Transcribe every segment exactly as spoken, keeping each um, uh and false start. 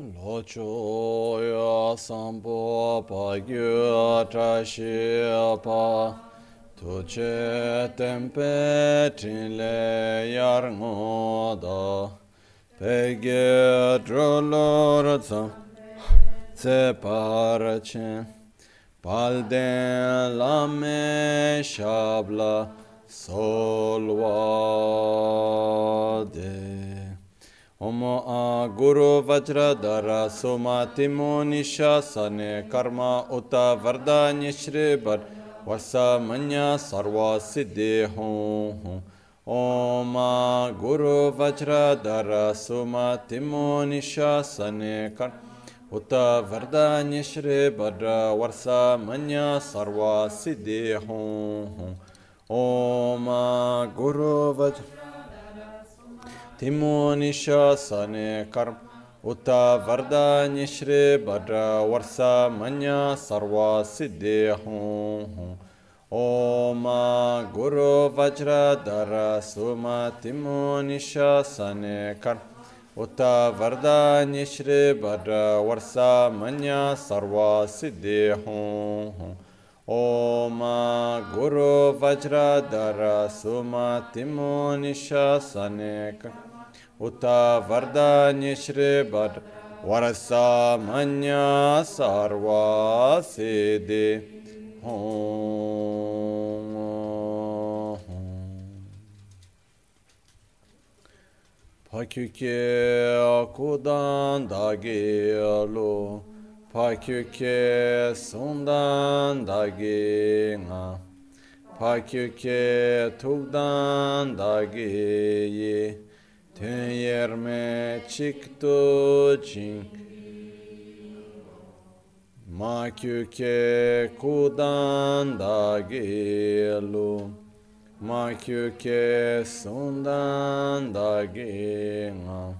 Locho ya sampo pa gyu trashi pa tuche tempe trile yar ngoda pege drolor tsam se parache palden lame shabla solvade Omo a Guru Vajradhara Sumatimo Nishasane Karma Uta Vardanya Shribar Vasa Manya Sarva Siddhi Hum Om a Guru Vajradhara Sumatimo Nishasane Karma Uta Vardanya Shribar Vasa Manya Sarva Siddhi Hum Om a Guru Vajradhara Timo Nishasane Karma Uta Vardanya Shri Bhadra Varsa Manya Sarva Siddhi Hum Om Guru Vajradhara Suma Timo Nishasane Karma Uta Vardanya Shri Bhadra Varsa Manya Sarva Siddhi Hum Om Guru Vajradhara Suma Timo Nishasane Karma Uta Vardanya Shri Bhadra Varasa Manya Sarva Siddhi Hum Pakyuke Akudan Dagelo Pakyuke Sundan Dagi Nga Pakyuke Tugdan Dagi Ten yerme çıktı cin Makyuke kudan da gelu Makyuke sundan da genga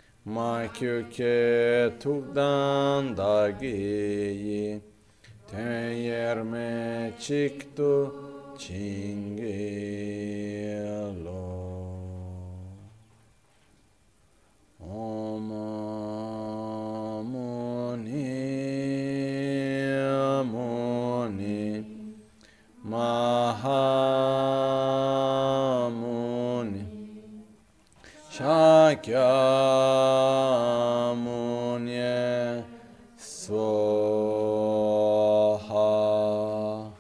Makyuke tugdan da geyi Ten yerme çıktı çingelo Om Muni Muni Mahamuni Shakyamuni Swaha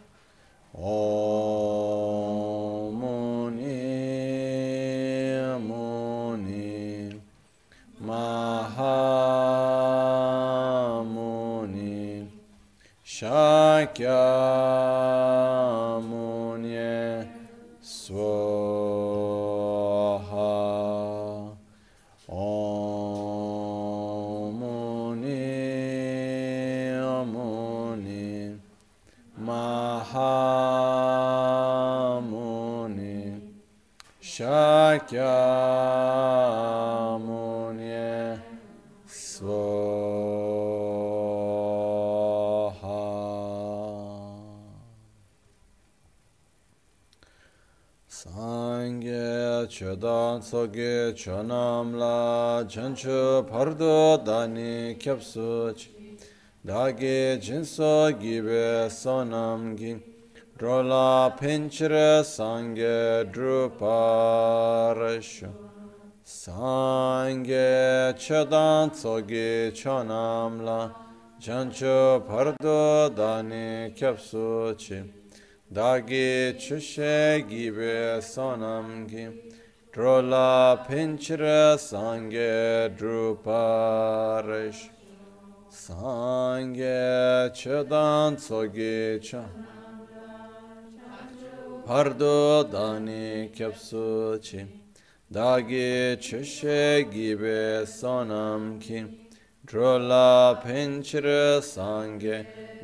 Om Muni Muni Mahamuni Shakyamuni Swaha Om Muni Muni Mahamuni Shakyamuni Swaha Sangye Chodan Soge Chonamla Chanchu Pardo Dani Kyapsuch Dage Jinso Gibe Sonam Gi Drola Pinchre Sangye Druparashu Sangye Chodan Soge Chonamla Chanchu Pardo Dani Kyapsuch Dagi chushe gibe sonam gi Drola pinchra sangye druparish Sangye chodan tsogi cha Pardo dani kyapsuchi Dagi chushe gibe sonam ki Drola pinchra sangye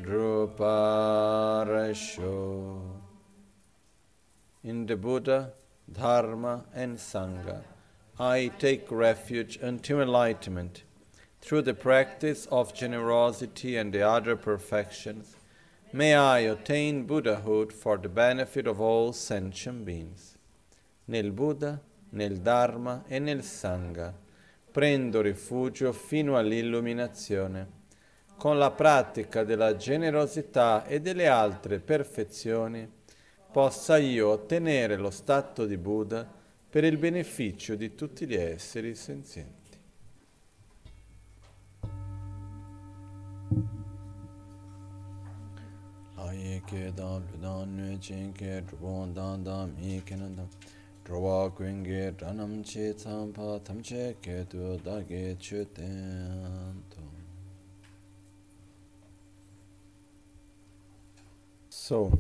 Druparasho. In the Buddha, Dharma and Sangha, I take refuge until enlightenment. Through the practice of generosity and the other perfections, may I attain Buddhahood for the benefit of all sentient beings. Nel Buddha, nel Dharma e nel Sangha, prendo rifugio fino all'illuminazione. Con la pratica della generosità e delle altre perfezioni, possa io ottenere lo stato di Buddha per il beneficio di tutti gli esseri senzienti. Aye ke dan dan nue chen ke drupon dan dan mi ke nan dan drwa kwen ge dranam che tsam pa tam che ke tu da ge chu ten to. So,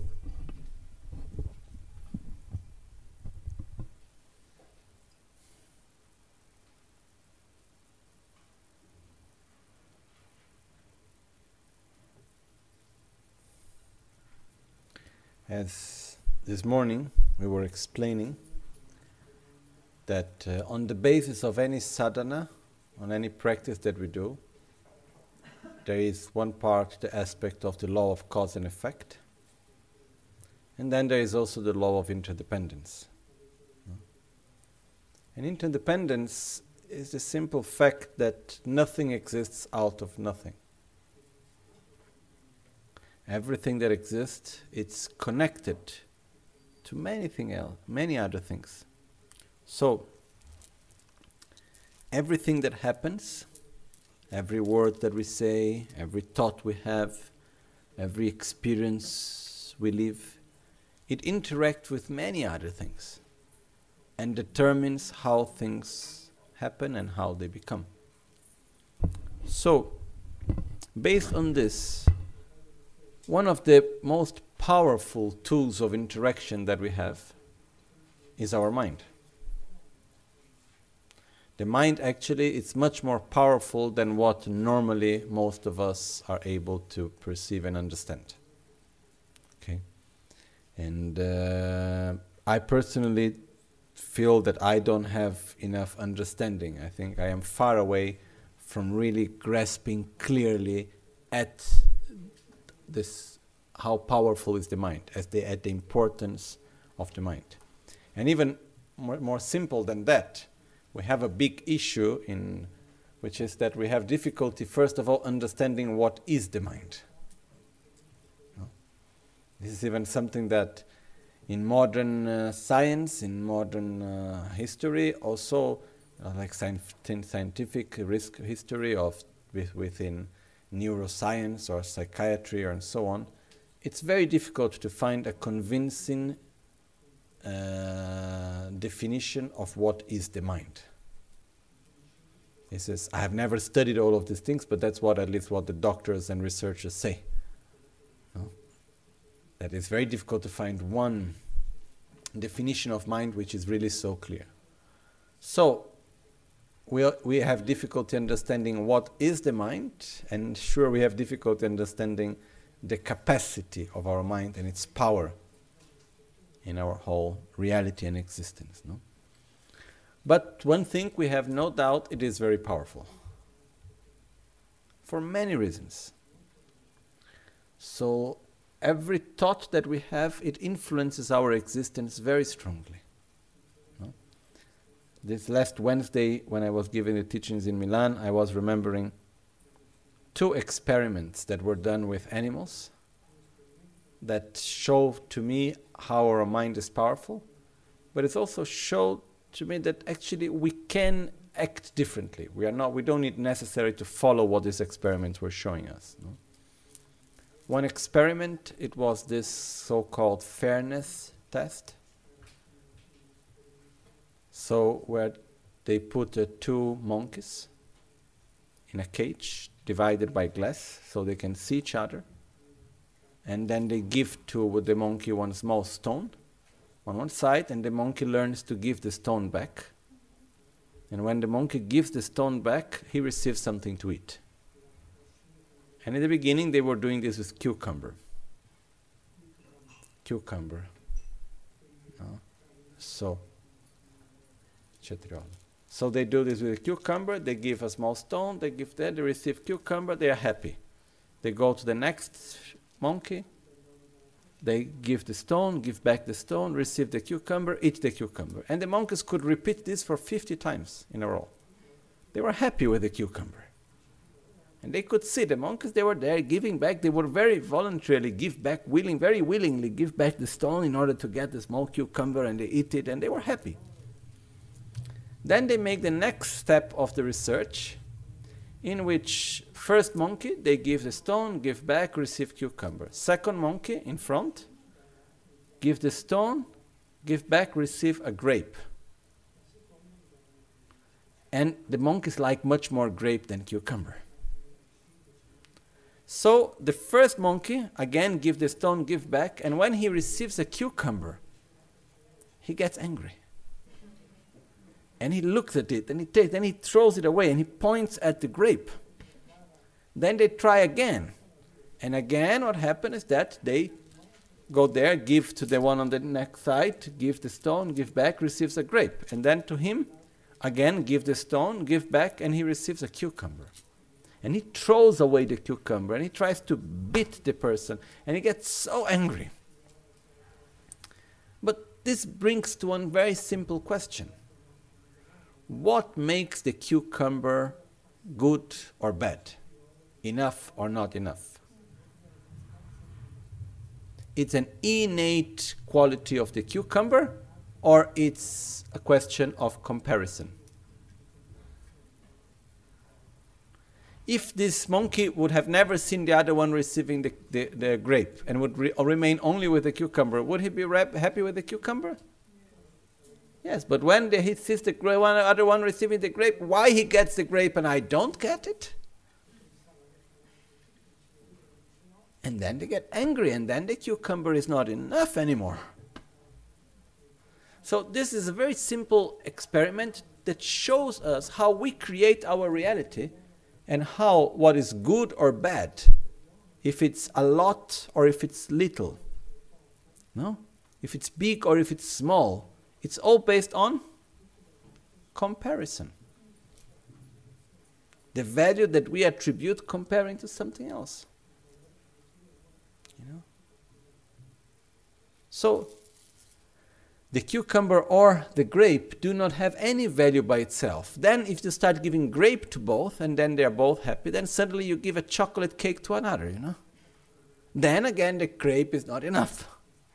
as this morning we were explaining that uh, on the basis of any sadhana, on any practice that we do, there is one part, the aspect of the law of cause and effect, and then there is also the law of interdependence. And interdependence is the simple fact that nothing exists out of nothing. Everything that exists, it's connected to many things else, many other things. So, everything that happens, every word that we say, every thought we have, every experience we live, it interacts with many other things and determines how things happen and how they become. So, based on this, one of the most powerful tools of interaction that we have is our mind. The mind actually is much more powerful than what normally most of us are able to perceive and understand. Okay? And uh, I personally feel that I don't have enough understanding. I think I am far away from really grasping clearly at this, how powerful is the mind, as they at the importance of the mind. And even more, more simple than that, we have a big issue in which is that we have difficulty, first of all, understanding what is the mind. No? This is even something that in modern uh, science, in modern uh, history, also uh, like scien- scientific risk history of with, within neuroscience or psychiatry or and so on, it's very difficult to find a convincing uh, definition of what is the mind. He says, I have never studied all of these things, but that's what at least what the doctors and researchers say. No? That it's very difficult to find one definition of mind which is really so clear. So, we we have difficulty understanding what is the mind, and sure we have difficulty understanding the capacity of our mind and its power in our whole reality and existence. No? But one thing we have no doubt, it is very powerful. For many reasons. So every thought that we have, it influences our existence very strongly. No? This last Wednesday, when I was giving the teachings in Milan, I was remembering two experiments that were done with animals that show to me how our mind is powerful, but it also showed to me that actually we can act differently. We are not. We don't need necessarily to follow what these experiments were showing us. No? One experiment, it was this so-called fairness test. So where they put uh, two monkeys in a cage divided by glass so they can see each other, and then they give to the monkey one small stone on one side, and the monkey learns to give the stone back. And when the monkey gives the stone back, he receives something to eat. And in the beginning, they were doing this with cucumber. Cucumber. No? So, so they do this with a cucumber, they give a small stone, they give that, they receive cucumber, they are happy. They go to the next monkey, they give the stone, give back the stone, receive the cucumber, eat the cucumber. And the monkeys could repeat this for fifty times in a row. They were happy with the cucumber. And they could see the monkeys, they were there giving back. They would very voluntarily give back, willing, very willingly give back the stone in order to get the small cucumber, and they eat it, and they were happy. Then they make the next step of the research, in which first monkey, they give the stone, give back, receive cucumber. Second monkey in front, give the stone, give back, receive a grape. And the monkeys like much more grape than cucumber. So the first monkey, again, give the stone, give back, and when he receives a cucumber, he gets angry. And he looks at it, and he takes, then he throws it away, and he points at the grape. Then they try again. And again, what happens is that they go there, give to the one on the next side, give the stone, give back, receives a grape. And then to him, again, give the stone, give back, and he receives a cucumber. And he throws away the cucumber, and he tries to beat the person, and he gets so angry. But this brings to one very simple question. What makes the cucumber good or bad? Enough or not enough? It's an innate quality of the cucumber, or it's a question of comparison? If this monkey would have never seen the other one receiving the, the, the grape and would re- remain only with the cucumber, would he be rap- happy with the cucumber? Yes, but when the, he sees the gra- one, other one receiving the grape, why he gets the grape and I don't get it? And then they get angry, and then the cucumber is not enough anymore. So this is a very simple experiment that shows us how we create our reality, and how what is good or bad, if it's a lot or if it's little. No? If it's big or if it's small. It's all based on comparison. The value that we attribute comparing to something else. You know? So, the cucumber or the grape do not have any value by itself. Then if you start giving grape to both, and then they are both happy, then suddenly you give a chocolate cake to another, you know. Then again the grape is not enough.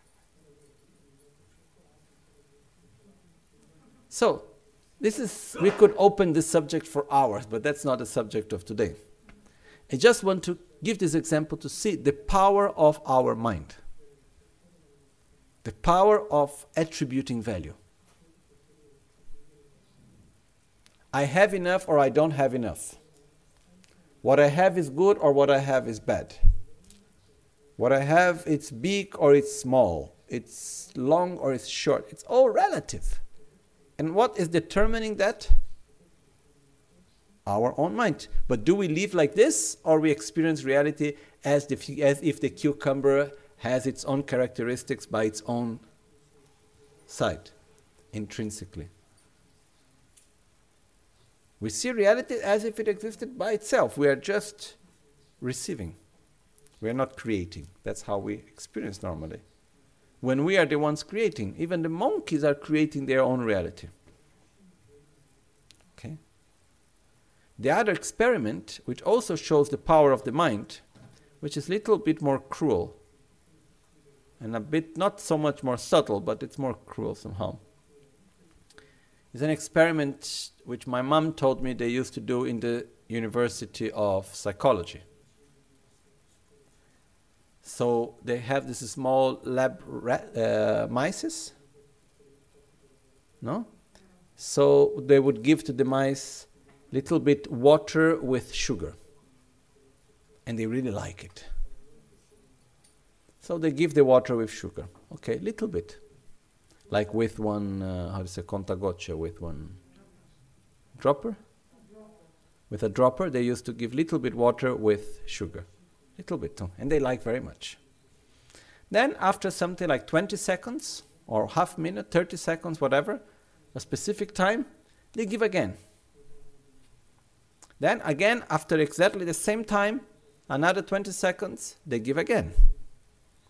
So, this is, we could open this subject for hours, but that's not the subject of today. I just want to give this example to see the power of our mind. The power of attributing value. I have enough or I don't have enough. What I have is good or what I have is bad. What I have, it's big or it's small. It's long or it's short. It's all relative. And what is determining that? Our own mind. But do we live like this, or we experience reality as, the, as if the cucumber has its own characteristics by its own side, intrinsically? We see reality as if it existed by itself. We are just receiving. We are not creating. That's how we experience normally. When we are the ones creating, even the monkeys are creating their own reality. Okay? The other experiment, which also shows the power of the mind, which is a little bit more cruel, and a bit not so much more subtle, but it's more cruel somehow, is an experiment which my mom told me they used to do in the University of Psychology. So they have this small lab rat, uh, mice, no? So they would give to the mice little bit water with sugar, and they really like it. So they give the water with sugar, okay, little bit, like with one, uh, how to say, contagocce, with one dropper. With a dropper, they used to give little bit water with sugar. Little bit too, and they like very much. Then after something like twenty seconds, or half minute, thirty seconds, whatever, a specific time, they give again. Then again, after exactly the same time, another twenty seconds, they give again.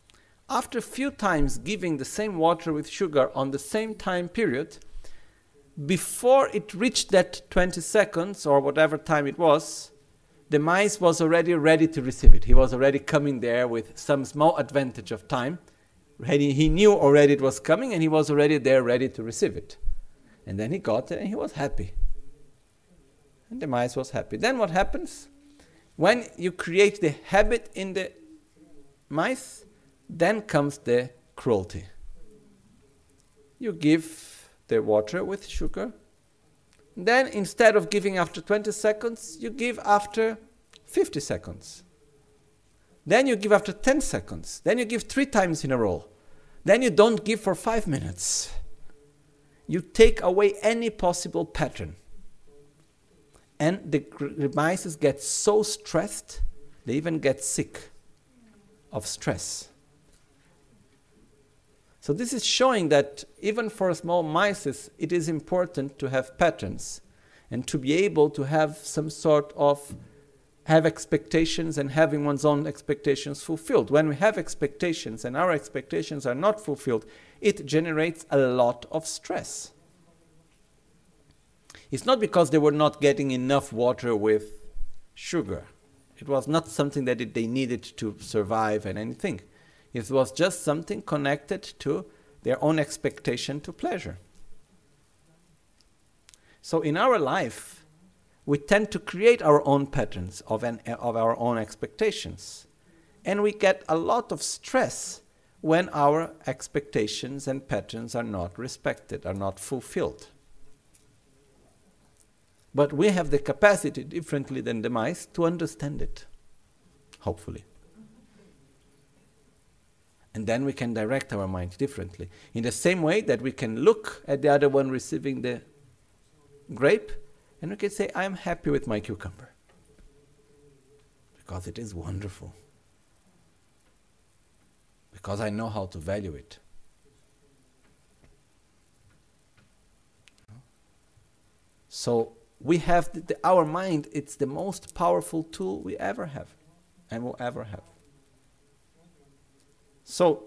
After a few times giving the same water with sugar on the same time period, before it reached that twenty seconds or whatever time it was, the mice was already ready to receive it. He was already coming there with some small advantage of time. He, he knew already it was coming, and he was already there ready to receive it. And then he got it and he was happy. And the mice was happy. Then what happens? When you create the habit in the mice, then comes the cruelty. You give the water with sugar. Then instead of giving after twenty seconds, you give after fifty seconds. Then you give after ten seconds. Then you give three times in a row. Then you don't give for five minutes. You take away any possible pattern. And the, the mice get so stressed, they even get sick of stress. So this is showing that even for small mice, it is important to have patterns and to be able to have some sort of have expectations and having one's own expectations fulfilled. When we have expectations and our expectations are not fulfilled, it generates a lot of stress. It's not because they were not getting enough water with sugar. It was not something that it, they needed to survive and anything. It was just something connected to their own expectation to pleasure. So in our life, we tend to create our own patterns of, an, of our own expectations. And we get a lot of stress when our expectations and patterns are not respected, are not fulfilled. But we have the capacity, differently than the mice, to understand it, hopefully. And then we can direct our mind differently. In the same way that we can look at the other one receiving the grape, and we can say, I am happy with my cucumber. Because it is wonderful. Because I know how to value it. So we have the, the, our mind, it's the most powerful tool we ever have and will ever have. So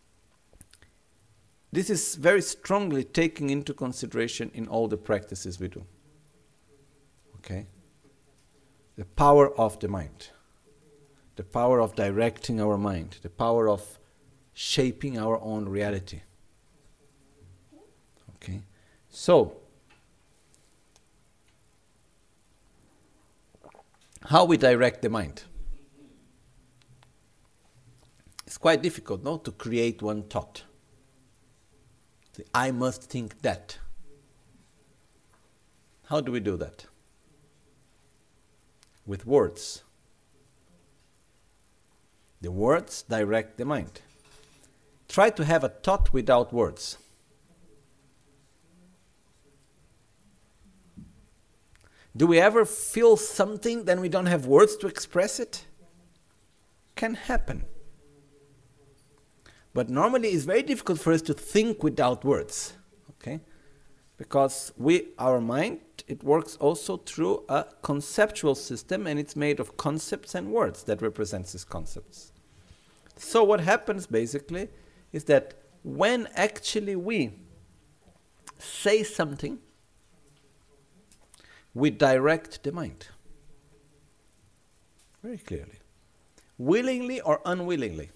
this is very strongly taken into consideration in all the practices we do. Okay? The power of the mind. The power of directing our mind. The power of shaping our own reality. Okay? So, how we direct the mind? It's quite difficult, no, to create one thought. I must think that. How do we do that? With words. The words direct the mind. Try to have a thought without words. Do we ever feel something, then we don't have words to express it? Can happen. But normally it's very difficult for us to think without words. Okay? Because we, our mind, it works also through a conceptual system, and it's made of concepts and words that represents these concepts. So what happens basically is that when actually we say something, we direct the mind. Very clearly. Willingly or unwillingly.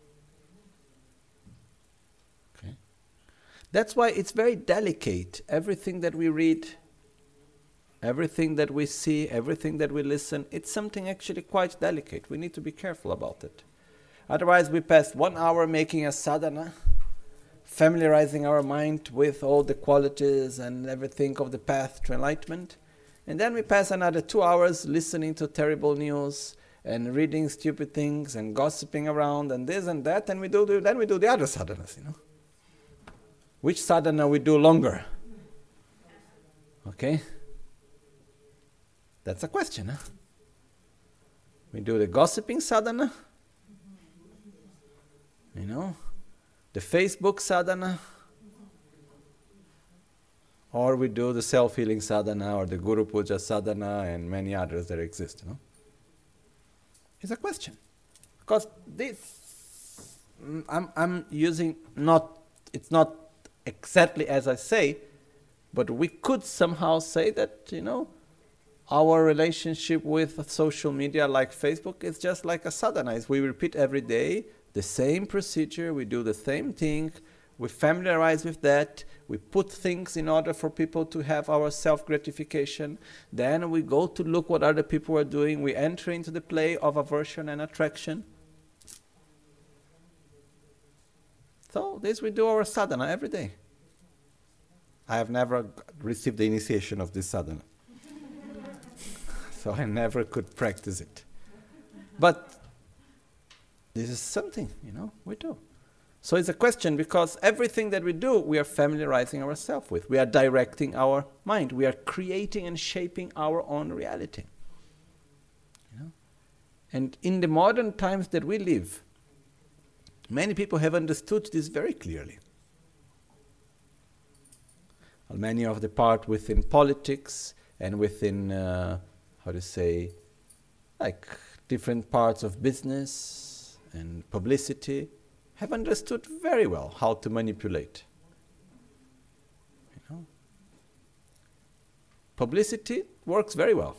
Okay. That's why it's very delicate. Everything that we read, everything that we see, everything that we listen, it's something actually quite delicate. We need to be careful about it. Otherwise we pass one hour making a sadhana, familiarizing our mind with all the qualities and everything of the path to enlightenment. And then we pass another two hours listening to terrible news and reading stupid things and gossiping around and this and that, and we do the, then we do the other sadhanas, you know. Which sadhana we do longer? Okay? That's a question, huh? We do the gossiping sadhana, you know, the Facebook sadhana, or we do the self-healing sadhana or the Guru Puja sadhana and many others that exist, you know? It's a question. Because this, I'm, I'm using not, it's not exactly as I say, But we could somehow say that, you know, our relationship with social media like Facebook is just like a sadhana. We repeat every day the same procedure, we do the same thing, we familiarize with that, we put things in order for people to have our self-gratification, then we go to look what other people are doing, we enter into the play of aversion and attraction. So this we do our sadhana every day. I have never received the initiation of this sadhana. So I never could practice it. But this is something, you know, we do. So it's a question because everything that we do, we are familiarizing ourselves with. We are directing our mind. We are creating and shaping our own reality. You know? And in the modern times that we live, many people have understood this very clearly. Well, many of the part within politics and within, uh, how to say, like different parts of business and publicity, have understood very well how to manipulate. You know? Publicity works very well.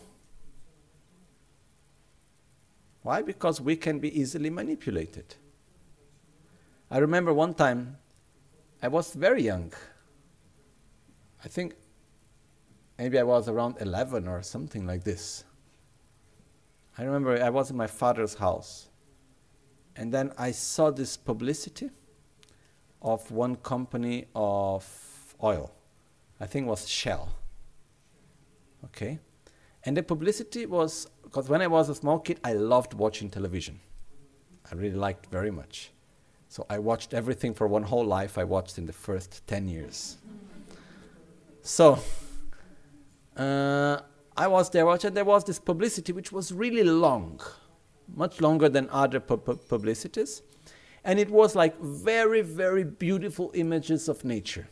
Why? Because we can be easily manipulated. I remember one time, I was very young. I think maybe I was around eleven or something like this. I remember I was in my father's house. And then I saw this publicity of one company of oil. I think it was Shell. Okay? And the publicity was, because when I was a small kid, I loved watching television. I really liked very much. So I watched everything for one whole life I watched in the first ten years. So, uh, I was there watching, there was this publicity which was really long. Much longer than other pu- pu- publicities. And it was like very, very beautiful images of nature.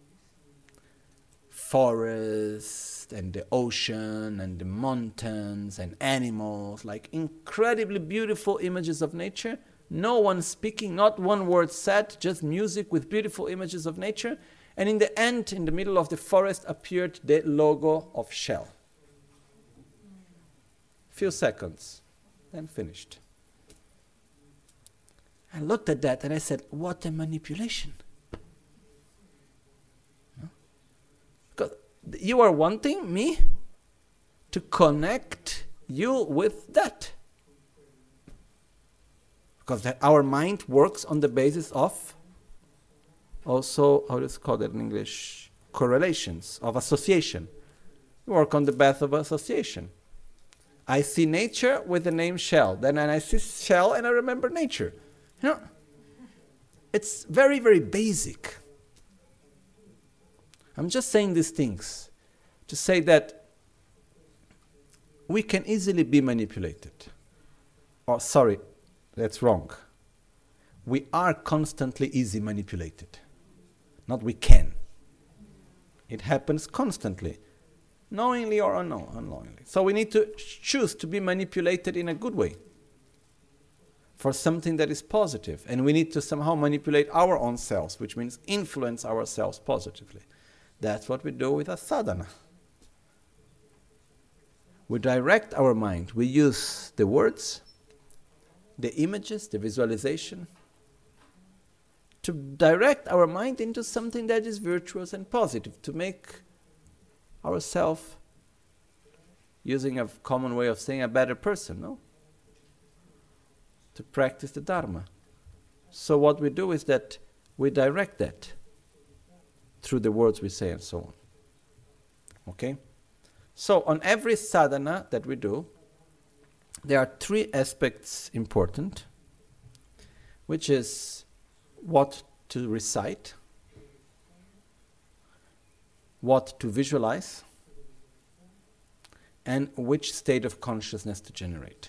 Forest and the ocean and the mountains and animals, like incredibly beautiful images of nature. No one speaking, not one word said, just music with beautiful images of nature. And in the end, in the middle of the forest, appeared the logo of Shell. Few seconds. Then finished. I looked at that and I said, what a manipulation. No? Because you are wanting me to connect you with that. Because that our mind works on the basis of also, how is it called in English? Correlations, of association. You work on the basis of association. I see nature with the name Shell. Then I see Shell and I remember nature. You know, it's very, very basic. I'm just saying these things to say that we can easily be manipulated. Oh, sorry, that's wrong. We are constantly easily manipulated. Not we can. It happens constantly. Knowingly or unknow- unknowingly. So we need to choose to be manipulated in a good way for something that is positive. And we need to somehow manipulate our own selves, which means influence ourselves positively. That's what we do with a sadhana. We direct our mind. We use the words, the images, the visualization, to direct our mind into something that is virtuous and positive, to make ourselves, using a common way of saying, a better person, no? To practice the Dharma. So what we do is that we direct that through the words we say and so on. Okay? So on every sadhana that we do, there are three aspects important, which is what to recite, what to visualize, and which state of consciousness to generate.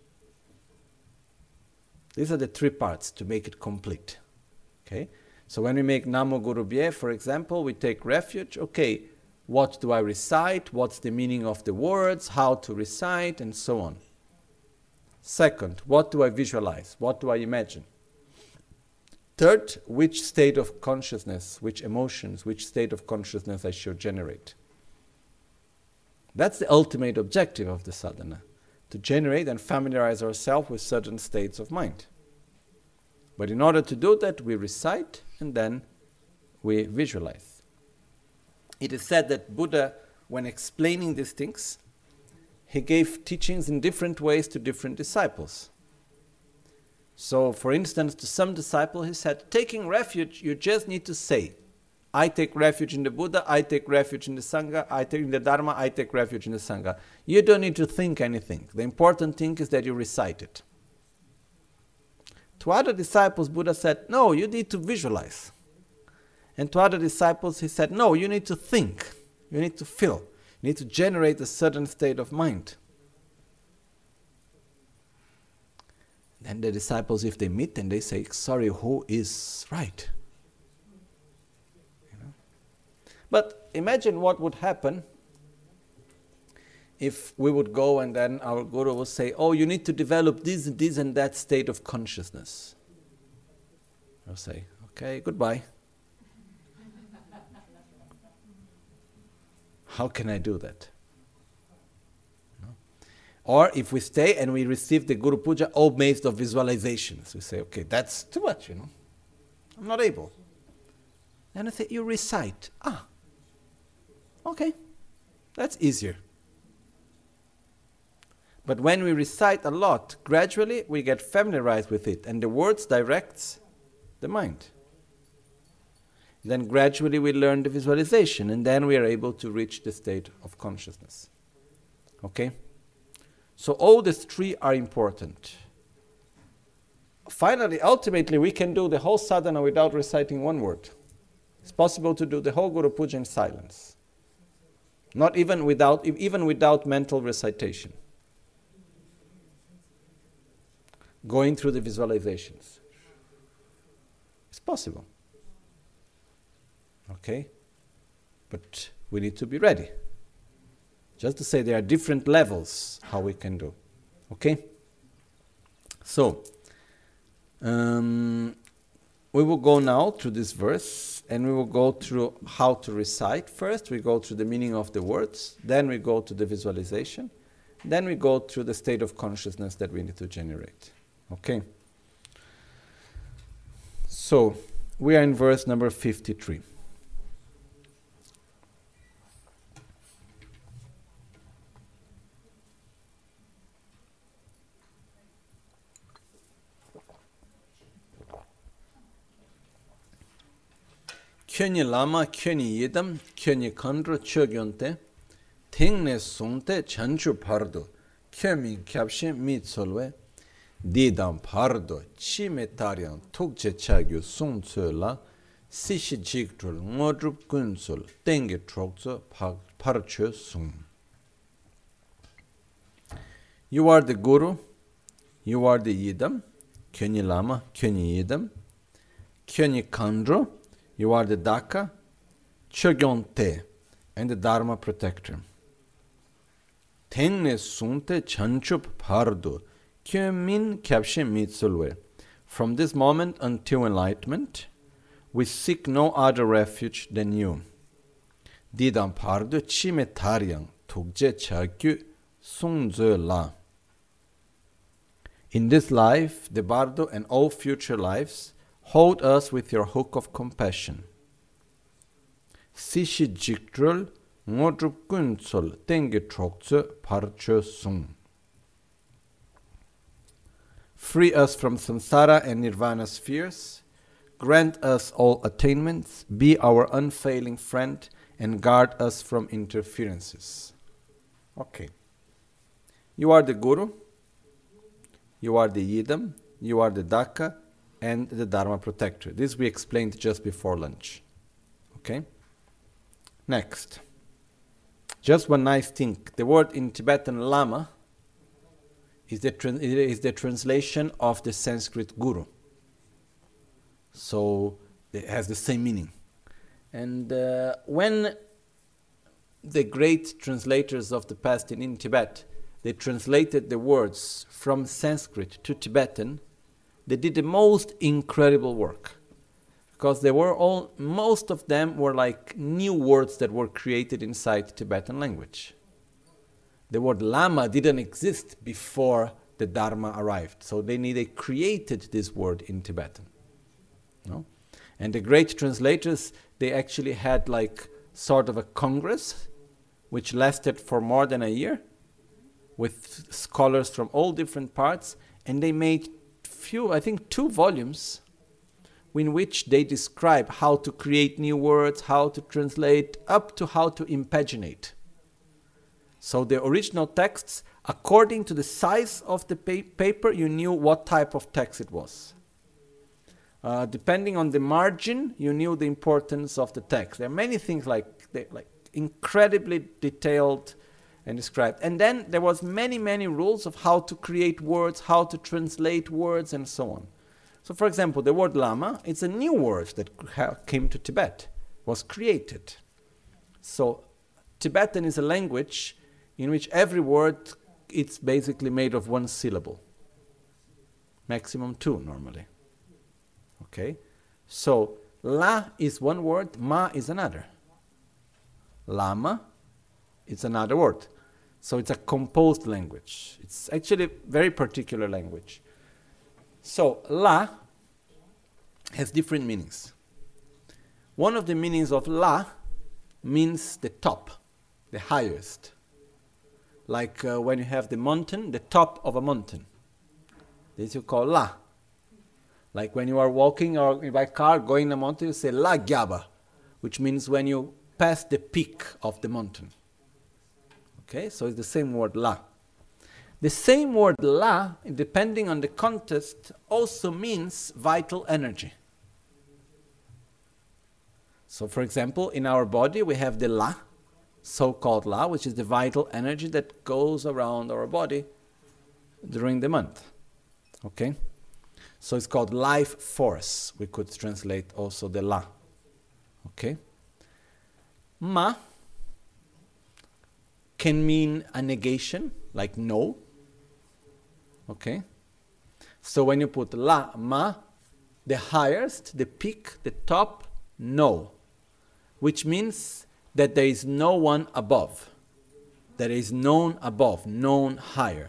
These are the three parts to make it complete. Okay? So when we make Namo Guru Bhye, for example, we take refuge. Okay, what do I recite? What's the meaning of the words? How to recite? And so on. Second, what do I visualize? What do I imagine? Third, which state of consciousness, which emotions, which state of consciousness I should generate. That's the ultimate objective of the sadhana, to generate and familiarize ourselves with certain states of mind. But in order to do that, we recite and then we visualize. It is said that Buddha, when explaining these things, he gave teachings in different ways to different disciples. So, for instance, to some disciple he said, taking refuge, you just need to say, I take refuge in the Buddha, I take refuge in the Sangha, I take in the Dharma, I take refuge in the Sangha. You don't need to think anything. The important thing is that you recite it. To other disciples, Buddha said, no, you need to visualize. And to other disciples, he said, no, you need to think. You need to feel. You need to generate a certain state of mind. Then the disciples, if they meet, then they say, sorry, who is right? You know? But imagine what would happen if we would go and then our guru would say, oh, you need to develop this and this and that state of consciousness. I'll say, okay, goodbye. How can I do that? No? Or if we stay and we receive the Guru Puja all based of visualizations, we say, okay, that's too much, you know. I'm not able. Then I say, you recite. Ah, okay, that's easier. But when we recite a lot, gradually we get familiarized with it, and the words directs the mind. Then gradually we learn the visualization, and then we are able to reach the state of consciousness. Okay? So all these three are important. Finally, ultimately, we can do the whole sadhana without reciting one word. It's possible to do the whole Guru Puja in silence. Not even without, even without mental recitation. Going through the visualizations. It's possible. Okay? But we need to be ready. Just to say there are different levels how we can do. Okay? So, um, we will go now through this verse and we will go through how to recite. First we go through the meaning of the words, then we go to the visualization, then we go through the state of consciousness that we need to generate. Okay? So, we are in verse number fifty-three. Kyonyi lama, kyonyi yidam, kyonyi kandro chogyonte, tengne sungte chanchu pardo, kyomi kyabshe mitsolwe, didam pardo, chime taryan tukche chagyu sungtsola, sishi jigtrul ngodrup gunsol, tenge trokzo parcho sung. You are the Guru, you are the Yidam, kyonyi lama, kyonyi yidam, kyonyi kandro, you are the Daka, Chogyonte, and the Dharma protector. Tenne sunte chanchup pardo, kyomin kyabshe mitsulwe. From this moment until enlightenment, we seek no other refuge than you. Didam pardo chime taryang, tukje chagyu sungze la. In this life, the bardo and all future lives, hold us with your hook of compassion. Sishi jiktrul ngodrup gunsol tenge trokze parcho sung. Free us from samsara and nirvana spheres. Grant us all attainments. Be our unfailing friend and guard us from interferences. Okay. You are the Guru. You are the Yidam. You are the Daka. And the Dharma protector. This we explained just before lunch. Okay? Next. Just one nice thing. The word in Tibetan lama is the, trans- is the translation of the Sanskrit guru. So it has the same meaning. And uh, when the great translators of the past in, in Tibet, they translated the words from Sanskrit to Tibetan, they did the most incredible work. because they were all, most of them were like new words that were created inside Tibetan language. The word Lama didn't exist before the Dharma arrived, so they needed created this word in Tibetan. No? And the great translators, they actually had like sort of a congress which lasted for more than a year with scholars from all different parts, and they made few, I think two volumes in which they describe how to create new words, how to translate, up to how to impaginate. So the original texts, according to the size of the pa- paper, you knew what type of text it was. Uh, depending on the margin, you knew the importance of the text. There are many things like, they, like incredibly detailed and described. And then there was many, many rules of how to create words, how to translate words, and so on. So for example, the word Lama, it's a new word that came to Tibet, was created. So Tibetan is a language in which every word, it's basically made of one syllable. Maximum two normally. Okay? So La is one word, Ma is another. Lama is another word. So it's a composed language. It's actually a very particular language. So La has different meanings. One of the meanings of La means the top, the highest. Like uh, when you have the mountain, the top of a mountain. This you call La. Like when you are walking or by car going a mountain, you say La Gyaba, which means when you pass the peak of the mountain. Okay, so it's the same word La. The same word La, depending on the context, also means vital energy. So for example, in our body we have the La, so-called La, which is the vital energy that goes around our body during the month. Okay? So it's called life force. We could translate also the La. Okay? Ma can mean a negation, like no. Okay? So when you put La, Ma, the highest, the peak, the top, no. Which means that there is no one above. There is none above, none higher.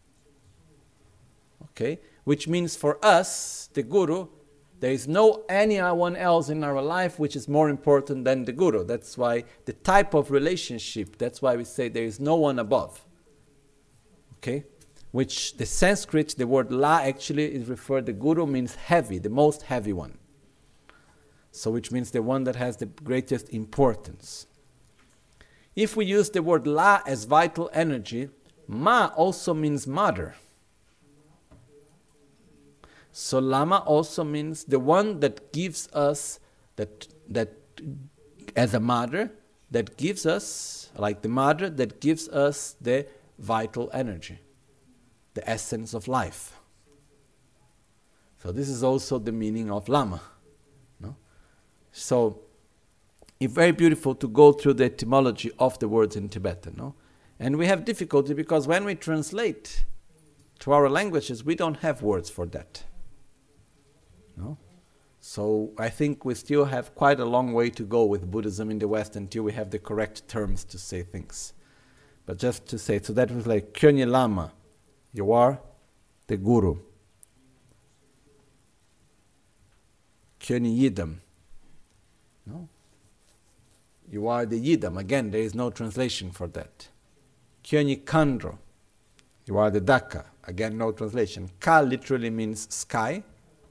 Okay? Which means for us, the Guru, there is no anyone else in our life which is more important than the Guru. That's why the type of relationship, that's why we say there is no one above. Okay? Which the Sanskrit, the word La actually is referred, the Guru means heavy, the most heavy one. So which means the one that has the greatest importance. If we use the word La as vital energy, Ma also means mother. So Lama also means the one that gives us, that that as a mother, that gives us, like the mother that gives us the vital energy, the essence of life. So this is also the meaning of Lama. No? So it's very beautiful to go through the etymology of the words in Tibetan. No? And we have difficulty because when we translate to our languages, we don't have words for that. No? So I think we still have quite a long way to go with Buddhism in the West until we have the correct terms to say things. But just to say, so that was like Kyonye Lama, you are the Guru. Kyonye Yidam, no? You are the Yidam. Again, there is no translation for that. Kyonye Kandro, you are the Daka. Again, no translation. Ka literally means sky.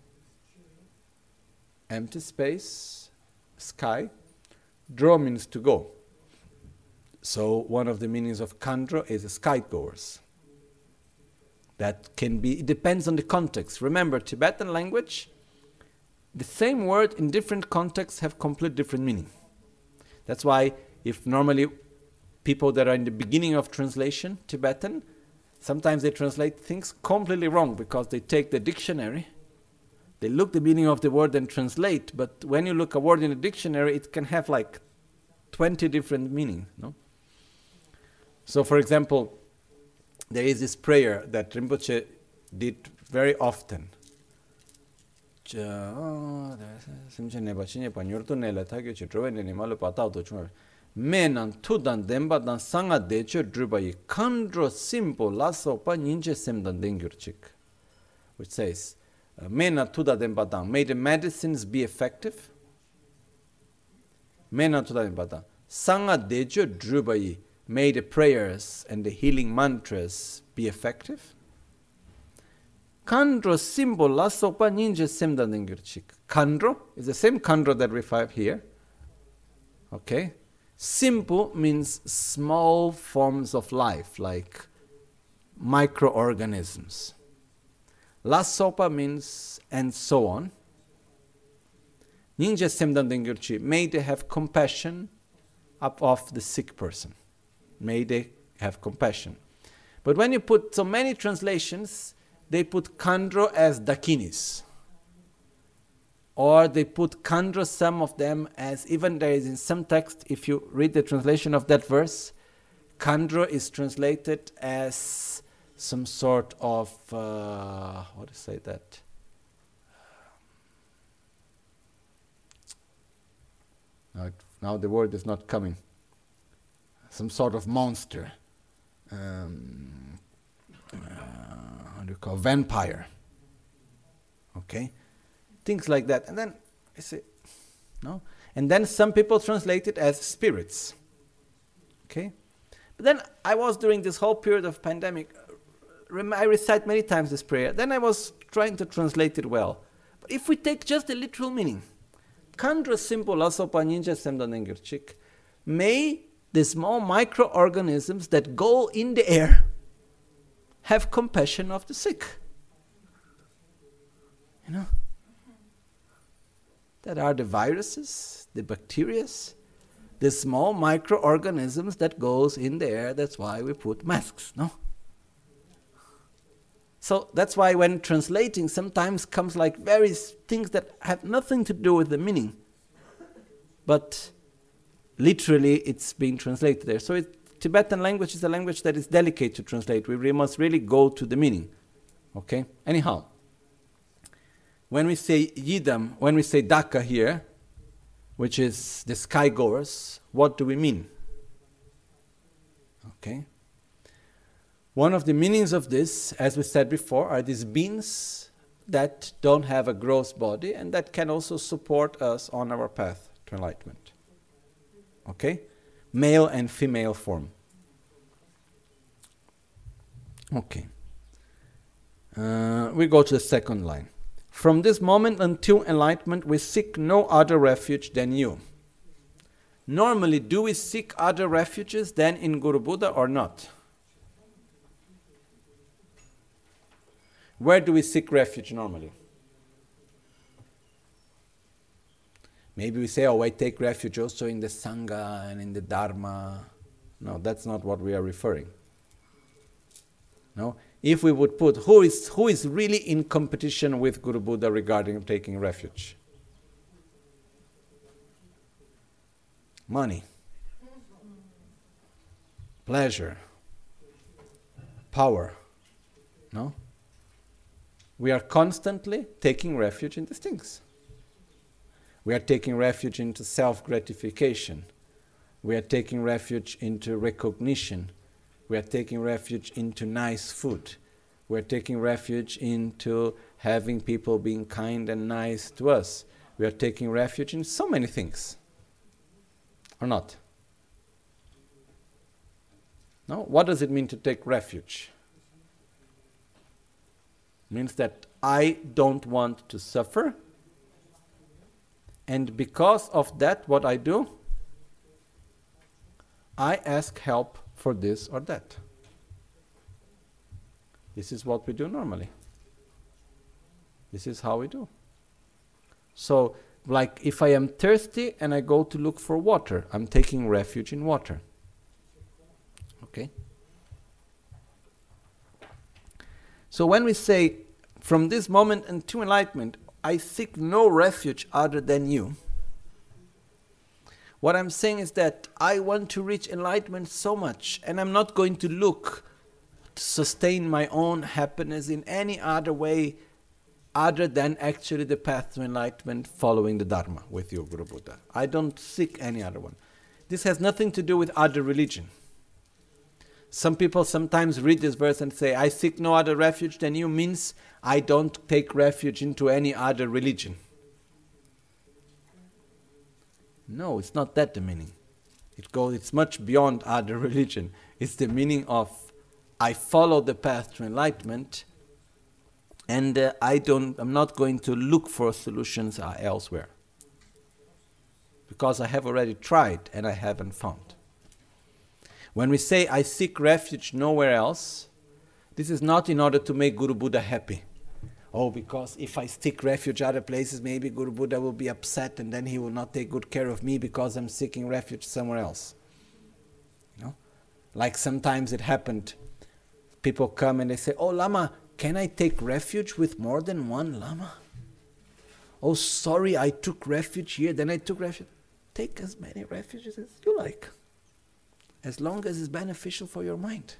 Empty space, sky. Dro means to go. So one of the meanings of Kandro is skygoers. That can be, it depends on the context. Remember, Tibetan language, the same word in different contexts have complete different meaning. That's why if normally people that are in the beginning of translation, Tibetan, sometimes they translate things completely wrong because they take the dictionary, they look the meaning of the word and translate, but when you look a word in a dictionary, it can have like twenty different meanings. No? So for example, there is this prayer that Rinpoche did very often. simcheneba chinyepa nyurtu nela thakyo chi drowe nini malu patao to chunga me nan tudan denpa dan sanga decho drubayi kandro simpo laso pa ninje semdan dengyur chik, which says uh, me nan tuda denpa dan, may the medicines be effective. Me nan tuda denpa dan sanga decho drubayi, may the prayers and the healing mantras be effective. Kandro symbol la sopa ninja semda nengirchik. Kandro is the same kandro that we have here. Okay? Simple means small forms of life, like microorganisms. La sopa means and so on. Ninja semda nengirchi. May they have compassion up of the sick person. May they have compassion. But when you put so many translations, they put kandro as dakinis. Or they put kandro, some of them, as even there is in some text, if you read the translation of that verse, kandro is translated as some sort of, uh, how to say that? Now, it, now the word is not coming. Some sort of monster. Um, uh, how do you call vampire? Okay, things like that. And then I say, no. And then some people translate it as spirits. Okay, but then I was during this whole period of pandemic. I recite many times this prayer. Then I was trying to translate it well. But if we take just the literal meaning, kandra simple lasopa ninja semdanengirchik, may the small microorganisms that go in the air have compassion of the sick. You know? That are the viruses, the bacteria, the small microorganisms that goes in the air. That's why we put masks, no? So that's why when translating sometimes comes like various things that have nothing to do with the meaning. But literally, it's being translated there. So it, Tibetan language is a language that is delicate to translate. We really must really go to the meaning. Okay? Anyhow, when we say Yidam, when we say Daka here, which is the sky goers, what do we mean? Okay? One of the meanings of this, as we said before, are these beings that don't have a gross body and that can also support us on our path to enlightenment. Okay? Male and female form. Okay. Uh, we go to the second line. From this moment until enlightenment, we seek no other refuge than you. Normally, do we seek other refuges than in Guru Buddha or not? Where do we seek refuge normally? Maybe we say, oh, I take refuge also in the Sangha and in the Dharma. No, that's not what we are referring. No? If we would put, who is, who is really in competition with Guru Buddha regarding taking refuge? Money. Pleasure. Power. No? We are constantly taking refuge in these things. We are taking refuge into self-gratification. We are taking refuge into recognition. We are taking refuge into nice food. We are taking refuge into having people being kind and nice to us. We are taking refuge in so many things. Or not? No? What does it mean to take refuge? It means that I don't want to suffer. And because of that, what I do? I ask help for this or that. This is what we do normally. This is how we do. So, like if I am thirsty and I go to look for water, I'm taking refuge in water. Okay? So when we say, from this moment until enlightenment, I seek no refuge other than you. What I'm saying is that I want to reach enlightenment so much, and I'm not going to look to sustain my own happiness in any other way other than actually the path to enlightenment following the Dharma with you, Guru Buddha. I don't seek any other one. This has nothing to do with other religion. Some people sometimes read this verse and say, I seek no other refuge than you, means I don't take refuge into any other religion. No, it's not that the meaning. It goes, it's much beyond other religion. It's the meaning of, I follow the path to enlightenment, and uh, I don't, I'm not going to look for solutions uh, elsewhere. Because I have already tried and I haven't found. When we say, I seek refuge nowhere else, this is not in order to make Guru Buddha happy. Oh, because if I seek refuge other places, maybe Guru Buddha will be upset and then he will not take good care of me because I'm seeking refuge somewhere else. You know? Like sometimes it happened, people come and they say, oh Lama, can I take refuge with more than one Lama? Oh, sorry, I took refuge here, then I took refuge. Take as many refuges as you like, as long as it's beneficial for your mind.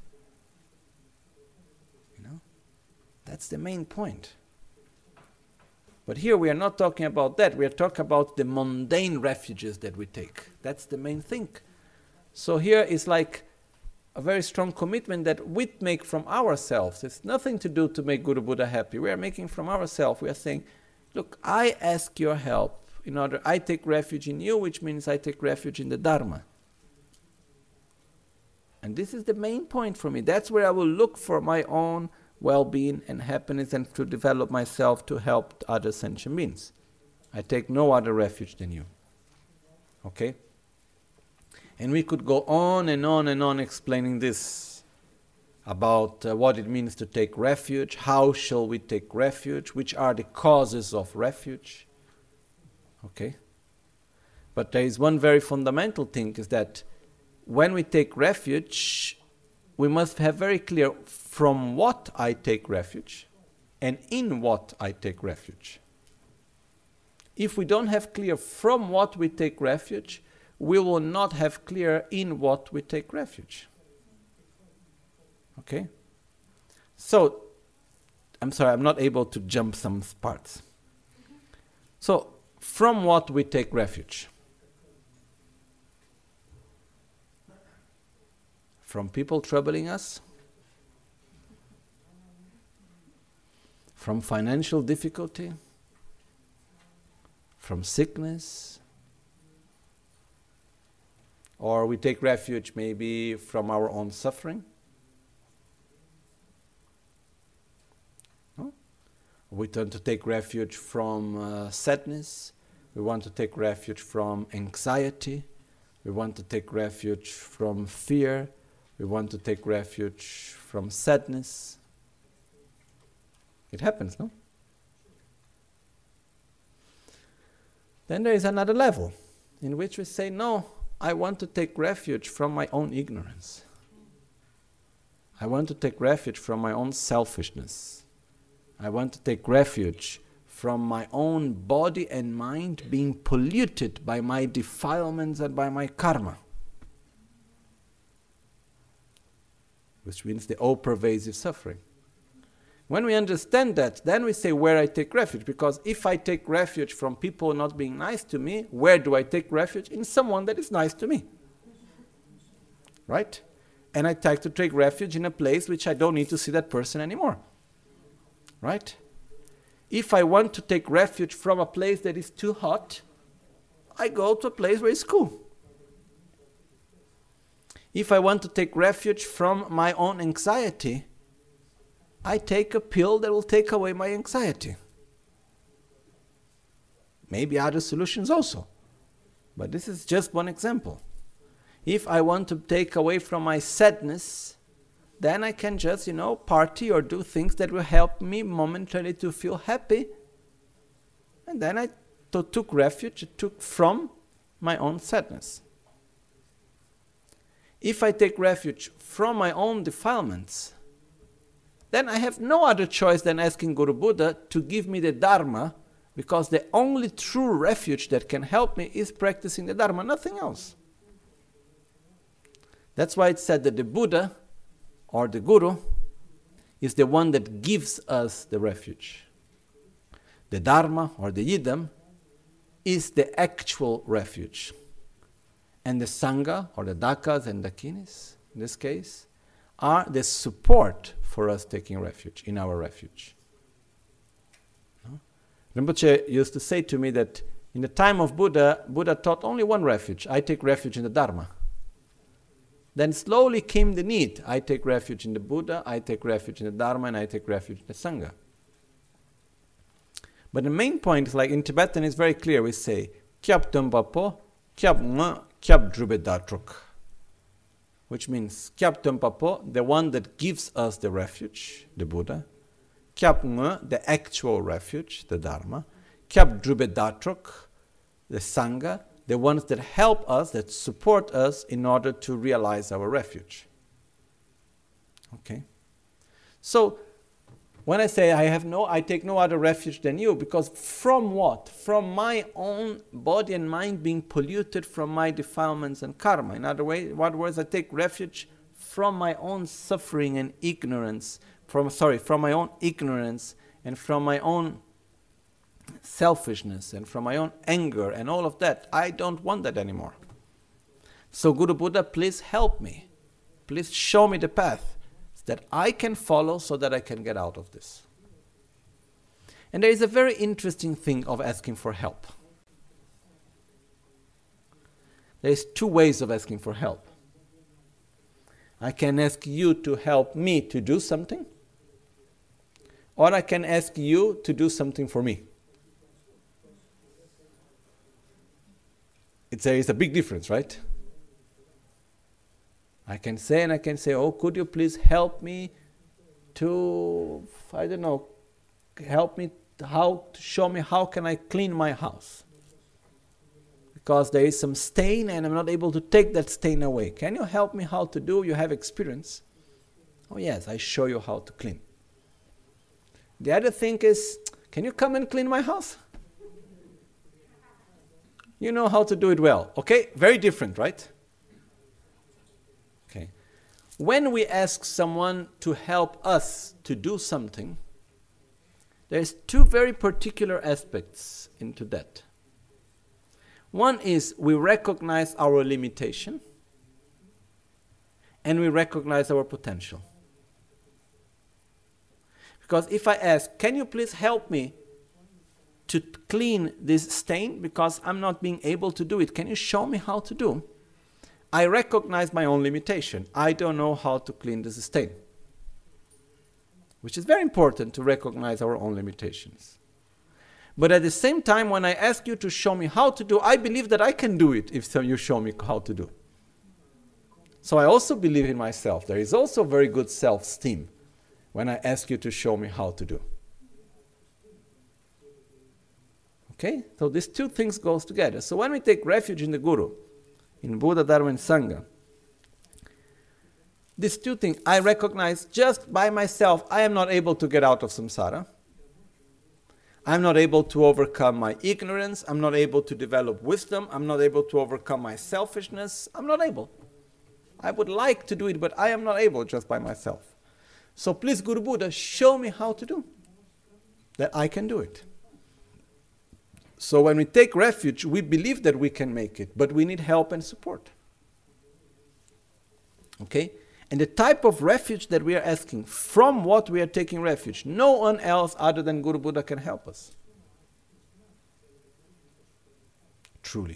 You know? That's the main point. But here we are not talking about that. We are talking about the mundane refuges that we take. That's the main thing. So here is like a very strong commitment that we make from ourselves. It's nothing to do to make Guru Buddha happy. We are making from ourselves. We are saying, look, I ask your help in order, I take refuge in you, which means I take refuge in the Dharma. And this is the main point for me. That's where I will look for my own well-being and happiness and to develop myself to help other sentient beings. I take no other refuge than you. Okay? And we could go on and on and on explaining this about uh, what it means to take refuge, how shall we take refuge, which are the causes of refuge. Okay? But there is one very fundamental thing, is that when we take refuge, we must have very clear from what I take refuge and in what I take refuge. If we don't have clear from what we take refuge, we will not have clear in what we take refuge. Okay? So, I'm sorry, I'm not able to jump some parts. So, from what we take refuge? From people troubling us? From financial difficulty? From sickness? Or we take refuge maybe from our own suffering? No? We tend to take refuge from uh, sadness. We want to take refuge from anxiety. We want to take refuge from fear. We want to take refuge from sadness. It happens, no? Then there is another level in which we say, no, I want to take refuge from my own ignorance. I want to take refuge from my own selfishness. I want to take refuge from my own body and mind being polluted by my defilements and by my karma. Which means the all-pervasive suffering. When we understand that, then we say where I take refuge. Because if I take refuge from people not being nice to me, where do I take refuge? In someone that is nice to me. Right? And I try to take refuge in a place which I don't need to see that person anymore. Right? If I want to take refuge from a place that is too hot, I go to a place where it's cool. If I want to take refuge from my own anxiety, I take a pill that will take away my anxiety. Maybe other solutions also. But this is just one example. If I want to take away from my sadness, then I can just, you know, party or do things that will help me momentarily to feel happy. And then I t- took refuge, took from my own sadness. If I take refuge from my own defilements, then I have no other choice than asking Guru Buddha to give me the Dharma, because the only true refuge that can help me is practicing the Dharma, nothing else. That's why it's said that the Buddha, or the Guru, is the one that gives us the refuge. the Dharma or the Yidam, is the actual refuge. And the Sangha, or the Dakas and Dakinis, in this case, are the support for us taking refuge, in our refuge. No? Rinpoche used to say to me that in the time of Buddha, Buddha taught only one refuge. I take refuge in the Dharma. Then slowly came the need. I take refuge in the Buddha, I take refuge in the Dharma, and I take refuge in the Sangha. But the main point is, like in Tibetan, it's very clear. We say, Kyab Tumpapo, Kyab Nga, Kyab Drubedatruk. Which means, Kyab Tumpapo, the one that gives us the refuge, the Buddha. Kyab Nga, the actual refuge, the Dharma. Kyab Drubedatruk, the Sangha, the ones that help us, that support us in order to realize our refuge. Okay? So, when I say I have no, I take no other refuge than you, because from what? From my own body and mind being polluted from my defilements and karma. In other way, in other words, I take refuge from my own suffering and ignorance, from sorry, from my own ignorance and from my own selfishness and from my own anger and all of that. I don't want that anymore. So Guru Buddha, please help me. Please show me the path that I can follow so that I can get out of this. And there is a very interesting thing of asking for help. There is two ways of asking for help. I can ask you to help me to do something, or I can ask you to do something for me. It's a, it's a big difference, right? I can say and I can say, oh, could you please help me to, I don't know, help me how to show me how can I clean my house? Because there is some stain and I'm not able to take that stain away. Can you help me how to do? You have experience. Oh yes, I show you how to clean. The other thing is, can you come and clean my house? You know how to do it well. Okay, very different, right? Okay. When we ask someone to help us to do something, there's two very particular aspects into that. One is we recognize our limitation and we recognize our potential. Because if I ask, can you please help me to clean this stain because I'm not being able to do it, can you show me how to do? I recognize my own limitation. I don't know how to clean this stain. Which is very important to recognize our own limitations. But at the same time, when I ask you to show me how to do, I believe that I can do it if so you show me how to do. So I also believe in myself. There is also very good self-esteem when I ask you to show me how to do. Okay? So these two things goes together. So when we take refuge in the Guru, in Buddha, Dharma, and Sangha, these two things, I recognize just by myself, I am not able to get out of samsara. I'm not able to overcome my ignorance. I'm not able to develop wisdom. I'm not able to overcome my selfishness. I'm not able. I would like to do it, but I am not able just by myself. So please, Guru Buddha, show me how to do, that I can do it. So when we take refuge, we believe that we can make it, but we need help and support. Okay? And the type of refuge that we are asking, from what we are taking refuge, no one else other than Guru Buddha can help us. Truly.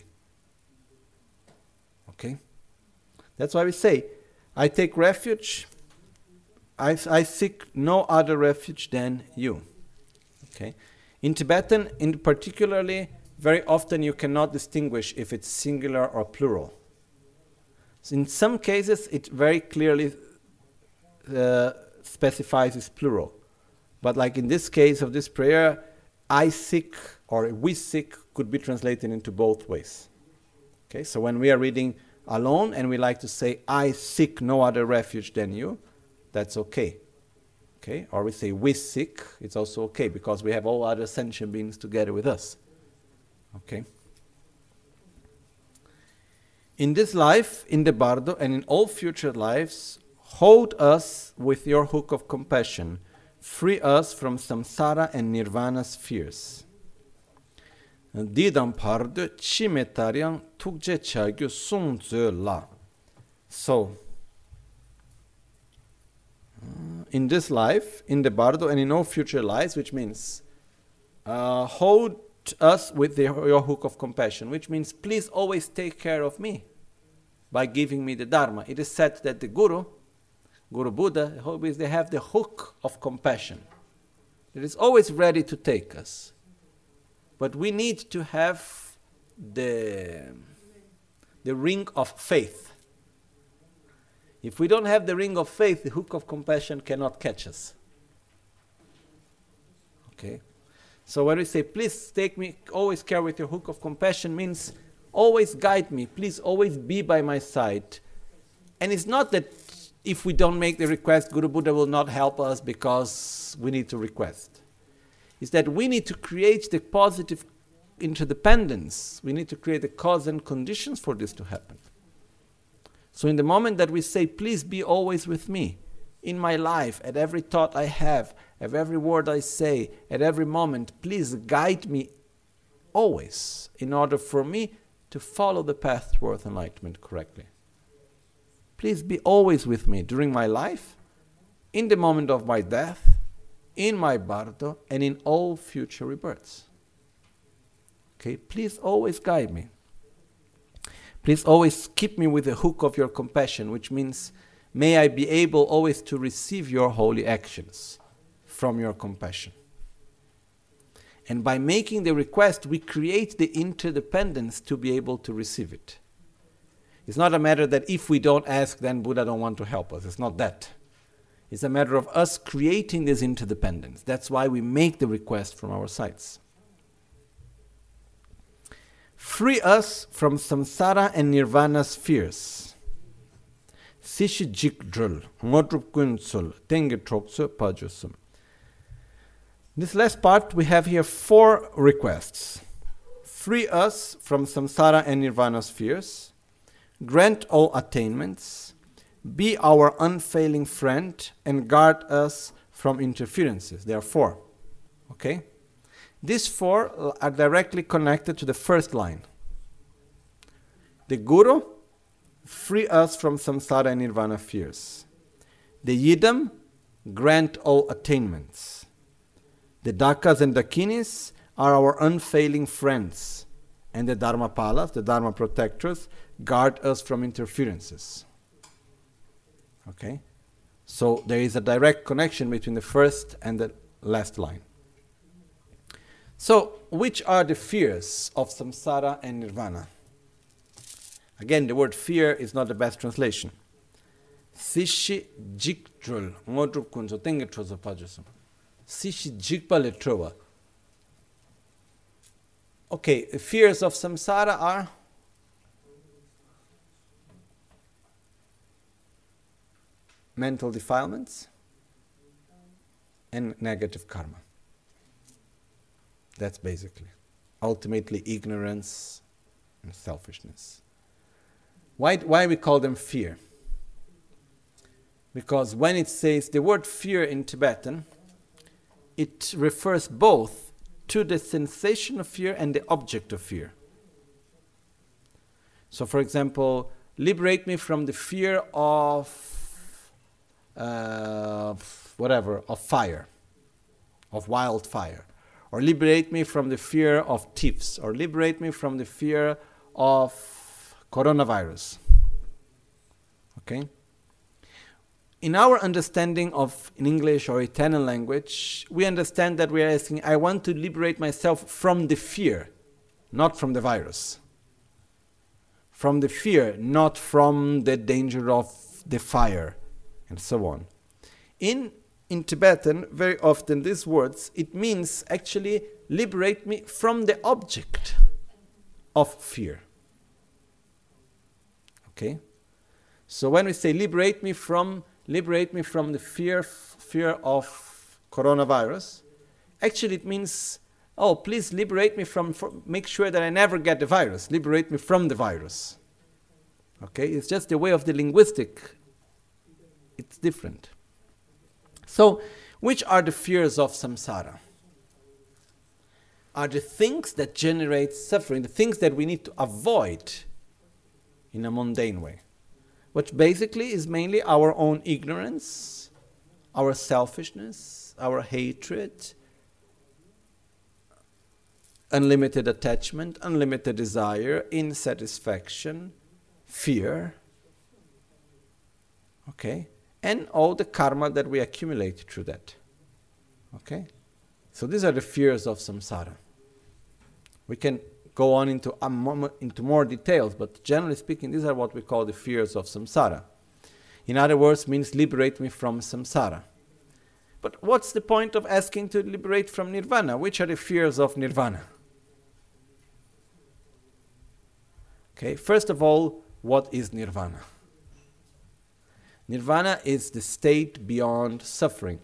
Okay? That's why we say, I take refuge, I, I seek no other refuge than you. Okay? In Tibetan, in particularly, very often you cannot distinguish if it's singular or plural. So in some cases, it very clearly uh, specifies it's plural. But like in this case of this prayer, I seek or we seek could be translated into both ways. Okay, so when we are reading alone and we like to say, I seek no other refuge than you, that's okay. Okay, or we say we seek, it's also okay because we have all other sentient beings together with us. Okay. In this life, in the Bardo, and in all future lives, hold us with your hook of compassion, free us from samsara and nirvana's fears. Didam pardo chimetariang tukje chagyu sung ze la. So, uh, in this life, in the bardo, and in all future lives, which means uh, hold us with the, your hook of compassion, which means please always take care of me by giving me the Dharma. It is said that the Guru, Guru Buddha, always they have the hook of compassion. It is always ready to take us. But we need to have the, the ring of faith. If we don't have the ring of faith, the hook of compassion cannot catch us. Okay? So when we say, please take me, always care with your hook of compassion, means always guide me, please always be by my side. And it's not that if we don't make the request, Guru Buddha will not help us because we need to request. Is that we need to create the positive interdependence. We need to create the cause and conditions for this to happen. So in the moment that we say, please be always with me, in my life, at every thought I have, at every word I say, at every moment, please guide me always, in order for me to follow the path towards enlightenment correctly. Please be always with me during my life, in the moment of my death, in my bardo, and in all future rebirths. Okay, please always guide me. Please always keep me with the hook of your compassion, which means may I be able always to receive your holy actions from your compassion. And by making the request, we create the interdependence to be able to receive it. It's not a matter that if we don't ask, then Buddha don't want to help us. It's not that. It's a matter of us creating this interdependence. That's why we make the request from our sides. Free us from samsara and nirvana's fears. Sishi jikdrul, ngodrup kunsul, tenge troksu pajusum. This last part, we have here four requests. Free us from samsara and nirvana's fears. Grant all attainments. Be our unfailing friend and guard us from interferences. There are four. Okay? These four are directly connected to the first line. The Guru, free us from samsara and nirvana fears. The Yidam, grant all attainments. The Dakas and Dakinis are our unfailing friends. And the Dharmapalas, the Dharma protectors, guard us from interferences. Okay? So there is a direct connection between the first and the last line. So, which are the fears of samsara and nirvana? Again, the word fear is not the best translation. Sishi jiktrul, ngodrup kunzo tenge trozo pajusum. Sishi jikpa le trova. Okay, the fears of samsara are mental defilements and negative karma. That's basically, ultimately ignorance and selfishness. Why, why we call them fear? Because when it says the word fear in Tibetan, it refers both to the sensation of fear and the object of fear. So for example, liberate me from the fear of uh, whatever, of fire, of wildfire. Or liberate me from the fear of thieves, or liberate me from the fear of coronavirus. Okay? In our understanding of in English or Italian language, we understand that we are asking, I want to liberate myself from the fear, not from the virus. From the fear, not from the danger of the fire, and so on. In In Tibetan, very often these words, it means actually liberate me from the object of fear. Okay? So when we say liberate me from, liberate me from the fear, fear of coronavirus, actually it means, oh, please liberate me from, from, make sure that I never get the virus. Liberate me from the virus. Okay? It's just the way of the linguistic. It's different. So, Which are the fears of samsara? Are the things that generate suffering, the things that we need to avoid in a mundane way, which basically is mainly our own ignorance, our selfishness, our hatred, unlimited attachment, unlimited desire, insatisfaction, fear, okay, and all the karma that we accumulate through that, okay? So these are the fears of samsara. We can go on into, a moment, into more details, but generally speaking, these are what we call the fears of samsara. In other words, means liberate me from samsara. But what's the point of asking to liberate from nirvana? Which are the fears of nirvana? Okay, first of all, what is nirvana? Nirvana is the state beyond suffering.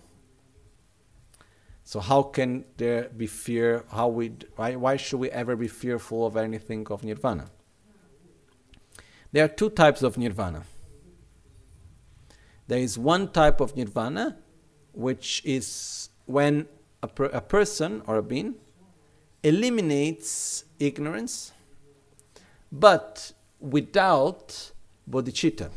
So how can there be fear? How we why, why should we ever be fearful of anything of nirvana? There are two types of nirvana. There is one type of nirvana, which is when a, per, a person or a being eliminates ignorance, but without bodhicitta.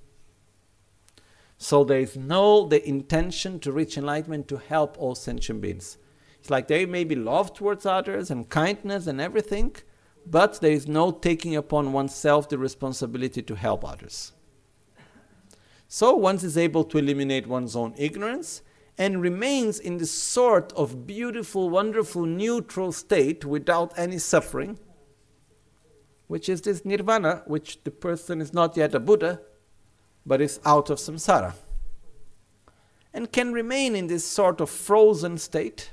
So there is no the intention to reach enlightenment to help all sentient beings. It's like there may be love towards others and kindness and everything, but there is no taking upon oneself the responsibility to help others. So one is able to eliminate one's own ignorance and remains in this sort of beautiful, wonderful, neutral state without any suffering, which is this nirvana, which the person is not yet a Buddha, but is out of samsara, and can remain in this sort of frozen state,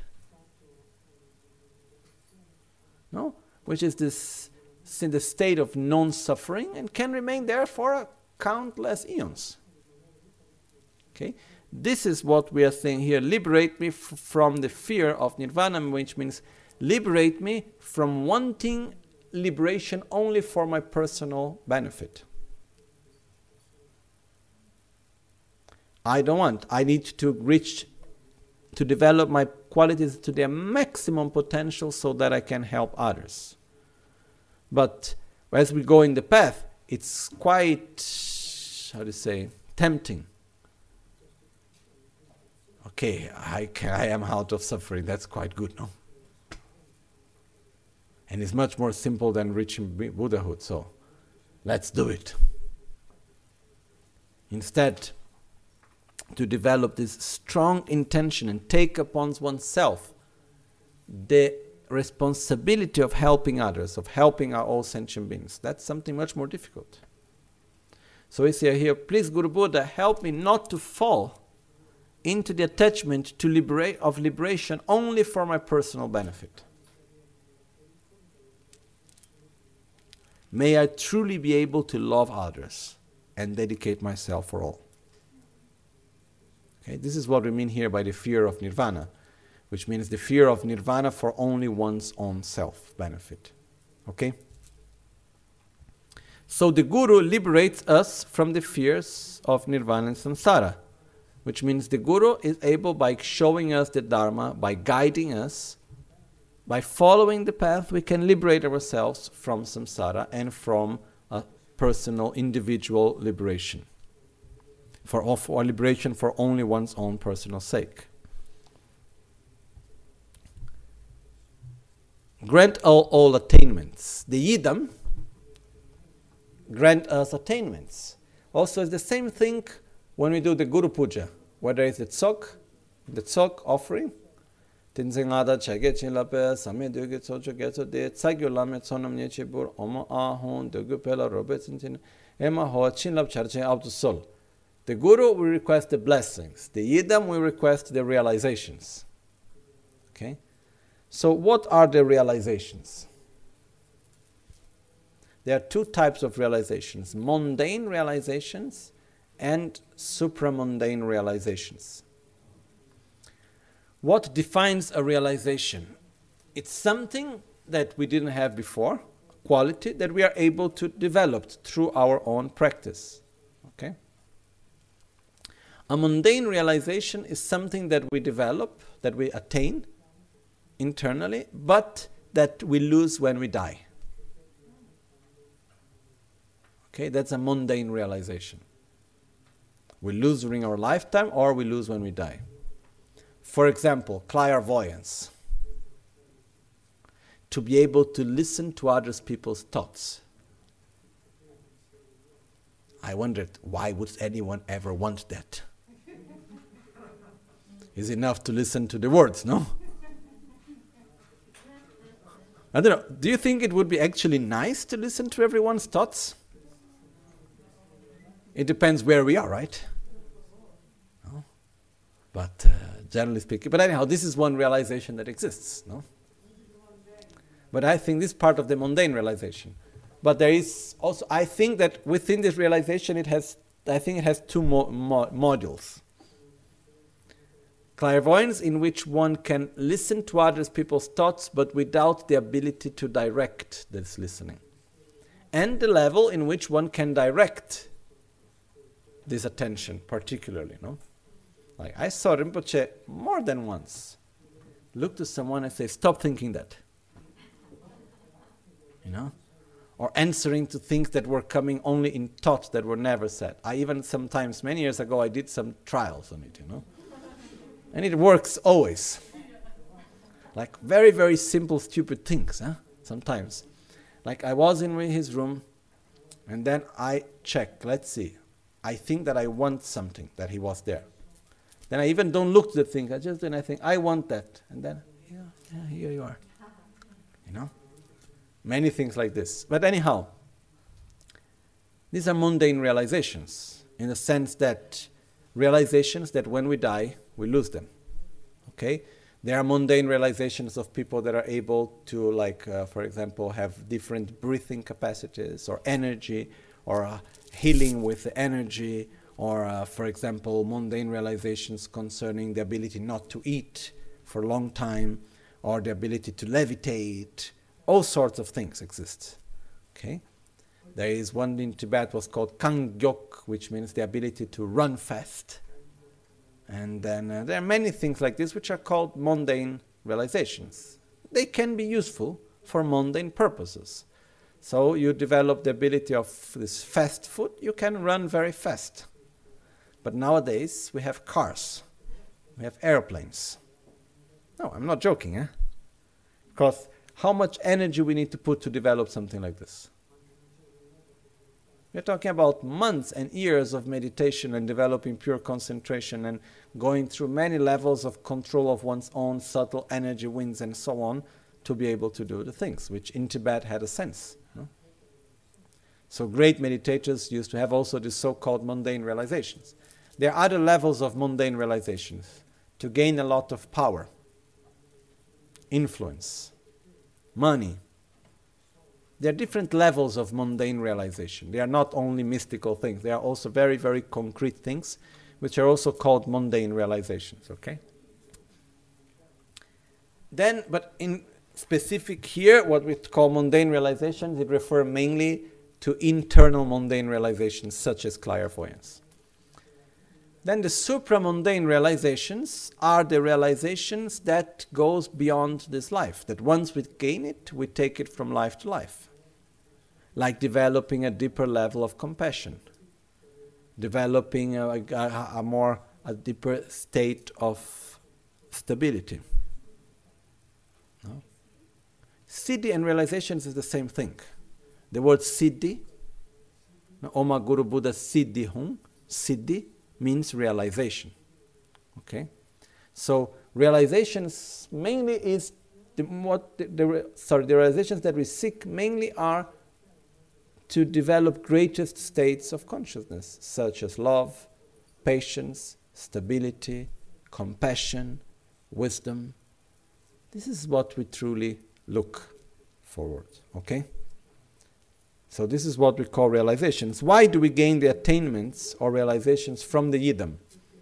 no, which is this in the state of non-suffering, and can remain there for countless eons. Okay, this is what we are saying here. Liberate me f- from the fear of nirvana, which means liberate me from wanting liberation only for my personal benefit. I don't want. I need to reach, to develop my qualities to their maximum potential so that I can help others. But as we go in the path, it's quite, how to say, tempting. Okay, I, can, I am out of suffering. That's quite good, no? And it's much more simple than reaching Buddhahood, so let's do it. Instead, to develop this strong intention and take upon oneself the responsibility of helping others, of helping our all sentient beings. That's something much more difficult. So we say here, please Guru Buddha, help me not to fall into the attachment to liberate of liberation only for my personal benefit. May I truly be able to love others and dedicate myself for all. Okay, this is what we mean here by the fear of nirvana, which means the fear of nirvana for only one's own self-benefit. Okay? So the Guru liberates us from the fears of nirvana and samsara, which means the Guru is able, by showing us the Dharma, by guiding us, by following the path, we can liberate ourselves from samsara and from a personal, individual liberation. For, or liberation for only one's own personal sake. Grant all, all attainments. The Yidam grant us attainments. Also, it's the same thing when we do the Guru Puja, whether it's the Tzok, the Tzok offering. Tinzingada chage chinlape same duge tsocho getso de tsagulame tsonam nyechibur oma ahon dugu pela robetintin ema ho chinlap charche out the soul. The Guru, we request the blessings. The Yidam, we request the realizations. Okay? So what are the realizations? There are two types of realizations. Mundane realizations and supramundane realizations. What defines a realization? It's something that we didn't have before, quality that we are able to develop through our own practice. Okay? A mundane realization is something that we develop, that we attain internally, but that we lose when we die. Okay, that's a mundane realization. We lose during our lifetime or we lose when we die. For example, clairvoyance. To be able to listen to other people's thoughts. I wondered, why would anyone ever want that? It's enough to listen to the words, no? I don't know, do you think it would be actually nice to listen to everyone's thoughts? It depends where we are, right? No? But uh, generally speaking, but anyhow, this is one realization that exists, no? But I think this is part of the mundane realization. But there is also, I think that within this realization, it has, I think it has two mo- mo- modules. Clairvoyance, in which one can listen to other people's thoughts, but without the ability to direct this listening. And the level in which one can direct this attention, particularly, no? Like, I saw Rinpoche more than once look to someone and say, stop thinking that. You know? Or answering to things that were coming only in thoughts that were never said. I even sometimes, many years ago, I did some trials on it, you know? And it works always. Like very, very simple, stupid things, huh? Sometimes. Like I was in his room, and then I checked, let's see. I think that I want something, that he was there. Then I even don't look to the thing, I just then I think, I want that. And then, yeah, yeah, here you are. You know? Many things like this. But anyhow, these are mundane realizations, in the sense that realizations that when we die, we lose them. Okay? There are mundane realizations of people that are able to, like, uh, for example, have different breathing capacities or energy, or uh, healing with the energy, or, uh, for example, mundane realizations concerning the ability not to eat for a long time, or the ability to levitate. All sorts of things exist. Okay? There is one in Tibet was called Kangyok, which means the ability to run fast. And then uh, there are many things like this which are called mundane realizations. They can be useful for mundane purposes. So you develop the ability of this fast food, you can run very fast. But nowadays we have cars, we have airplanes. No, I'm not joking, eh? Because how much energy we need to put to develop something like this? We're talking about months and years of meditation and developing pure concentration and going through many levels of control of one's own subtle energy winds and so on to be able to do the things, which in Tibet had a sense. No? So great meditators used to have also these so-called mundane realizations. There are other levels of mundane realizations to gain a lot of power, influence, money. There are different levels of mundane realization. They are not only mystical things. They are also very, very concrete things, which are also called mundane realizations, okay? Then, but in specific here, what we call mundane realizations, it refers mainly to internal mundane realizations, such as clairvoyance. Then the supramundane realizations are the realizations that goes beyond this life, that once we gain it, we take it from life to life. Like developing a deeper level of compassion, developing a, a, a more, a deeper state of stability. No? Siddhi and realizations is the same thing. The word Siddhi, Oma Guru Buddha Siddhi Hum, Siddhi, means realization. Okay, so realizations mainly is the, what the, the sorry the realizations that we seek mainly are to develop greatest states of consciousness, such as love, patience, stability, compassion, wisdom. This is what we truly look forward. Okay. So this is what we call realizations. Why do we gain the attainments or realizations from the yidam?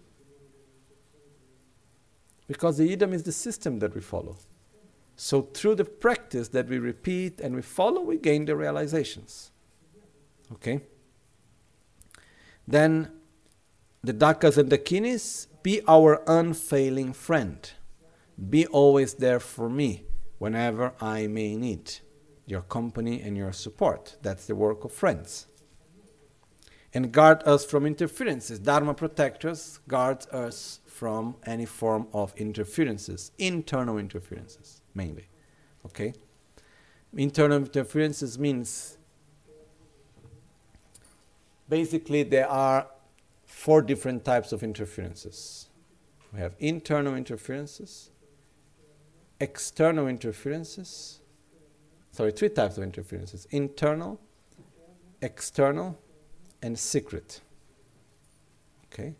Because the yidam is the system that we follow. So through the practice that we repeat and we follow, we gain the realizations. Okay? Then the Dakas and Dakinis, be our unfailing friend. Be always there for me whenever I may need your company and your support. That's the work of friends. And guard us from interferences. Dharma protectors guards us from any form of interferences, internal interferences mainly. Okay? Internal interferences means basically there are four different types of interferences. We have internal interferences, external interferences, sorry, three types of interferences: internal, external, and secret. Okay?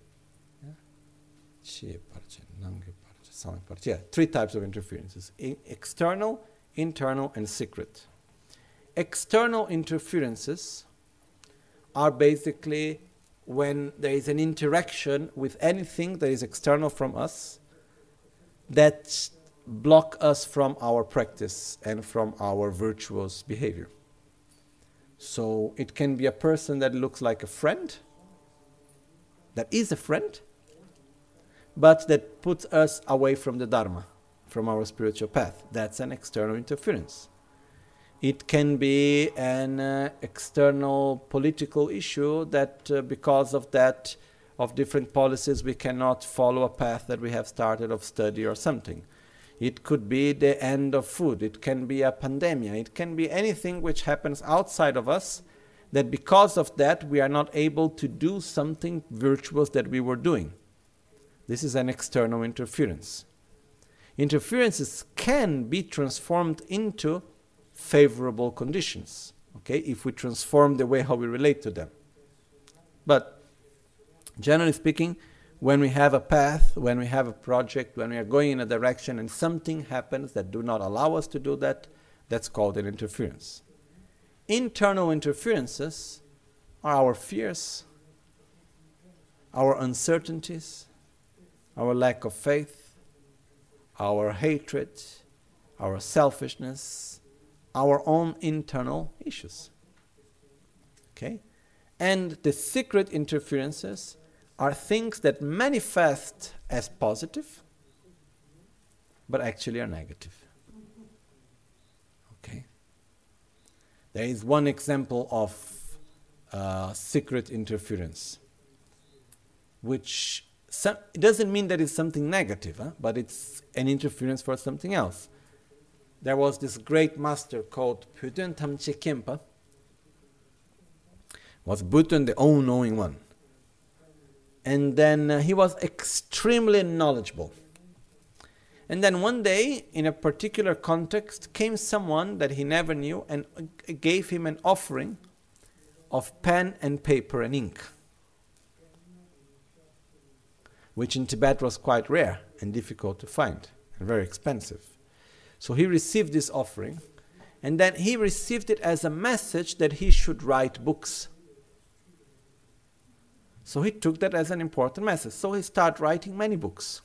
Yeah, three types of interferences: I- external, internal, and secret. External interferences are basically when there is an interaction with anything that is external from us that block us from our practice and from our virtuous behavior. So it can be a person that looks like a friend, that is a friend, but that puts us away from the Dharma, from our spiritual path. That's an external interference. It can be an uh, external political issue that uh, because of that, of different policies, we cannot follow a path that we have started of study or something. It could be the end of food. It can be a pandemic. It can be anything which happens outside of us that because of that we are not able to do something virtuous that we were doing. This is an external interference. Interferences can be transformed into favorable conditions, okay, if we transform the way how we relate to them. But generally speaking, when we have a path, when we have a project, when we are going in a direction and something happens that do not allow us to do that, that's called an interference. Internal interferences are our fears, our uncertainties, our lack of faith, our hatred, our selfishness, our own internal issues. Okay? And the secret interferences are things that manifest as positive, but actually are negative. Okay? There is one example of uh, secret interference, which some, it doesn't mean that it's something negative, huh? But it's an interference for something else. There was this great master called Pudun Tamche Khenpa. Was Bhutan the all-knowing one. And then uh, he was extremely knowledgeable. And then one day, in a particular context, came someone that he never knew and uh, gave him an offering of pen and paper and ink, which in Tibet was quite rare and difficult to find and very expensive. So he received this offering, and then he received it as a message that he should write books. So he took that as an important message. So he started writing many books.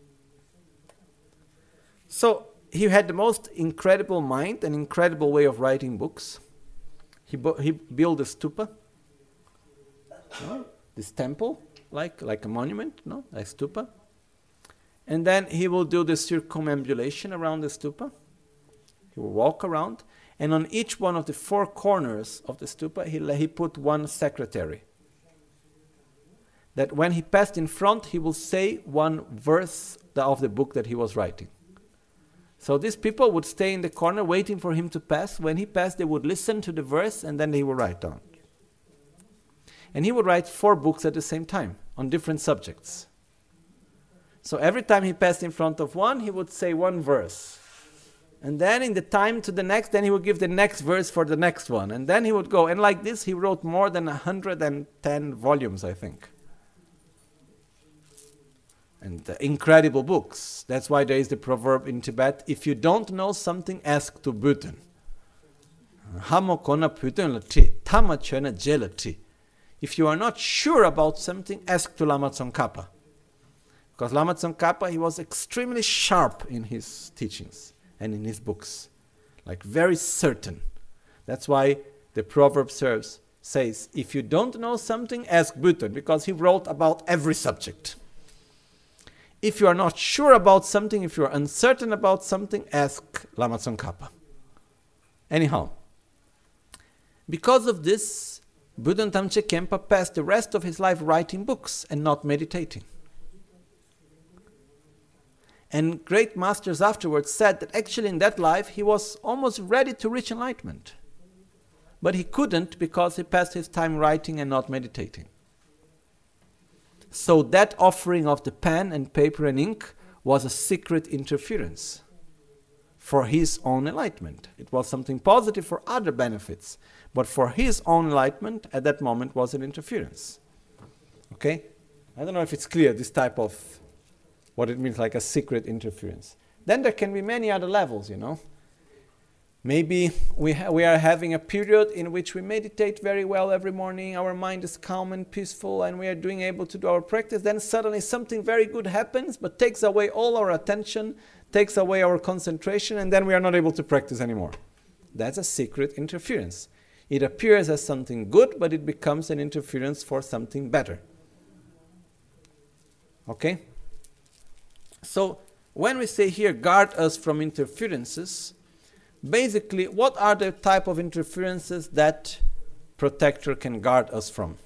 So he had the most incredible mind, an incredible way of writing books. He, bu- he built a stupa, no? This temple, like, like a monument, no? A stupa. And then he will do the circumambulation around the stupa. He will walk around, and on each one of the four corners of the stupa, he, he put one secretary. That when he passed in front, he will say one verse of the book that he was writing. So these people would stay in the corner waiting for him to pass. When he passed, they would listen to the verse, and then he would write down. And he would write four books at the same time on different subjects. So every time he passed in front of one, he would say one verse. And then in the time to the next, then he would give the next verse for the next one. And then he would go. And like this, he wrote more than one hundred ten volumes, I think. And uh, incredible books. That's why there is the proverb in Tibet, if you don't know something, ask to Bhutan. If you are not sure about something, ask to Lama Tsongkhapa. Because Lama Tsongkhapa, he was extremely sharp in his teachings and in his books. Like very certain. That's why the proverb serves, says, if you don't know something, ask Buddha, because he wrote about every subject. If you are not sure about something, if you are uncertain about something, ask Lama Tsongkhapa. Anyhow, because of this, Buddha Tamche Khenpa passed the rest of his life writing books and not meditating. And great masters afterwards said that actually in that life he was almost ready to reach enlightenment. But he couldn't because he passed his time writing and not meditating. So that offering of the pen and paper and ink was a secret interference for his own enlightenment. It was something positive for other benefits, but for his own enlightenment at that moment was an interference. Okay? I don't know if it's clear, this type of, what it means like a secret interference. Then there can be many other levels, you know. Maybe we, ha- we are having a period in which we meditate very well every morning, our mind is calm and peaceful, and we are doing able to do our practice. Then suddenly something very good happens, but takes away all our attention, takes away our concentration, and then we are not able to practice anymore. That's a secret interference. It appears as something good, but it becomes an interference for something better. Okay? So, when we say here, guard us from interferences, basically, what are the type of interferences that protector can guard us from?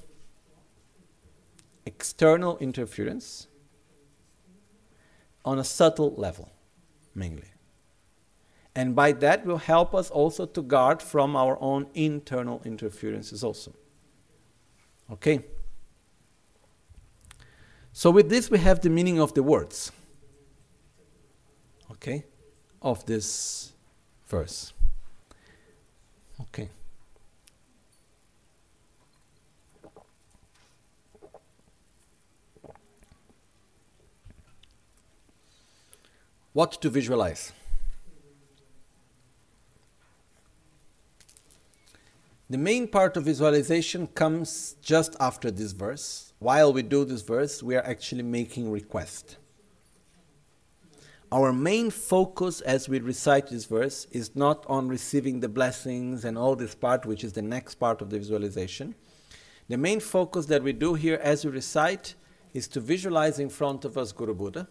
External interference on a subtle level, mainly. And by that will help us also to guard from our own internal interferences also. Okay? So with this we have the meaning of the words. Okay? Of this verse. Okay. What to visualize? The main part of visualization comes just after this verse. While we do this verse, we are actually making request. Our main focus as we recite this verse is not on receiving the blessings and all this part, which is the next part of the visualization. The main focus that we do here as we recite is to visualize in front of us Guru Buddha.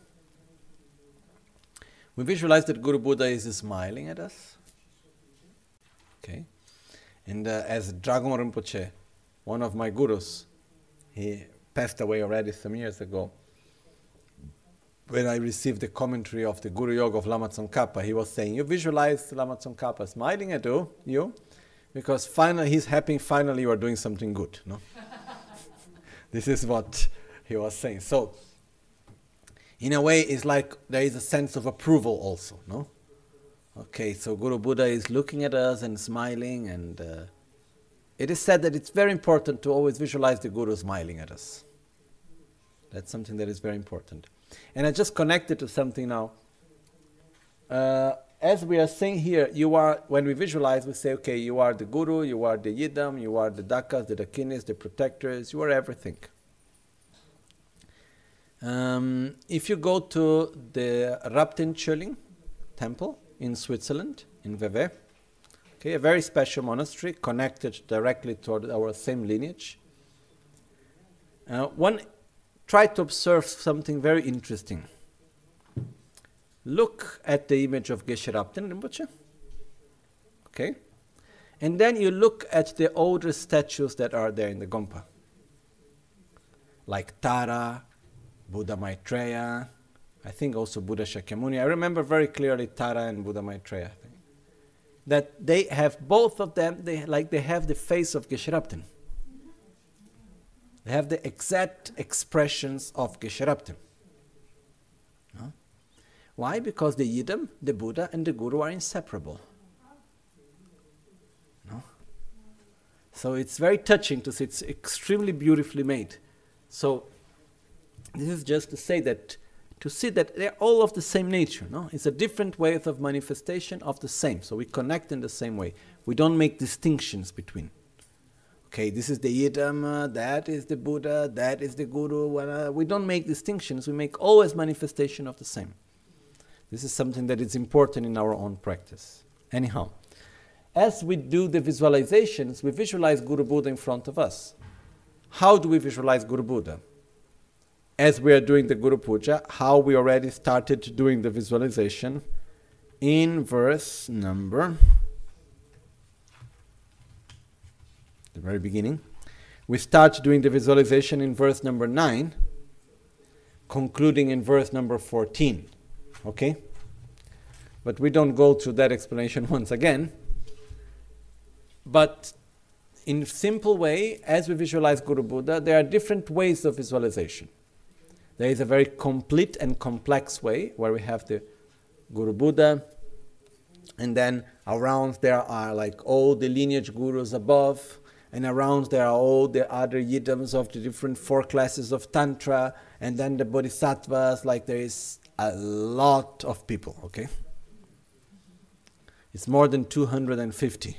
We visualize that Guru Buddha is smiling at us. Okay. And uh, as Dragon Rinpoche, one of my gurus, he passed away already some years ago. When I received the commentary of the Guru Yoga of Lama Tsongkhapa, he was saying, you visualize Lama Tsongkhapa smiling at you, you because finally he's happy, finally you are doing something good. No? This is what he was saying. So, in a way, it's like there is a sense of approval also, no? Okay, so Guru Buddha is looking at us and smiling, and uh, it is said that it's very important to always visualize the Guru smiling at us. That's something that is very important. And I just connected to something now. Uh, as we are saying here, you are, when we visualize, we say, okay, you are the Guru, you are the Yidam, you are the Dakas, the Dakinis, the protectors, you are everything. Um, if you go to the Raptin Chöling temple in Switzerland, in Vevey, okay, a very special monastery connected directly to our same lineage. Uh, one Try to observe something very interesting. Look at the image of Geshe Rabten Rinpoche. Okay? And then you look at the older statues that are there in the Gompa. Like Tara, Buddha Maitreya, I think also Buddha Shakyamuni. I remember very clearly Tara and Buddha Maitreya. That they have, both of them, they like they have the face of Geshe Rabten. They have the exact expressions of Geshe Rabten. No? Why? Because the Yidam, the Buddha, and the Guru are inseparable. No? So it's very touching to see. It's extremely beautifully made. So this is just to say that, to see that they're all of the same nature. No? It's a different way of manifestation of the same. So we connect in the same way. We don't make distinctions between. Okay, this is the Yidam, uh, that is the Buddha, that is the Guru. Uh, we don't make distinctions. We make always manifestation of the same. This is something that is important in our own practice. Anyhow, as we do the visualizations, we visualize Guru Buddha in front of us. How do we visualize Guru Buddha? As we are doing the Guru Puja, how we already started doing the visualization in verse number, the very beginning. We start doing the visualization in verse number nine, concluding in verse number fourteen. Okay? But we don't go through that explanation once again. But in a simple way, as we visualize Guru Buddha, there are different ways of visualization. There is a very complete and complex way where we have the Guru Buddha, and then around there are like all the lineage gurus above, and around there are all the other yidams of the different four classes of Tantra, and then the Bodhisattvas, like there is a lot of people, okay? It's more than two hundred fifty.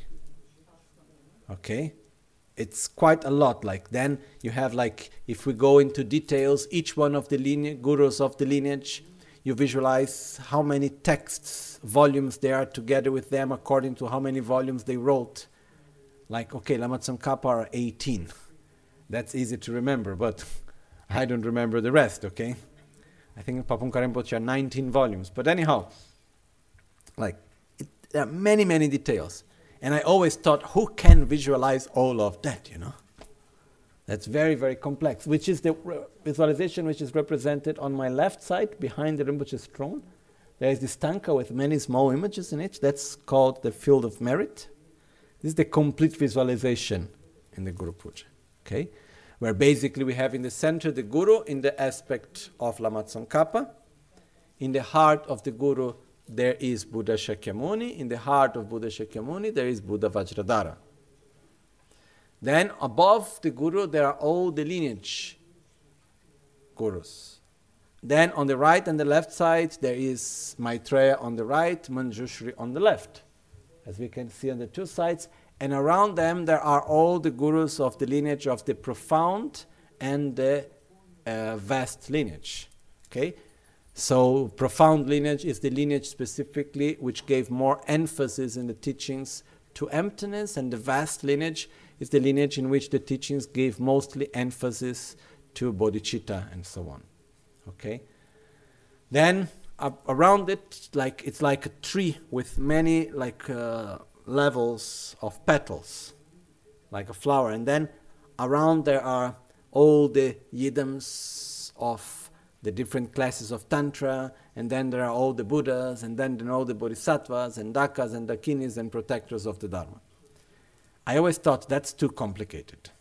Okay? It's quite a lot. Like then you have like, if we go into details, each one of the lineage, gurus of the lineage, you visualize how many texts, volumes there are together with them according to how many volumes they wrote. Like, okay, Lama Tsongkhapa are eighteen. That's easy to remember, but I don't remember the rest, okay? I think Papung Rinpoche are nineteen volumes. But anyhow, like, it, there are many, many details. And I always thought, who can visualize all of that, you know? That's very, very complex, which is the re- visualization which is represented on my left side, behind the Rinpoche's throne. There is this tanka with many small images in it. That's called the field of merit. This is the complete visualization in the Guru Puja, okay? Where basically we have in the center the Guru in the aspect of Lama Tsongkhapa. In the heart of the Guru, there is Buddha Shakyamuni. In the heart of Buddha Shakyamuni, there is Buddha Vajradhara. Then above the Guru, there are all the lineage Gurus. Then on the right and the left side, there is Maitreya on the right, Manjushri on the left, as we can see on the two sides. And around them, there are all the Gurus of the lineage of the profound and the uh, vast lineage. Okay? So profound lineage is the lineage specifically which gave more emphasis in the teachings to emptiness, and the vast lineage is the lineage in which the teachings gave mostly emphasis to bodhicitta and so on. Okay? Then uh, around it, like it's like a tree with many like uh, levels of petals, like a flower, and then around there are all the yidams of the different classes of Tantra, and then there are all the Buddhas, and then there are all the Bodhisattvas, and Dakas, and Dakinis, and protectors of the Dharma. I always thought that's too complicated.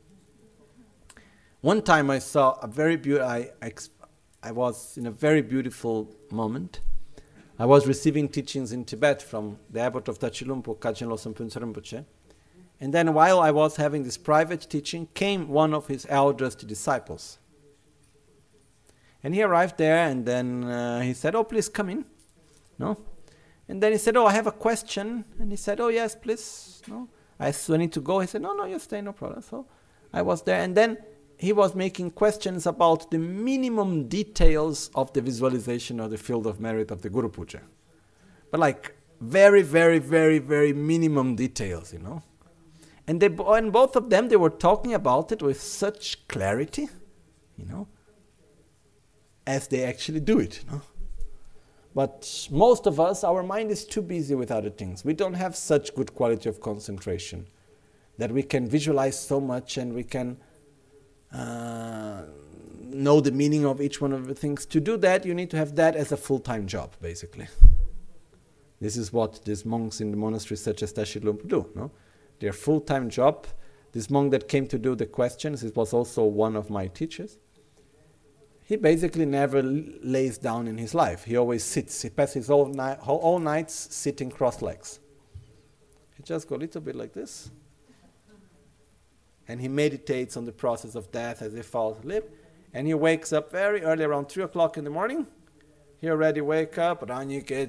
One time I saw a very beautiful, I, I, I was in a very beautiful moment. I was receiving teachings in Tibet from the abbot of Tachilumpo, Kajin Losam Phuntsar Rinpoche. And then while I was having this private teaching, came one of his eldest disciples. And he arrived there, and then uh, he said, "Oh, please come in." No? And then he said, "Oh, I have a question." And he said, "Oh, yes, please." No? I said, "I need to go." He said, "No, no, you stay, no problem." So I was there, and then he was making questions about the minimum details of the visualization of the field of merit of the Guru Puja. But like very, very, very, very minimum details, you know. And, they, and both of them, they were talking about it with such clarity, you know, as they actually do it, you know. But most of us, our mind is too busy with other things. We don't have such good quality of concentration that we can visualize so much and we can uh, know the meaning of each one of the things. To do that, you need to have that as a full-time job, basically. This is what these monks in the monasteries such as Tashi Lumpa do, no? Their full-time job. This monk that came to do the questions, it was also one of my teachers. He basically never l- lays down in his life. He always sits. He passes all, ni- all nights sitting cross legs. He just goes a little bit like this. And he meditates on the process of death as he falls asleep. And he wakes up very early, around three o'clock in the morning. He already wake up, already doing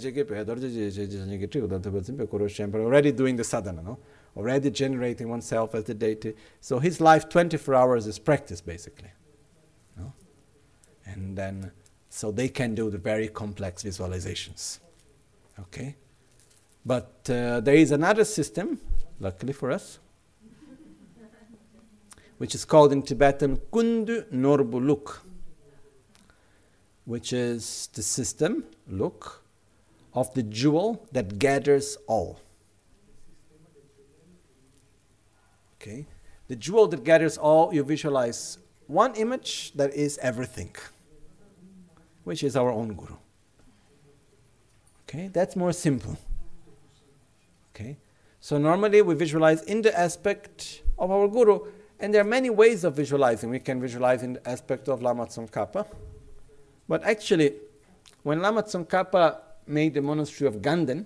the sadhana, no? Already generating oneself as the deity. So his life, twenty-four hours, is practice, basically. No? And then, so they can do the very complex visualizations. Okay? But uh, there is another system, luckily for us, which is called in Tibetan Kundu Norbu Luk, which is the system, look, of the jewel that gathers all. Okay? The jewel that gathers all, you visualize one image that is everything, which is our own Guru. Okay? That's more simple. Okay? So normally we visualize in the aspect of our Guru, and there are many ways of visualizing. We can visualize in the aspect of Lama Tsongkhapa. But actually, when Lama Tsongkhapa made the monastery of Ganden,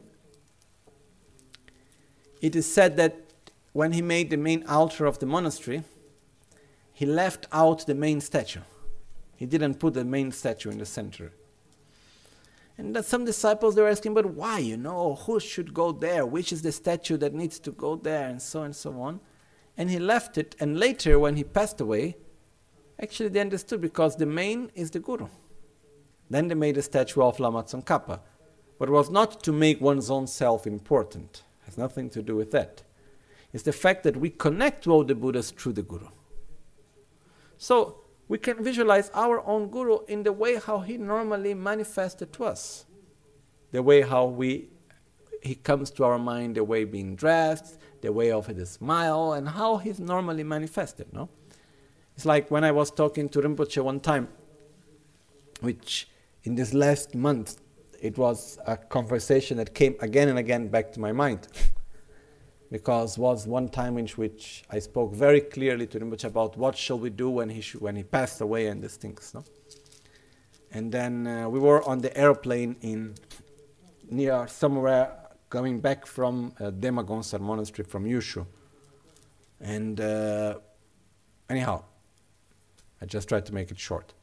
it is said that when he made the main altar of the monastery, he left out the main statue. He didn't put the main statue in the center. And that some disciples, they were asking, but why, you know, who should go there? Which is the statue that needs to go there? And so on and so on. And he left it, and later when he passed away, actually they understood because the main is the Guru. Then they made a statue of Lama Tsongkhapa. But it was not to make one's own self important. It has nothing to do with that. It's the fact that we connect to all the Buddhas through the Guru. So we can visualize our own Guru in the way how he normally manifested to us. The way how we he comes to our mind, the way being dressed, the way of his smile, and how he's normally manifested, no? It's like when I was talking to Rinpoche one time, which in this last month, it was a conversation that came again and again back to my mind. Because was one time in which I spoke very clearly to Rinpoche about what shall we do when he sh- when he passed away and these things, no? And then uh, we were on the airplane in near somewhere coming back from uh, Dema Gonsar monastery from Yushu. And uh, anyhow, I just tried to make it short.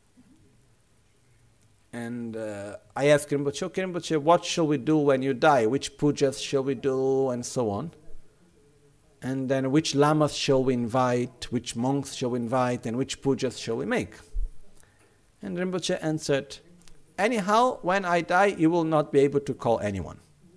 And uh, I asked Rinpoche, okay, Rinpoche, what shall we do when you die? Which pujas shall we do? And so on. And then which lamas shall we invite? Which monks shall we invite? And which pujas shall we make? And Rinpoche answered, anyhow, when I die, you will not be able to call anyone.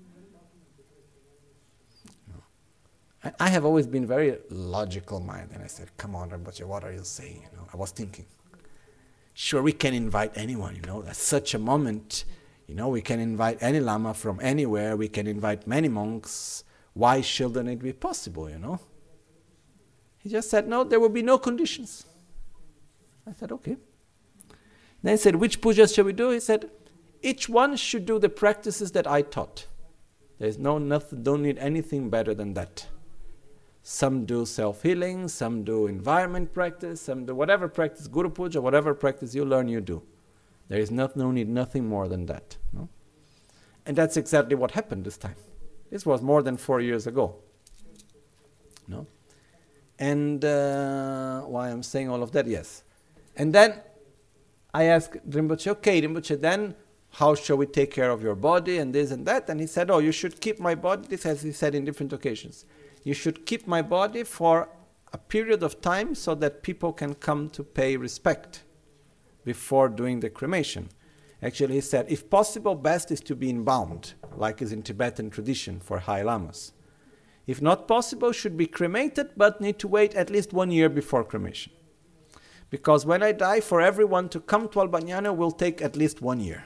No. I have always been very logical minded. And I said, come on, Rinpoche, what are you saying? You know, I was thinking. Sure, we can invite anyone, you know, at such a moment, you know, we can invite any lama from anywhere, we can invite many monks. Why shouldn't it be possible, you know? He just said, no, there will be no conditions. I said, okay. Then he said, which pujas shall we do? He said, each one should do the practices that I taught. There's no nothing, don't need anything better than that. Some do self-healing, some do environment practice, some do whatever practice, Guru Puja, whatever practice you learn, you do. There is not, no need nothing more than that. No? And that's exactly what happened this time. This was more than four years ago. No? And uh, why I'm saying all of that, yes. And then I asked Rinpoche, okay, Rinpoche, then how shall we take care of your body and this and that? And he said, oh, you should keep my body, this as he said in different occasions. You should keep my body for a period of time so that people can come to pay respect before doing the cremation. Actually, he said, if possible, best is to be embalmed, like is in Tibetan tradition for high lamas. If not possible, should be cremated, but need to wait at least one year before cremation. Because when I die, for everyone to come to Albagnano will take at least one year.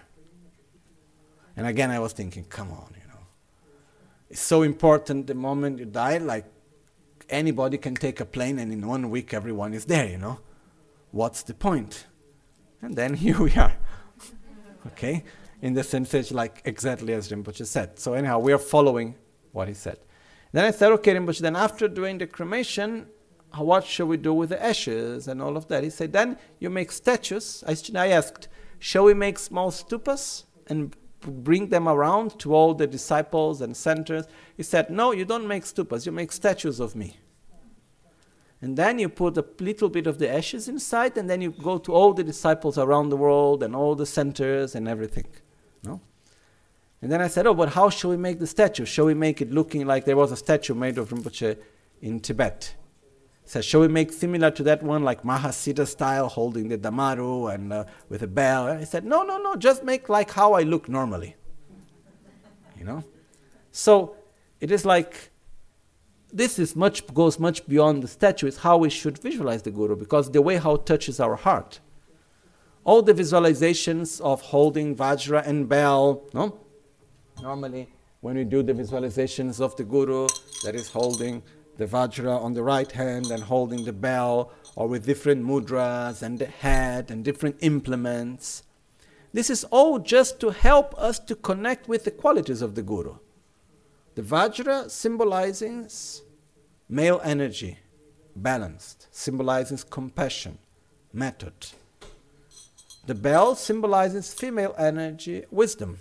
And again, I was thinking, come on, you know. It's so important the moment you die, like anybody can take a plane and in one week everyone is there, you know. What's the point? And then here we are. Okay? In the sense it's like exactly as Rinpoche said. So anyhow, we are following what he said. Then I said, okay, Rinpoche, then after doing the cremation, what shall we do with the ashes and all of that? He said, then you make statues. I, I asked, shall we make small stupas and bring them around to all the disciples and centers? He said, no, you don't make stupas, you make statues of me. And then you put a little bit of the ashes inside, and then you go to all the disciples around the world and all the centers and everything. No? And then I said, oh, but how shall we make the statue? Shall we make it looking like there was a statue made of Rinpoche in Tibet? He said, shall we make similar to that one, like Mahasiddha style, holding the Damaru and uh, with a bell? I said, no, no, no, just make like how I look normally. You know? So it is like, this is much goes much beyond the statue. It's how we should visualize the Guru, because the way how it touches our heart. All the visualizations of holding Vajra and bell, no? Normally, when we do the visualizations of the Guru, that is holding the Vajra on the right hand and holding the bell, or with different mudras and the head and different implements. This is all just to help us to connect with the qualities of the Guru. The Vajra symbolizes male energy, balanced, symbolizes compassion, method. The bell symbolizes female energy, wisdom.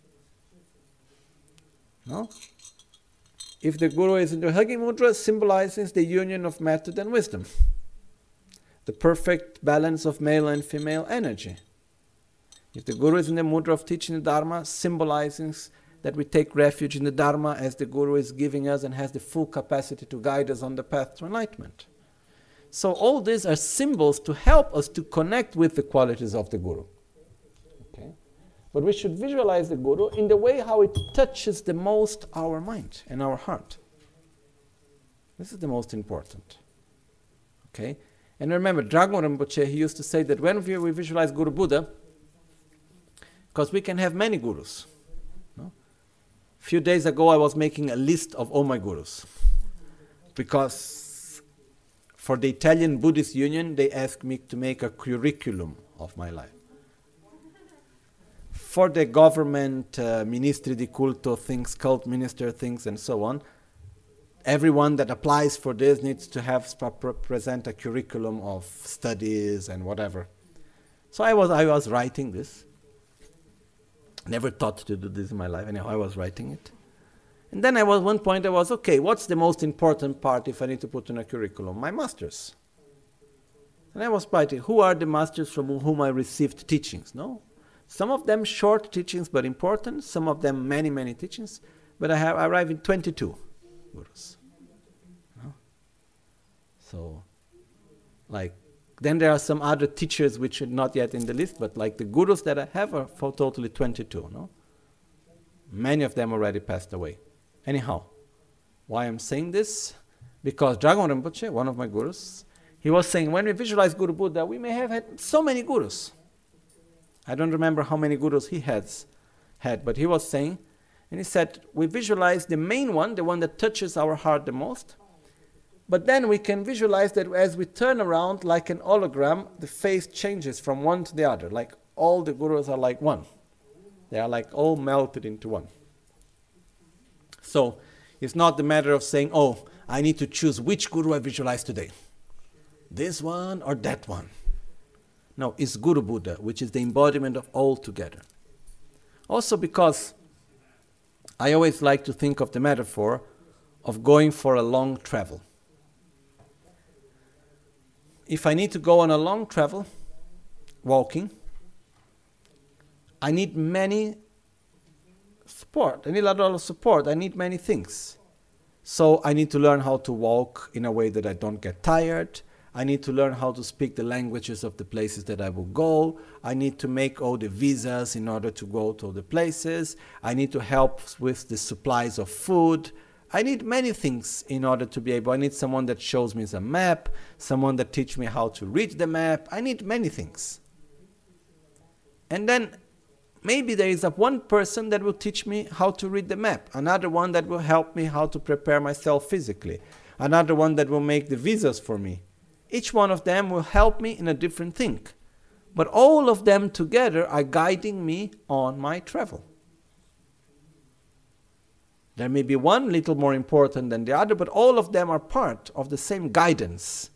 No? If the Guru is in the Hugging Mudra, symbolizes the union of method and wisdom. The perfect balance of male and female energy. If the Guru is in the Mudra of teaching the Dharma, symbolizes that we take refuge in the Dharma as the Guru is giving us and has the full capacity to guide us on the path to enlightenment. So all these are symbols to help us to connect with the qualities of the Guru. Okay? But we should visualize the Guru in the way how it touches the most our mind and our heart. This is the most important. Okay? And remember, Dragon Rinpoche, he used to say that when we, we visualize Guru Buddha, because we can have many Gurus. No? A few days ago I was making a list of all my Gurus. Because for the Italian Buddhist Union, they asked me to make a curriculum of my life. For the government, uh, Ministri di Culto things, cult minister things, and so on, everyone that applies for this needs to have present a curriculum of studies and whatever. So I was I was writing this. Never thought to do this in my life. Anyhow, I was writing it. And then I was one point I was, okay, what's the most important part if I need to put in a curriculum? My masters. And I was writing, who are the masters from whom I received teachings? No? Some of them short teachings but important, some of them many, many teachings, but I have I arrived in twenty-two Gurus. No? So, like, then there are some other teachers which are not yet in the list, but like the Gurus that I have are for totally twenty-two, no? Many of them already passed away. Anyhow, why I'm saying this? Because Dragon Rinpoche, one of my Gurus, he was saying, when we visualize Guru Buddha, we may have had so many Gurus. I don't remember how many Gurus he has had, but he was saying, and he said, we visualize the main one, the one that touches our heart the most, but then we can visualize that as we turn around like an hologram, the face changes from one to the other, like all the Gurus are like one. They are like all melted into one. So it's not the matter of saying, oh, I need to choose which Guru I visualize today. This one or that one. No, it's Guru Buddha, which is the embodiment of all together. Also because I always like to think of the metaphor of going for a long travel. If I need to go on a long travel, walking, I need many support. I need a lot of support. I need many things. So I need to learn how to walk in a way that I don't get tired. I need to learn how to speak the languages of the places that I will go. I need to make all the visas in order to go to the places. I need to help with the supplies of food. I need many things in order to be able. I need someone that shows me the map, someone that teaches me how to read the map. I need many things. And then maybe there is a one person that will teach me how to read the map, another one that will help me how to prepare myself physically, another one that will make the visas for me. Each one of them will help me in a different thing. But all of them together are guiding me on my travel. There may be one little more important than the other, but all of them are part of the same guidance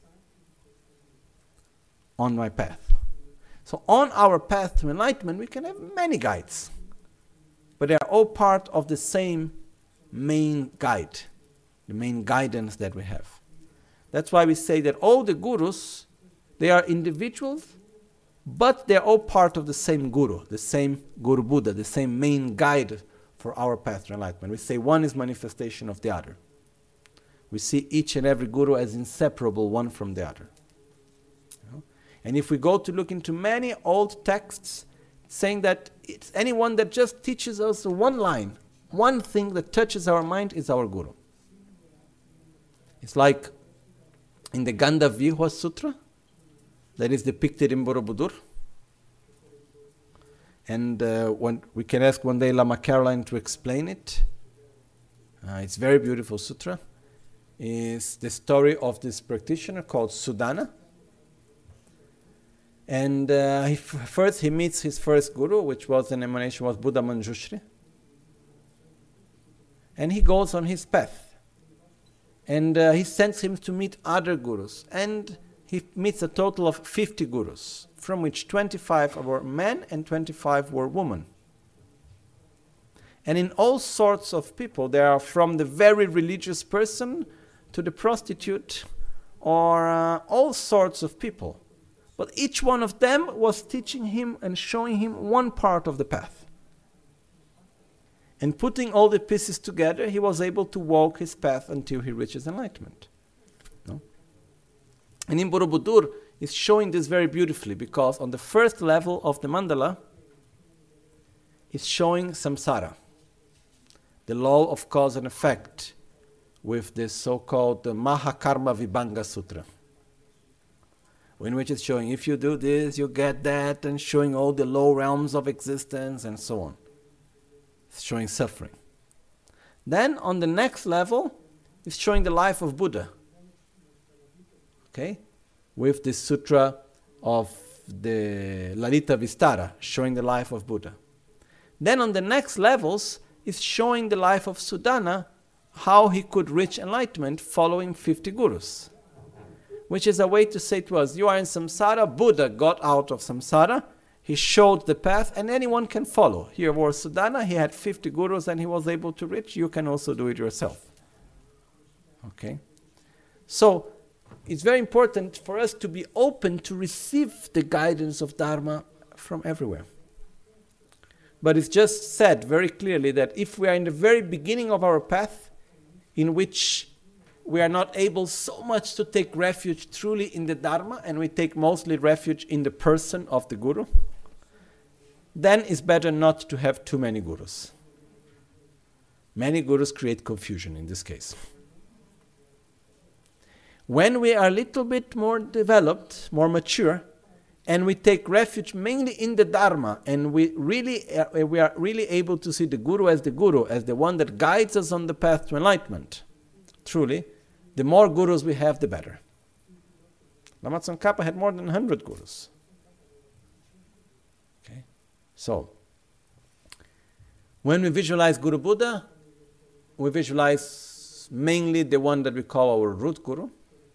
on my path. So on our path to enlightenment, we can have many guides, but they are all part of the same main guide, the main guidance that we have. That's why we say that all the Gurus, they are individuals, but they're all part of the same Guru, the same Guru Buddha, the same main guide for our path to enlightenment. We say one is manifestation of the other. We see each and every Guru as inseparable one from the other. You know? And if we go to look into many old texts saying that it's anyone that just teaches us one line one thing that touches our mind is our Guru. It's like in the Gandavihwa Sutra that is depicted in Borobudur. And uh, when we can ask one day Lama Caroline to explain it. Uh, it's a very beautiful sutra. It's the story of this practitioner called Sudana. And uh, he f- first he meets his first guru, which was an emanation was Buddha Manjushri. And he goes on his path. And uh, he sends him to meet other gurus. And he meets a total of fifty gurus, from which twenty-five were men and twenty-five were women. And in all sorts of people, they are from the very religious person to the prostitute, or uh, all sorts of people. But each one of them was teaching him and showing him one part of the path. And putting all the pieces together, he was able to walk his path until he reaches enlightenment. No? And in Borobudur, is showing this very beautifully, because on the first level of the mandala is showing samsara, the law of cause and effect, with this so-called uh, Mahakarma Vibhanga Sutra, in which it's showing if you do this, you get that, and showing all the low realms of existence and so on. It's showing suffering. Then on the next level, it's showing the life of Buddha. Okay? With this sutra of the Lalita Vistara, showing the life of Buddha. Then on the next levels, is showing the life of Sudana, how he could reach enlightenment following fifty gurus. Which is a way to say to us, you are in samsara, Buddha got out of samsara, he showed the path, and anyone can follow. Here was Sudana, he had fifty gurus and he was able to reach, you can also do it yourself. Okay? So, it's very important for us to be open to receive the guidance of Dharma from everywhere. But it's just said very clearly that if we are in the very beginning of our path, in which we are not able so much to take refuge truly in the Dharma, and we take mostly refuge in the person of the Guru, then it's better not to have too many gurus. Many gurus create confusion in this case. When we are a little bit more developed, more mature, and we take refuge mainly in the Dharma, and we really uh, we are really able to see the Guru as the Guru, as the one that guides us on the path to enlightenment, truly, the more gurus we have, the better. Lama Tsongkhapa had more than one hundred gurus. Okay? So, when we visualize Guru Buddha, we visualize mainly the one that we call our root Guru.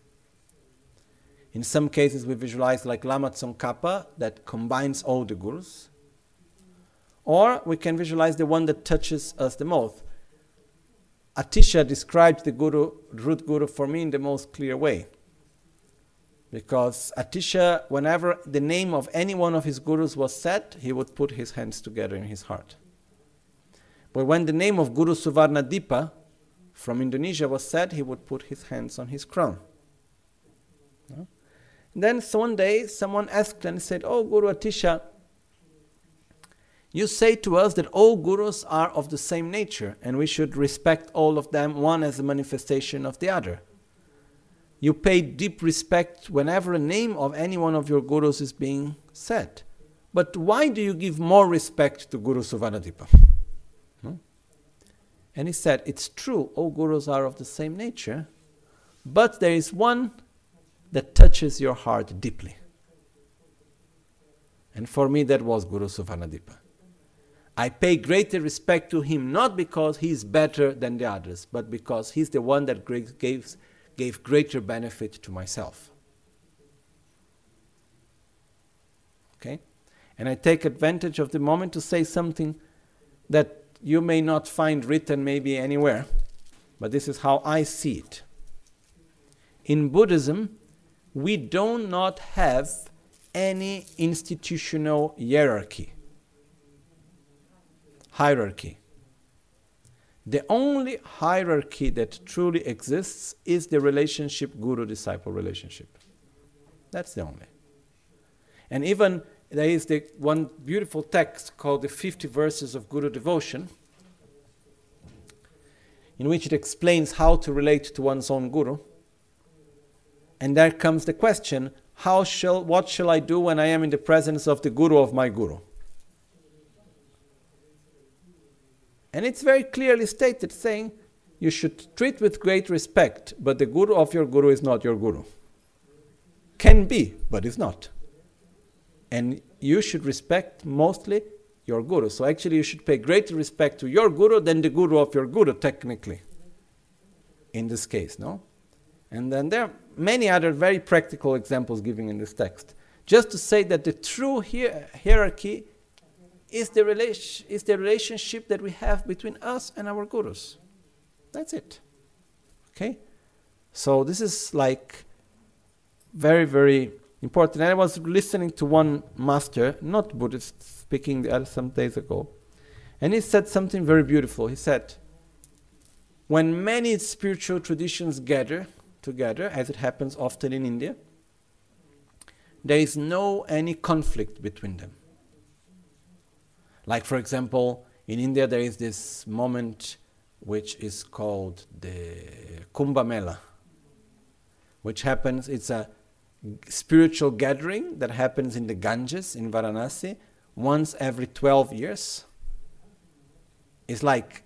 In some cases, we visualize like Lama Tsongkhapa that combines all the gurus. Or we can visualize the one that touches us the most. Atisha described the guru, root Guru for me in the most clear way. Because Atisha, whenever the name of any one of his gurus was said, he would put his hands together in his heart. But when the name of Guru Suvarnadipa from Indonesia was said, he would put his hands on his crown. No? Then one day someone asked and said, "Oh, Guru Atisha, you say to us that all gurus are of the same nature and we should respect all of them, one as a manifestation of the other. You pay deep respect whenever a name of any one of your gurus is being said. But why do you give more respect to Guru Suvarnadipa?" Hmm? And he said, it's true, all gurus are of the same nature, but there is one that touches your heart deeply. And for me, that was Guru Suvarnadipa. I pay greater respect to him, not because he is better than the others, but because he's the one that gave, gave greater benefit to myself. Okay? And I take advantage of the moment to say something that you may not find written maybe anywhere, but this is how I see it. In Buddhism, we do not have any institutional hierarchy. Hierarchy. The only hierarchy that truly exists is the relationship, guru-disciple relationship. That's the only. And even there is the one beautiful text called the fifty Verses of Guru Devotion, in which it explains how to relate to one's own guru. And there comes the question, how shall, what shall I do when I am in the presence of the guru of my guru? And it's very clearly stated, saying, you should treat with great respect, but the guru of your guru is not your guru. Can be, but is not. And you should respect mostly your guru. So actually you should pay greater respect to your guru than the guru of your guru, technically. In this case, no? And then there are many other very practical examples given in this text. Just to say that the true hier- hierarchy is the, relation, is the relationship that we have between us and our gurus. That's it. Okay? So this is like very, very important. And I was listening to one master, not Buddhist, speaking the other some days ago. And he said something very beautiful. He said, when many spiritual traditions gather together, as it happens often in India, there is no any conflict between them. Like, for example, in India there is this moment which is called the Kumbh Mela, which happens, it's a spiritual gathering that happens in the Ganges in Varanasi once every twelve years. It's like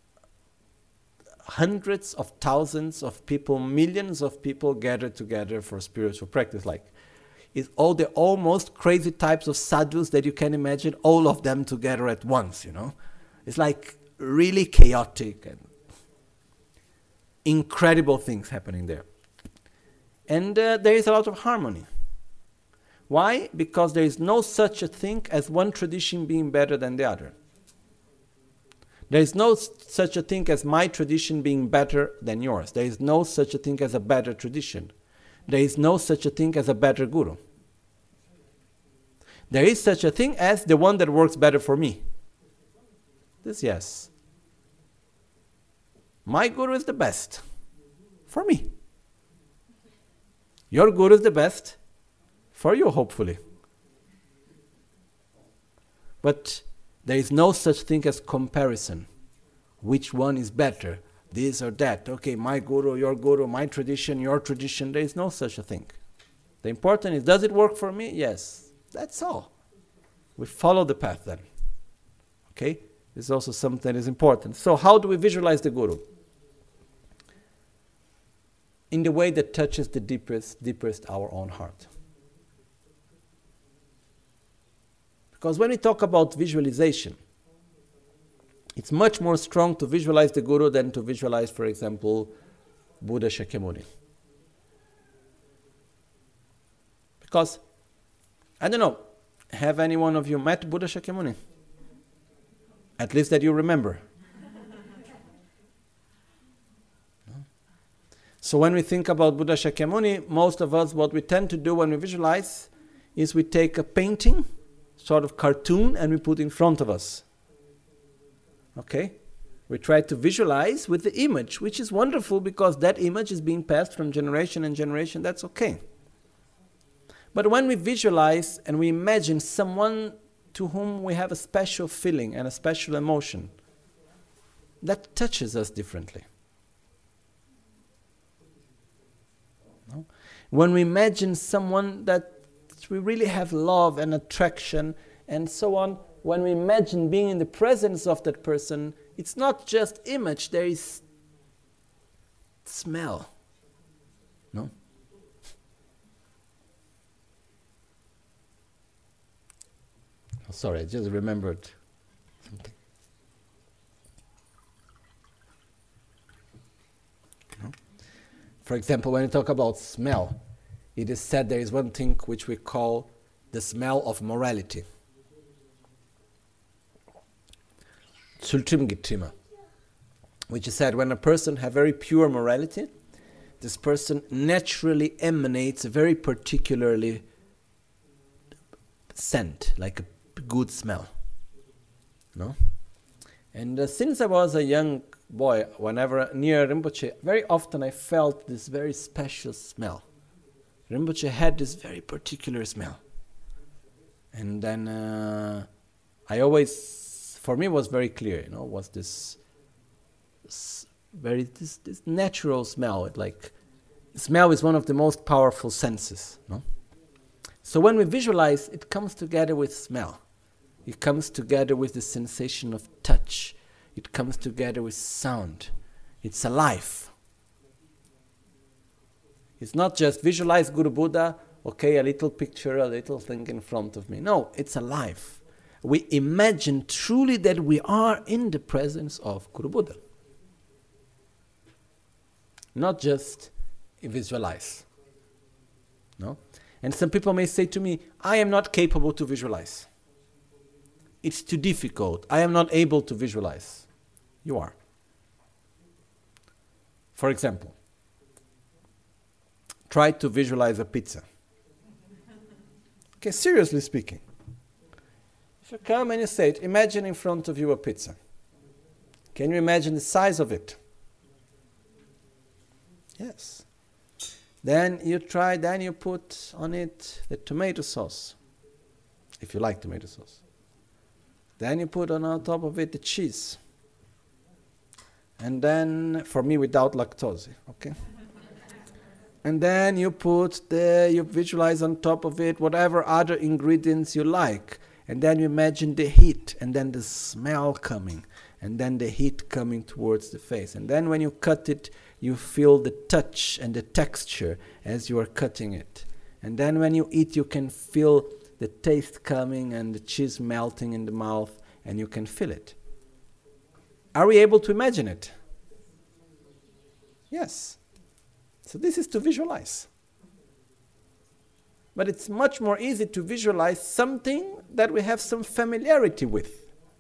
hundreds of thousands of people, millions of people gather together for spiritual practice. Like, it's all the almost crazy types of sadhus that you can imagine, all of them together at once, you know. It's like really chaotic and incredible things happening there. And uh, there is a lot of harmony. Why? Because there is no such a thing as one tradition being better than the other. There is no s- such a thing as my tradition being better than yours. There is no such a thing as a better tradition. There is no such a thing as a better guru. There is such a thing as the one that works better for me. This, yes. My guru is the best for me. Your guru is the best for you, hopefully. But there is no such thing as comparison. Which one is better? This or that. Okay, my guru, your guru, my tradition, your tradition. There is no such a thing. The important is, does it work for me? Yes. That's all. We follow the path then. Okay? This is also something that is important. So how do we visualize the guru? In the way that touches the deepest, deepest our own heart. Because when we talk about visualization, it's much more strong to visualize the guru than to visualize, for example, Buddha Shakyamuni. Because, I don't know, have any one of you met Buddha Shakyamuni? At least that you remember. No? So when we think about Buddha Shakyamuni, most of us, what we tend to do when we visualize is we take a painting, sort of cartoon, and we put in front of us. Okay? We try to visualize with the image, which is wonderful because that image is being passed from generation and generation. That's okay. But when we visualize and we imagine someone to whom we have a special feeling and a special emotion, that touches us differently. No? When we imagine someone that we really have love and attraction and so on, when we imagine being in the presence of that person, it's not just image, there is smell. No? Oh, sorry, I just remembered something. No? For example, when you talk about smell, it is said there is one thing which we call the smell of morality. Sultrimgitrima, which is said when a person has very pure morality, this person naturally emanates a very particularly scent, like a good smell. No? And uh, since I was a young boy, whenever near Rinpoche, very often I felt this very special smell. Rinpoche had this very particular smell. And then uh, I always, for me it was very clear, you know, was this s- very this, this natural smell. It like smell is one of the most powerful senses, no? So when we visualize, it comes together with smell. It comes together with the sensation of touch. It comes together with sound. It's alive. It's not just visualize Guru Buddha, okay, a little picture, a little thing in front of me. No, it's alive. We imagine truly that we are in the presence of Guru Buddha. Not just visualize. No? And some people may say to me, I am not capable to visualize. It's too difficult. I am not able to visualize. You are. For example, try to visualize a pizza. Okay, seriously speaking. If you come and you say it, imagine in front of you a pizza. Can you imagine the size of it? Yes. Then you try, then you put on it the tomato sauce, if you like tomato sauce. Then you put on top of it the cheese. And then, for me, without lactose, okay? And then you put the, you visualize on top of it whatever other ingredients you like. And then you imagine the heat, and then the smell coming, and then the heat coming towards the face. And then when you cut it, you feel the touch and the texture as you are cutting it. And then when you eat, you can feel the taste coming and the cheese melting in the mouth, and you can feel it. Are we able to imagine it? Yes. So this is to visualize. But it's much more easy to visualize something that we have some familiarity with.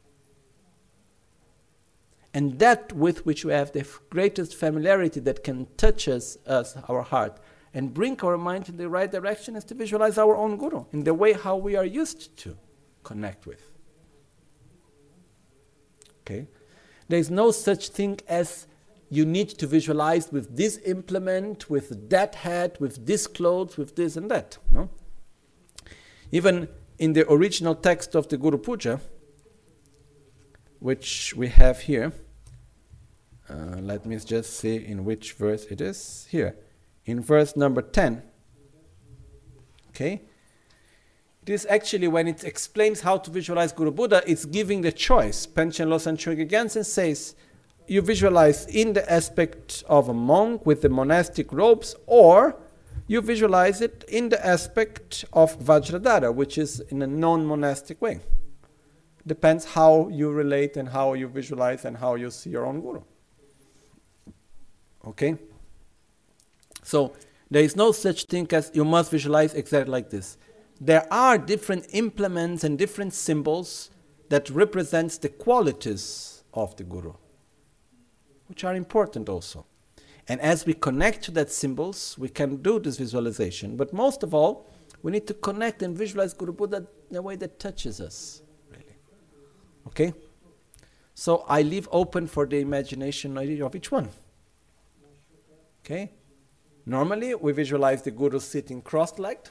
And that with which we have the f- greatest familiarity that can touch us, us, our heart, and bring our mind in the right direction is to visualize our own Guru in the way how we are used to connect with. Okay? There is no such thing as you need to visualize with this implement, with that hat, with this clothes, with this and that. No? Even in the original text of the Guru Puja, which we have here, uh, let me just see in which verse it is. Here, in verse number ten. Okay? It is actually when it explains how to visualize Guru Buddha, it's giving the choice. Panchen Losang Chögyal Gyaltsen says, you visualize in the aspect of a monk with the monastic robes, or you visualize it in the aspect of Vajradhara, which is in a non-monastic way. Depends how you relate and how you visualize and how you see your own Guru. Okay? So, there is no such thing as you must visualize exactly like this. There are different implements and different symbols that represents the qualities of the Guru, which are important also. And as we connect to that symbols, we can do this visualization. But most of all, we need to connect and visualize Guru Buddha in a way that touches us, really. Okay? So I leave open for the imagination of each one. Okay? Normally, we visualize the Guru sitting cross-legged.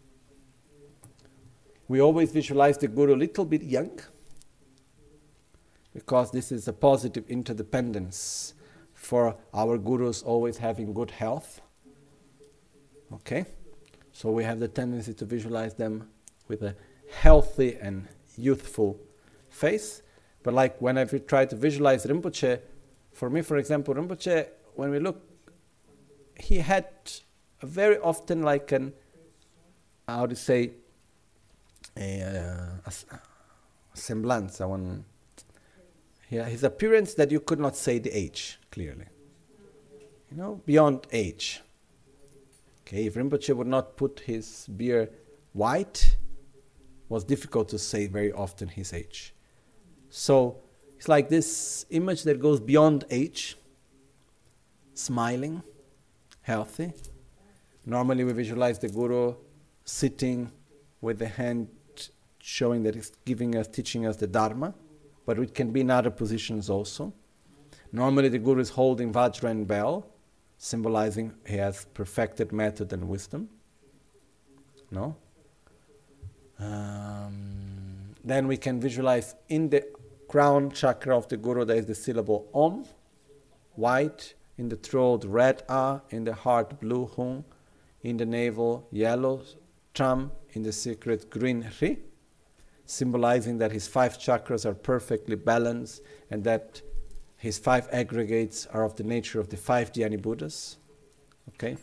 We always visualize the Guru a little bit young, because this is a positive interdependence for our Gurus always having good health. Okay? So we have the tendency to visualize them with a healthy and youthful face. But like when I try to visualize Rinpoche, for me, for example, Rinpoche, when we look, he had a very often like an, how to say, a, uh, a, a semblance, I want, yeah, his appearance that you could not say the age clearly. You know, beyond age. Okay, if Rinpoche would not put his beard white, it was difficult to say very often his age. So it's like this image that goes beyond age, smiling, healthy. Normally we visualize the Guru sitting with the hand showing that he's giving us, teaching us the Dharma, but it can be in other positions also. Normally the Guru is holding Vajra and bell, symbolizing he has perfected method and wisdom. No? Um, then we can visualize in the crown chakra of the Guru there is the syllable Om. white, in the throat red A, in the heart blue Hung, in the navel yellow Tram, in the secret green Ri, symbolizing that his five chakras are perfectly balanced and that his five aggregates are of the nature of the five Dhyani Buddhas. Okay?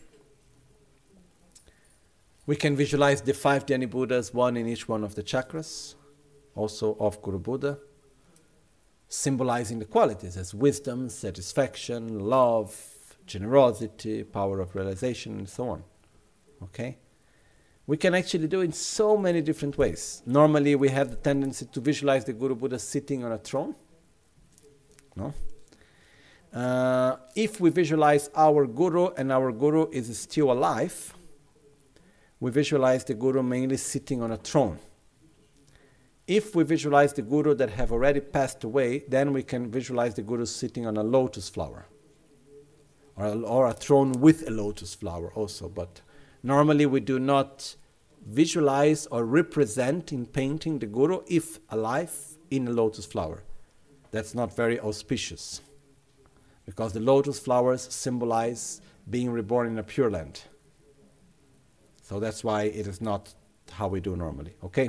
We can visualize the five Dhyani Buddhas, one in each one of the chakras, also of Guru Buddha, symbolizing the qualities as wisdom, satisfaction, love, generosity, power of realization, and so on. Okay? We can actually do it in so many different ways. Normally we have the tendency to visualize the Guru Buddha sitting on a throne. No? Uh, if we visualize our Guru and our Guru is still alive, we visualize the Guru mainly sitting on a throne. If we visualize the Guru that have already passed away, then we can visualize the Guru sitting on a lotus flower. Or a, or a throne with a lotus flower also. But normally we do not visualize or represent in painting the Guru, if alive, in a lotus flower. That's not very auspicious. Because the lotus flowers symbolize being reborn in a pure land. So that's why it is not how we do normally. Okay?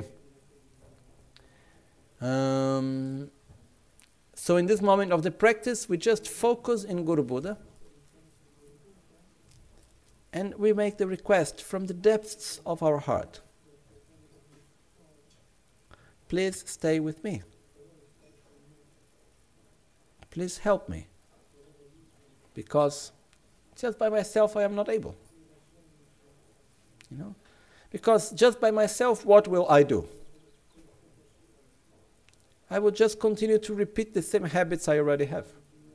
Um, so in this moment of the practice, we just focus in Guru Buddha. And we make the request from the depths of our heart. Please stay with me. Please help me. Because just by myself I am not able. You know? Because just by myself, what will I do? I will just continue to repeat the same habits I already have.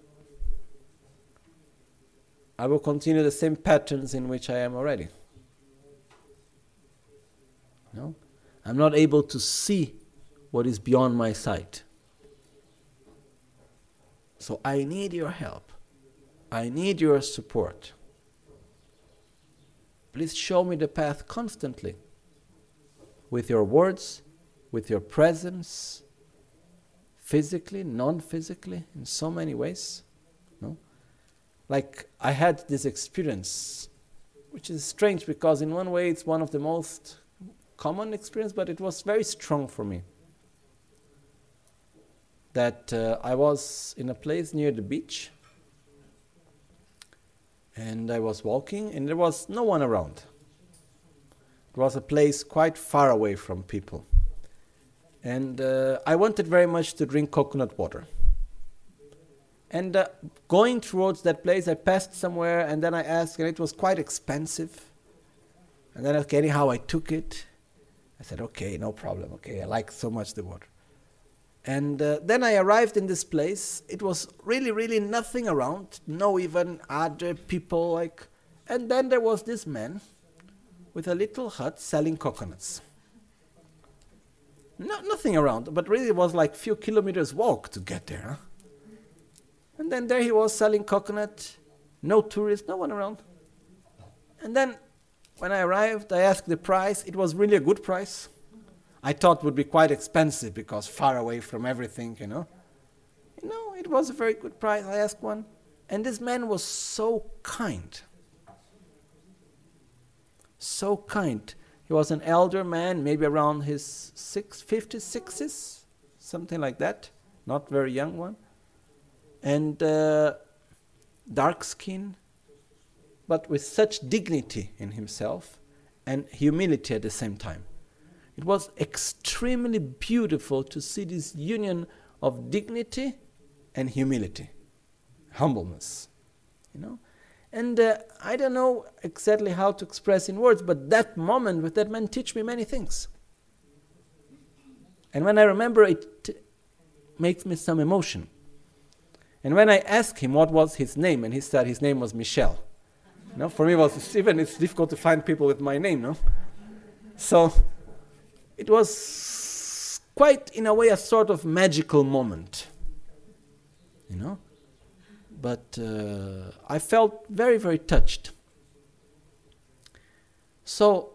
I will continue the same patterns in which I am already. No? I'm not able to see what is beyond my sight. So I need your help. I need your support. Please show me the path constantly. With your words, with your presence, physically, non-physically, in so many ways. No? Like, I had this experience, which is strange because in one way it's one of the most common experiences, but it was very strong for me. That uh, I was in a place near the beach, and I was walking, and there was no one around. It was a place quite far away from people. And uh, I wanted very much to drink coconut water. And uh, going towards that place, I passed somewhere, and then I asked, and it was quite expensive. And then, okay, anyhow, I took it. I said, okay, no problem, okay, I like so much the water. And uh, then I arrived in this place. It was really, really nothing around, no even other people, like. And then there was this man with a little hut selling coconuts. No, nothing around, but really it was like few kilometers walk to get there. Huh? And then there he was selling coconut, no tourists, no one around. And then when I arrived, I asked the price. It was really a good price. I thought it would be quite expensive because far away from everything, you know. You know, it was a very good price. I asked one. And this man was so kind. So kind. He was an elder man, maybe around his six, fifties, sixties, something like that. Not very young one. And uh, dark skin, but with such dignity in himself and humility at the same time. It was extremely beautiful to see this union of dignity and humility, humbleness, you know. And uh, I don't know exactly how to express in words, but that moment with that man teach me many things. And when I remember it, it makes me some emotion. And when I asked him what was his name, and he said his name was Michel. You know, for me, it was even it's difficult to find people with my name, no? So it was quite, in a way, a sort of magical moment, you know. But uh, I felt very, very touched. So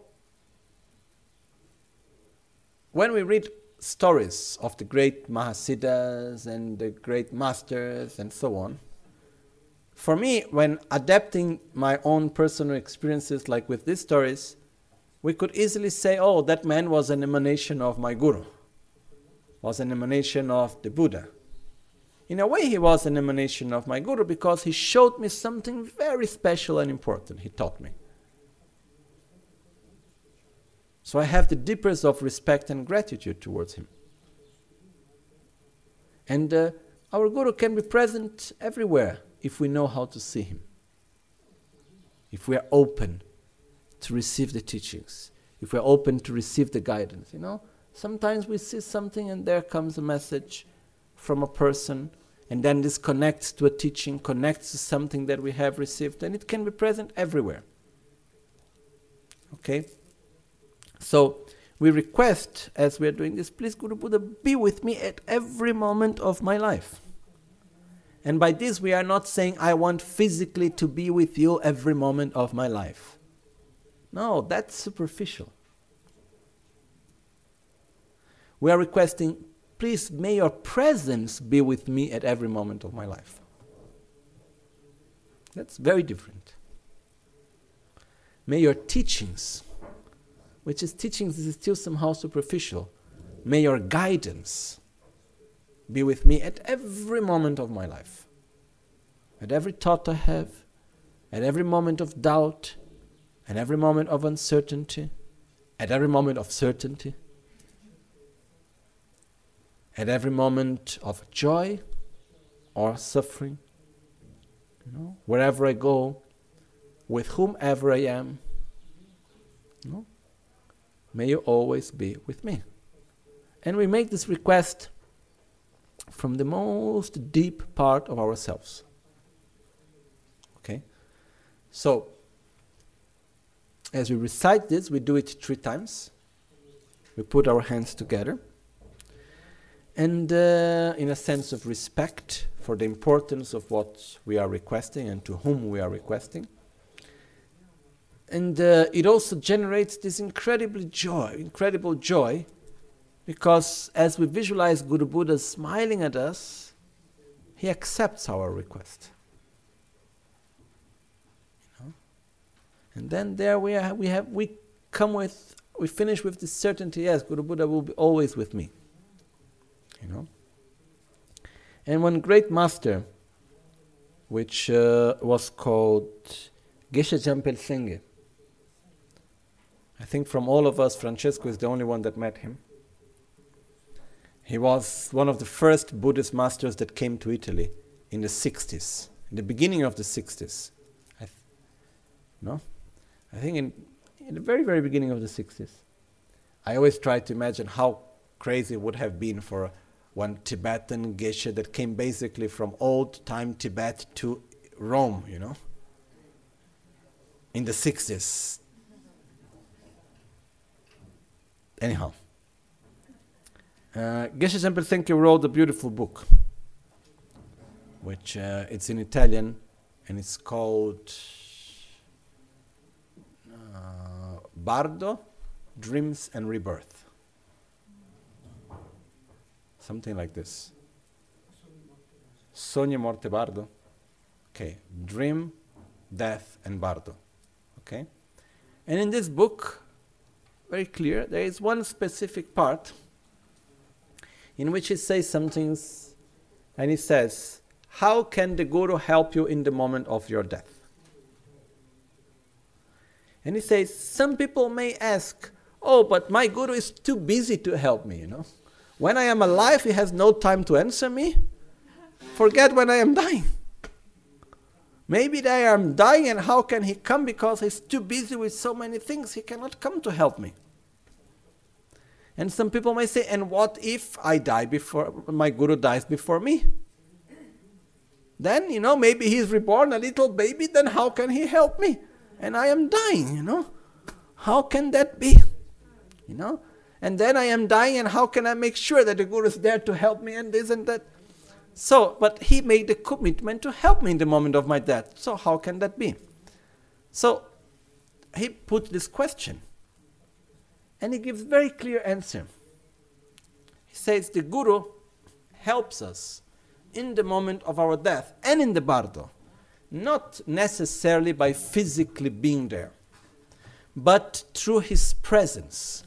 when we read stories of the great Mahasiddhas and the great masters and so on, for me, when adapting my own personal experiences, like with these stories, we could easily say, oh, that man was an emanation of my Guru, was an emanation of the Buddha. In a way, he was an emanation of my Guru because he showed me something very special and important. He taught me. So I have the deepest of respect and gratitude towards him. And uh, our Guru can be present everywhere if we know how to see him. If we are open to receive the teachings. If we are open to receive the guidance, you know. Sometimes we see something and there comes a message from a person, and then this connects to a teaching, connects to something that we have received, and it can be present everywhere. Okay? So, we request, as we are doing this, please Guru Buddha, be with me at every moment of my life. And by this we are not saying, I want physically to be with you every moment of my life. No, that's superficial. We are requesting, please may your presence be with me at every moment of my life. That's very different. May your teachings, which is teachings is still somehow superficial, may your guidance be with me at every moment of my life. At every thought I have, at every moment of doubt, at every moment of uncertainty, at every moment of certainty, at every moment of joy or suffering, you know, wherever I go, with whomever I am, you know, may you always be with me. And we make this request from the most deep part of ourselves. Okay? So, as we recite this, we do it three times. We put our hands together. And uh, in a sense of respect for the importance of what we are requesting and to whom we are requesting. And uh, it also generates this incredible joy, incredible joy, because as we visualize Guru Buddha smiling at us, he accepts our request. You know? And then there we are, we have we come with we finish with this certainty, yes, Guru Buddha will be always with me. You know? And one great master, which uh, was called Geshe Jampel Sengye. I think from all of us, Francesco is the only one that met him. He was one of the first Buddhist masters that came to Italy in the sixties, in the beginning of the sixties. I th- no? I think in, in the very, very beginning of the sixties. I always try to imagine how crazy it would have been for one Tibetan Geshe that came basically from old-time Tibet to Rome, you know, in the sixties. Anyhow. Uh, Geshe Jampel Sengye wrote a beautiful book, which uh, it's in Italian, and it's called uh, Bardo, Dreams and Rebirth. Something like this. Sogni, Morte, Bardo. Okay, Dream, Death, and Bardo. Okay? And in this book, very clear, there is one specific part in which he says some things, and he says, how can the Guru help you in the moment of your death? And he says, some people may ask, oh, but my Guru is too busy to help me, you know. When I am alive, he has no time to answer me. Forget when I am dying. Maybe I am dying, and how can he come? Because he's too busy with so many things, he cannot come to help me. And some people may say, and what if I die before, my Guru dies before me? Then, you know, maybe he's reborn a little baby, then how can he help me? And I am dying, you know. How can that be? You know. And then I am dying, and how can I make sure that the Guru is there to help me and this and that? So, but he made the commitment to help me in the moment of my death. So how can that be? So, he put this question. And he gives very clear answer. He says the Guru helps us in the moment of our death and in the Bardo not necessarily by physically being there, but through his presence.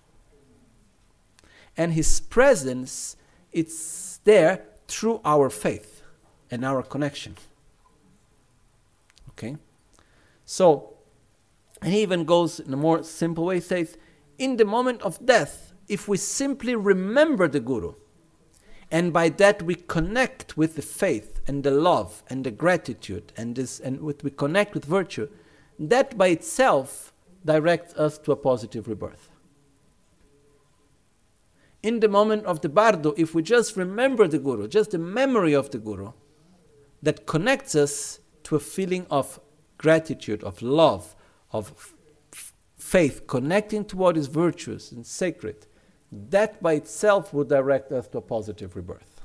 And his presence, it's there through our faith and our connection. Okay? So, and he even goes in a more simple way, says, in the moment of death, if we simply remember the Guru, and by that we connect with the faith and the love and the gratitude, and this, and with, we connect with virtue, that by itself directs us to a positive rebirth. In the moment of the bardo, if we just remember the Guru, just the memory of the Guru, that connects us to a feeling of gratitude, of love, of f- faith, connecting to what is virtuous and sacred, that by itself would direct us to a positive rebirth.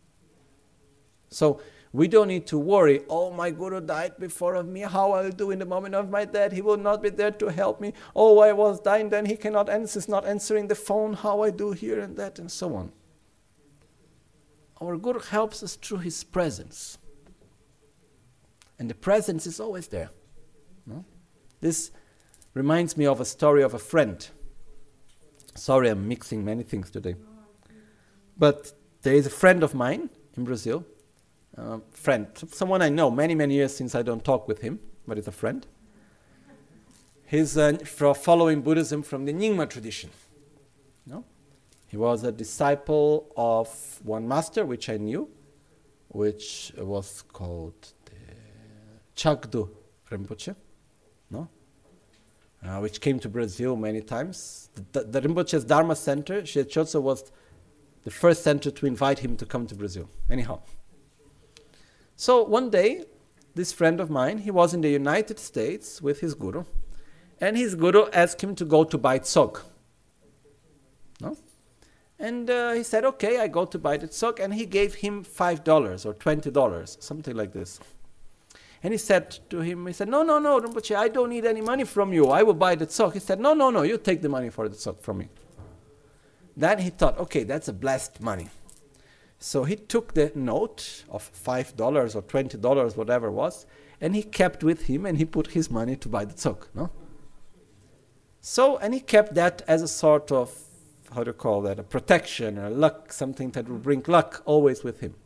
So we don't need to worry, oh, my Guru died before of me, how I'll do in the moment of my death, he will not be there to help me. Oh, I was dying, then he cannot answer, is not answering the phone, how I do here and that, and so on. Our Guru helps us through his presence. And the presence is always there. No? This reminds me of a story of a friend. Sorry, I'm mixing many things today. But there is a friend of mine in Brazil, uh, friend, someone I know many, many years since I don't talk with him, but he's a friend. He's uh, for following Buddhism from the Nyingma tradition. No? He was a disciple of one master, which I knew, which was called the Chagdu Rinpoche, no? Uh, which came to Brazil many times. The, the, the Rinpoche's Dharma Center, Shiachotso, was the first center to invite him to come to Brazil. Anyhow. So one day, this friend of mine, he was in the United States with his Guru, and his Guru asked him to go to buy tsog. No? And uh, he said, okay, I go to buy the tsog, and he gave him five dollars or twenty dollars, something like this. And he said to him, he said, no, no, no, Rinpoche, I don't need any money from you. I will buy the tsog. He said, no, no, no, you take the money for the tsog from me. Then he thought, okay, that's a blessed money. So he took the note of five dollars or twenty dollars, whatever it was, and he kept with him, and he put his money to buy the tsog. No? So, and he kept that as a sort of, how do you call that, a protection, a luck, something that would bring luck always with him.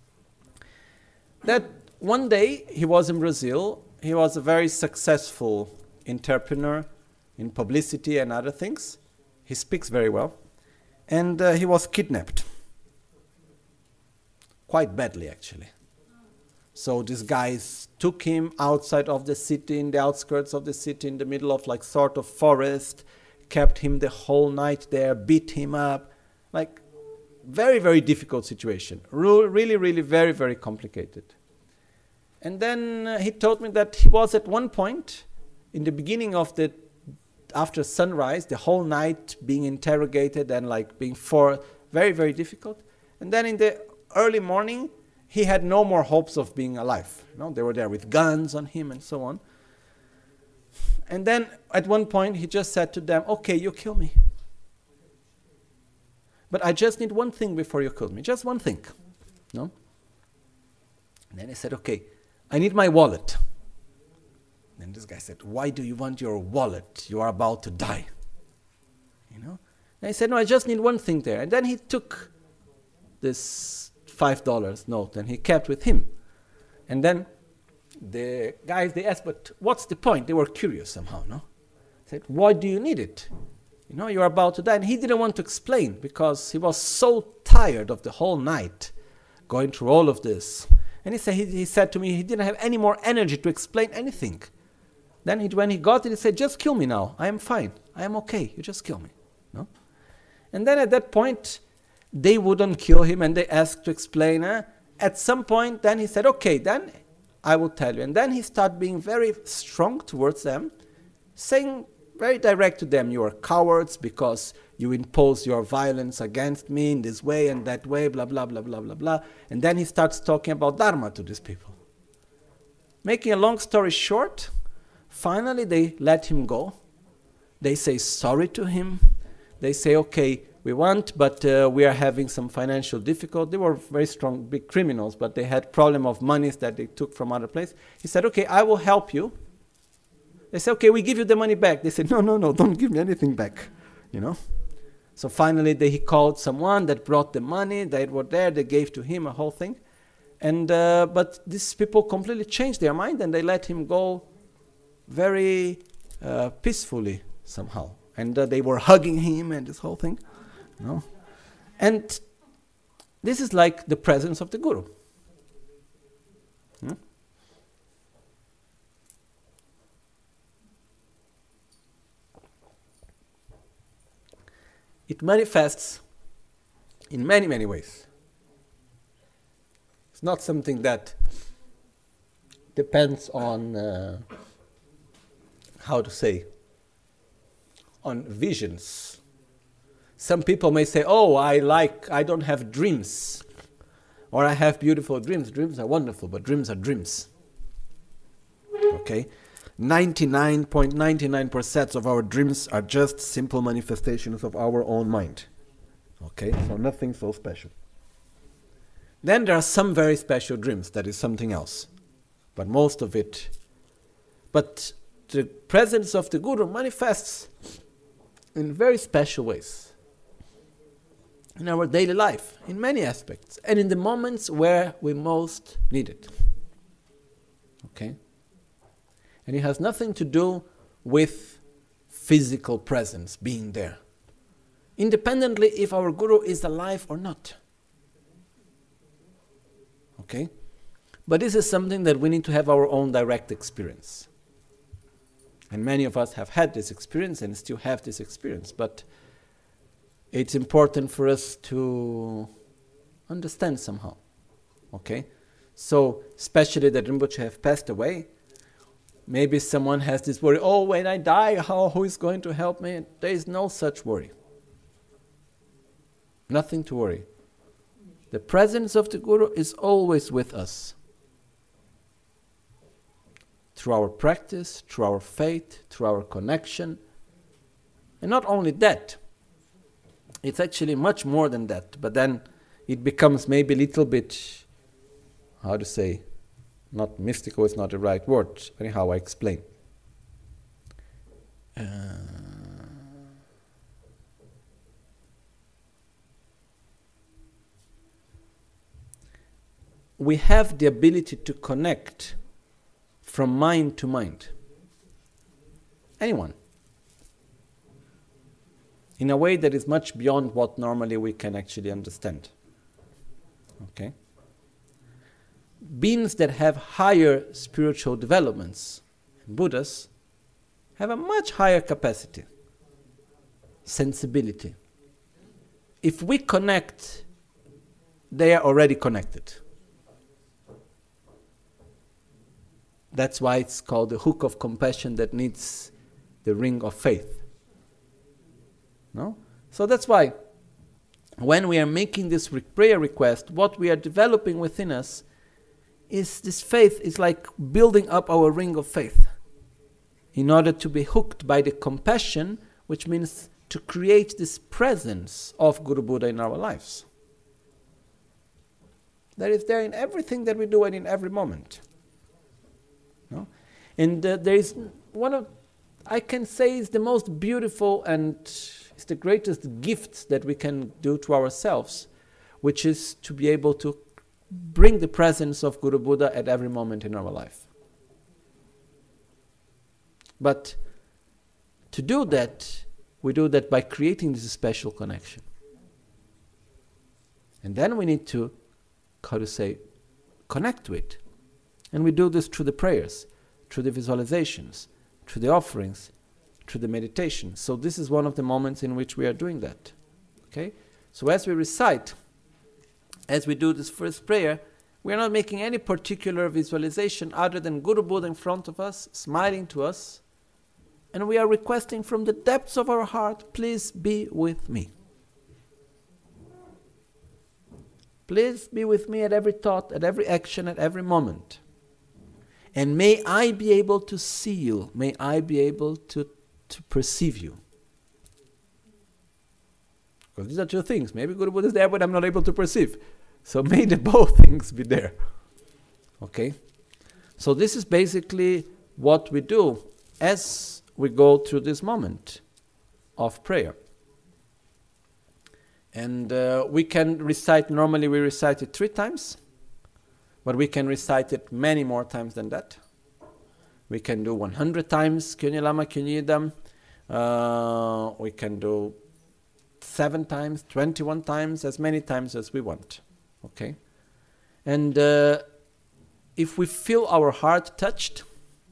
That one day, he was in Brazil. He was a very successful entrepreneur in publicity and other things. He speaks very well. And uh, he was kidnapped. Quite badly, actually. So these guys took him outside of the city, in the outskirts of the city, in the middle of like sort of forest, kept him the whole night there, beat him up. Like, very, very difficult situation. Re- really, really very, very complicated. And then uh, he told me that he was at one point, in the beginning of the, after sunrise, the whole night being interrogated and like being for, very, very difficult. And then in the early morning, he had no more hopes of being alive. You know, they were there with guns on him and so on. And then at one point, he just said to them, okay, you kill me. But I just need one thing before you kill me, just one thing. No? And then he said, okay, I need my wallet. Then this guy said, why do you want your wallet? You are about to die. You know? And he said, no, I just need one thing there. And then he took this five dollars note and he kept with him. And then the guys, they asked, but what's the point? They were curious somehow, no? They said, why do you need it? You know, you're about to die. And he didn't want to explain because he was so tired of the whole night going through all of this. And he said, he, he said to me, he didn't have any more energy to explain anything. Then he, when he got it, he said, just kill me now. I am fine. I am okay. You just kill me. No? And then at that point, they wouldn't kill him and they asked to explain. Eh? At some point, then he said, okay, then I will tell you. And then he started being very strong towards them, saying very direct to them, you are cowards because you impose your violence against me in this way and that way, blah, blah, blah, blah, blah, blah. And then he starts talking about Dharma to these people. Making a long story short, finally they let him go. They say sorry to him. They say, okay, we want, but uh, we are having some financial difficulty. They were very strong, big criminals, but they had problem of monies that they took from other place. He said, okay, I will help you. They said, okay, we give you the money back. They said, no, no, no, don't give me anything back, you know. So finally, they, he called someone that brought the money. They were there. They gave to him a whole thing. And uh, but these people completely changed their mind, and they let him go very uh, peacefully somehow. And uh, they were hugging him and this whole thing. No? And this is like the presence of the Guru. Hmm? It manifests in many, many ways. It's not something that depends on, uh, how to say, on visions. Some people may say, oh, I like, I don't have dreams. Or I have beautiful dreams. Dreams are wonderful, but dreams are dreams. Okay? ninety-nine point nine nine percent of our dreams are just simple manifestations of our own mind. Okay? So nothing so special. Then there are some very special dreams. That is something else. But most of it... But the presence of the Guru manifests in very special ways. In our daily life, in many aspects, and in the moments where we most need it. Okay? And it has nothing to do with physical presence, being there. Independently if our Guru is alive or not. Okay? But this is something that we need to have our own direct experience. And many of us have had this experience and still have this experience, but it's important for us to understand somehow. Okay? So, especially that Rinpoche have passed away, maybe someone has this worry, oh, when I die, how, who is going to help me? There is no such worry. Nothing to worry. The presence of the Guru is always with us. Through our practice, through our faith, through our connection. And not only that, it's actually much more than that, but then it becomes maybe a little bit, how to say, not mystical is not the right word. Anyhow, I explain. Uh, we have the ability to connect from mind to mind. Anyone. In a way that is much beyond what normally we can actually understand. Okay? Beings that have higher spiritual developments, Buddhas, have a much higher capacity, sensibility. If we connect, they are already connected. That's why it's called the hook of compassion that needs the ring of faith. No? So that's why when we are making this re- prayer request, what we are developing within us is this faith is like building up our ring of faith in order to be hooked by the compassion, which means to create this presence of Guru Buddha in our lives. That is there in everything that we do and in every moment. No? And uh, there is one of, I can say, is the most beautiful and it's the greatest gift that we can do to ourselves, which is to be able to bring the presence of Guru Buddha at every moment in our life. But to do that, we do that by creating this special connection. And then we need to, how to say, connect to it. And we do this through the prayers, through the visualizations, through the offerings, through the meditation. So this is one of the moments in which we are doing that. Okay? So as we recite, as we do this first prayer, we are not making any particular visualization other than Guru Buddha in front of us, smiling to us, and we are requesting from the depths of our heart, please be with me. Please be with me at every thought, at every action, at every moment. And may I be able to see you. May I be able to, to perceive you. Because these are two things. Maybe Guru Buddha is there, but I'm not able to perceive. So may the both things be there. Okay? So this is basically what we do as we go through this moment of prayer. And uh, we can recite, normally we recite it three times, but we can recite it many more times than that. We can do one hundred times Kyunyi Lama Kyunyi Yidam. Uh, we can do seven times, twenty-one times, as many times as we want. Okay? And uh, if we feel our heart touched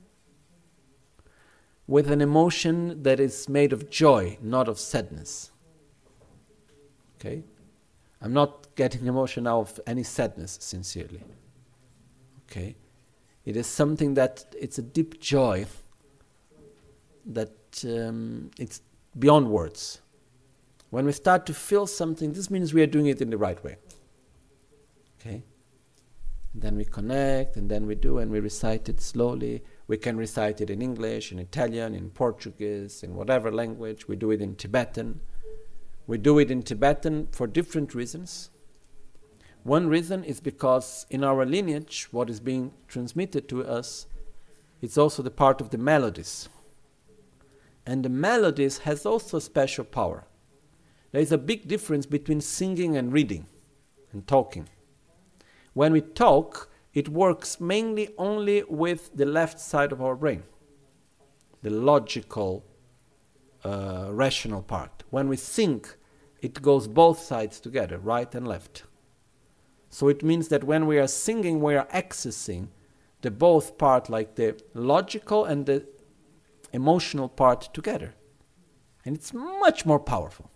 with an emotion that is made of joy, not of sadness. Okay? I'm not getting emotion out of any sadness, sincerely. Okay? It is something that, it's a deep joy that um, it's beyond words. When we start to feel something, this means we are doing it in the right way. Okay? And then we connect, and then we do, and we recite it slowly. We can recite it in English, in Italian, in Portuguese, in whatever language. We do it in Tibetan. We do it in Tibetan for different reasons. One reason is because in our lineage, what is being transmitted to us, it's also the part of the melodies. And the melodies has also special power. There is a big difference between singing and reading and talking. When we talk, it works mainly only with the left side of our brain, the logical, uh, rational part. When we sing, it goes both sides together, right and left. So it means that when we are singing, we are accessing the both part, like the logical and the emotional part together. And it's much more powerful.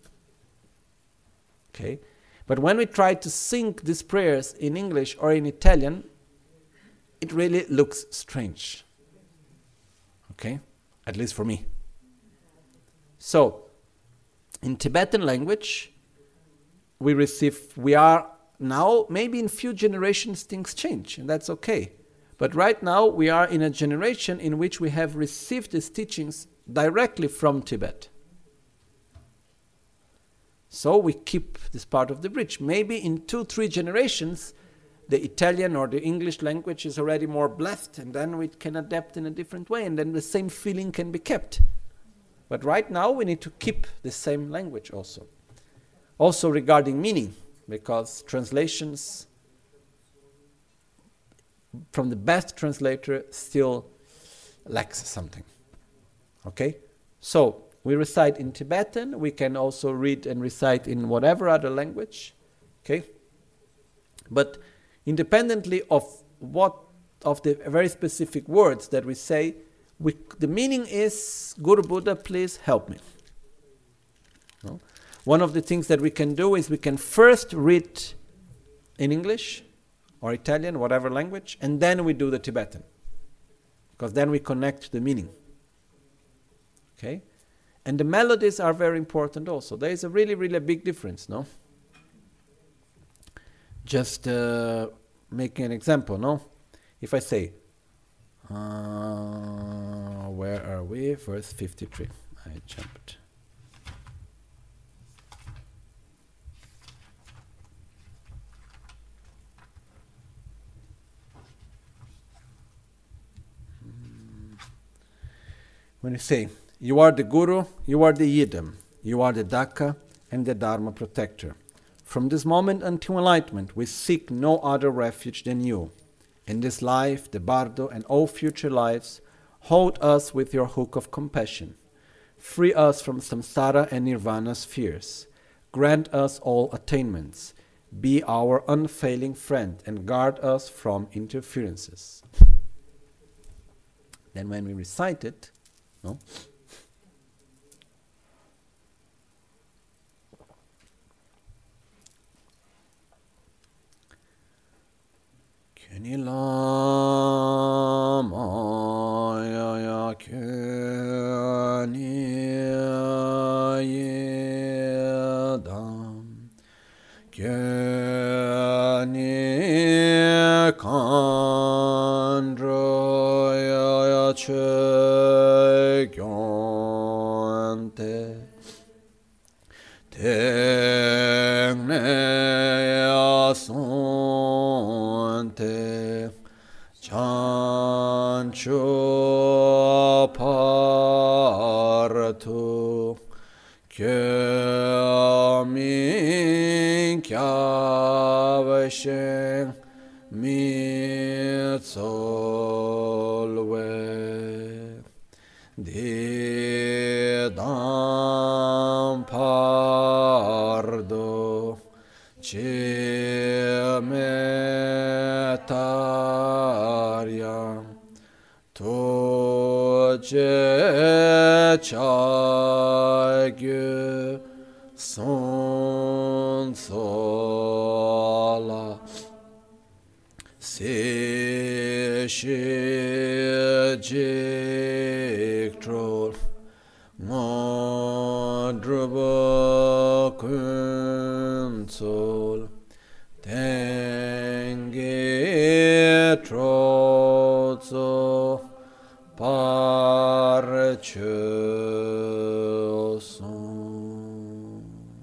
Okay? But when we try to sing these prayers in English or in Italian, it really looks strange. Okay? At least for me. So, in Tibetan language, we receive, we are now, maybe in few generations things change, and that's okay. But right now we are in a generation in which we have received these teachings directly from Tibet. So we keep this part of the bridge. Maybe in two, three generations, the Italian or the English language is already more blessed, and then we can adapt in a different way, and then the same feeling can be kept. But right now we need to keep the same language also. Also regarding meaning, because translations from the best translator still lacks something. Okay? So, we recite in Tibetan, we can also read and recite in whatever other language. Okay? But independently of what, of the very specific words that we say, we, the meaning is, Guru Buddha, please help me. No? One of the things that we can do is we can first read in English or Italian, whatever language, and then we do the Tibetan. Because then we connect the meaning. Okay? And the melodies are very important also. There is a really, really big difference, no? Just uh, making an example, no? If I say, uh, where are we? Verse fifty-three. I jumped. When you say, you are the Guru, you are the Yidam, you are the Dhaka and the Dharma protector. From this moment until enlightenment, we seek no other refuge than you. In this life, the Bardo, and all future lives, hold us with your hook of compassion. Free us from samsara and nirvana's fears. Grant us all attainments. Be our unfailing friend and guard us from interferences. Then when we recite it, no? Kyunyi Lama ya ya kyunyi yedam kyunyi kandra ya ya che gyonte te partu kyomin kyavashen mitsolwe didam pardo Chimetaryam Toje Chagyu Sonsola Seshijiktrol Modrubo Kunsol Tengi Trozo Parchoson.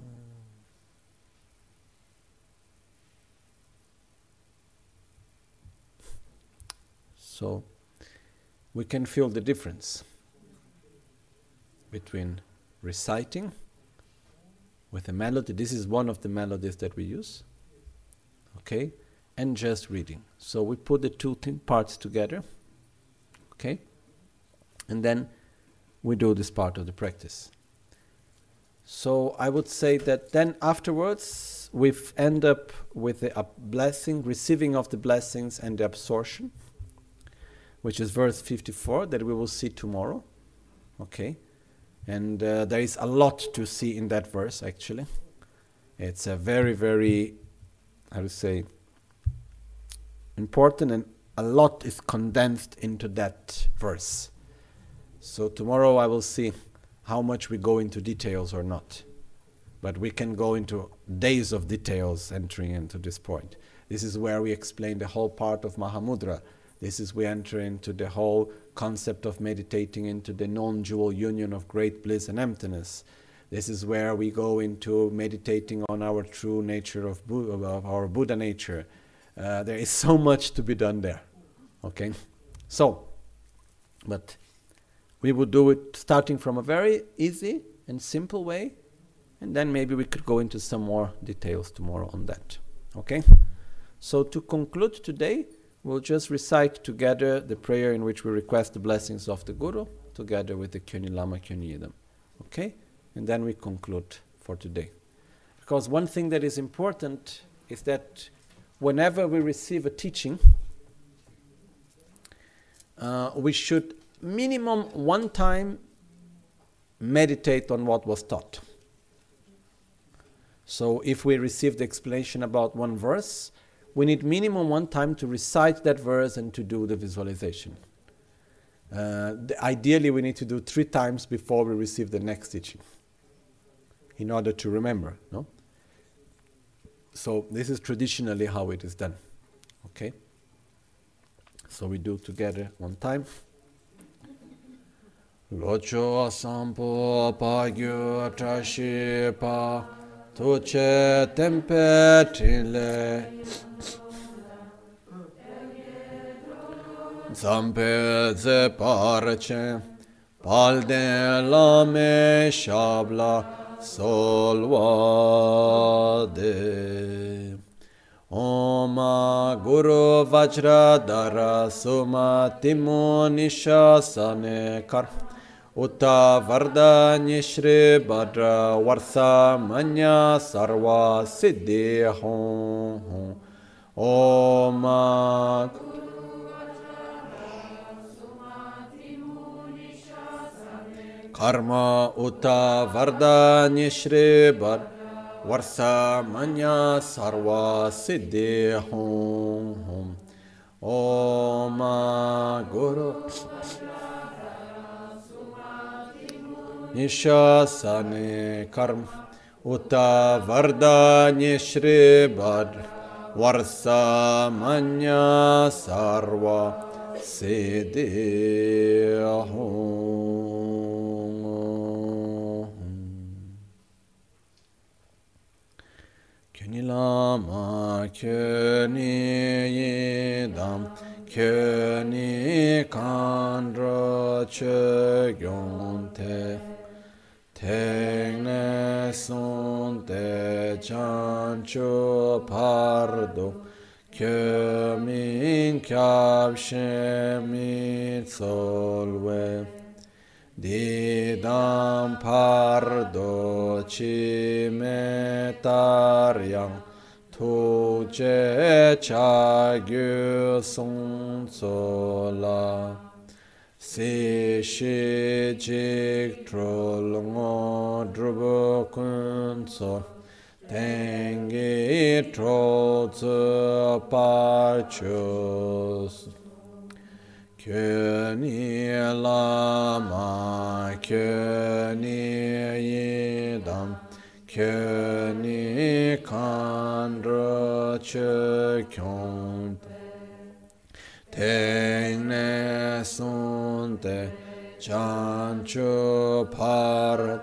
So we can feel the difference between reciting with a melody. This is one of the melodies that we use. Okay, and just reading. So we put the two th- parts together, okay, and then we do this part of the practice. So I would say that then afterwards we end up with the uh, blessing, receiving of the blessings and the absorption, which is verse fifty-four that we will see tomorrow, okay, and uh, there is a lot to see in that verse actually. It's a very, very I would say, important, and a lot is condensed into that verse. So tomorrow I will see how much we go into details or not. But we can go into days of details entering into this point. This is where we explain the whole part of Mahamudra. This is we enter into the whole concept of meditating into the non-dual union of great bliss and emptiness. This is where we go into meditating on our true nature of, Bu- of our Buddha nature. Uh, there is so much to be done there. Okay? So, but we would do it starting from a very easy and simple way, and then maybe we could go into some more details tomorrow on that. Okay? So to conclude today, we'll just recite together the prayer in which we request the blessings of the Guru, together with the Kyoni Lama Kyoni Yidam. Okay? And then we conclude for today. Because one thing that is important is that whenever we receive a teaching, uh, we should minimum one time meditate on what was taught. So if we receive the explanation about one verse, we need minimum one time to recite that verse and to do the visualization. Uh, the, ideally, we need to do three times before we receive the next teaching, in order to remember, no? So this is traditionally how it is done. Okay? So we do together one time. Locho asampo pagyo trashi pa tuche tempe trile zampe ze parche palde lame shabla solvade Oma Guru Vajradhara Suma Timo Nishasane Kar Uta Vardanya Shri Bhadra Varsa Manya Sarva Siddhi Hum Oma Karma Uta Vardanya Shri Bhadra Varsa Manya Sarva Siddhi Hum Hum Om Guru Nishasane Karma Uta Vardanya Shri Bhadra Varsa Manya Sarva Siddhi Hum. Kyoni Lama Kyoni Yidam kyöni kandra chö gyonte tengne sonte chancho pardo kyömin kyabshe mitsolwe didam pardo cimetaryang tuje chagyu songsola si shi jik trol ngo drubo kunso tengi trol tsu parchus kyöni lama kyöni yidam kyöni kandra chö kyont tengne sunte chancho parat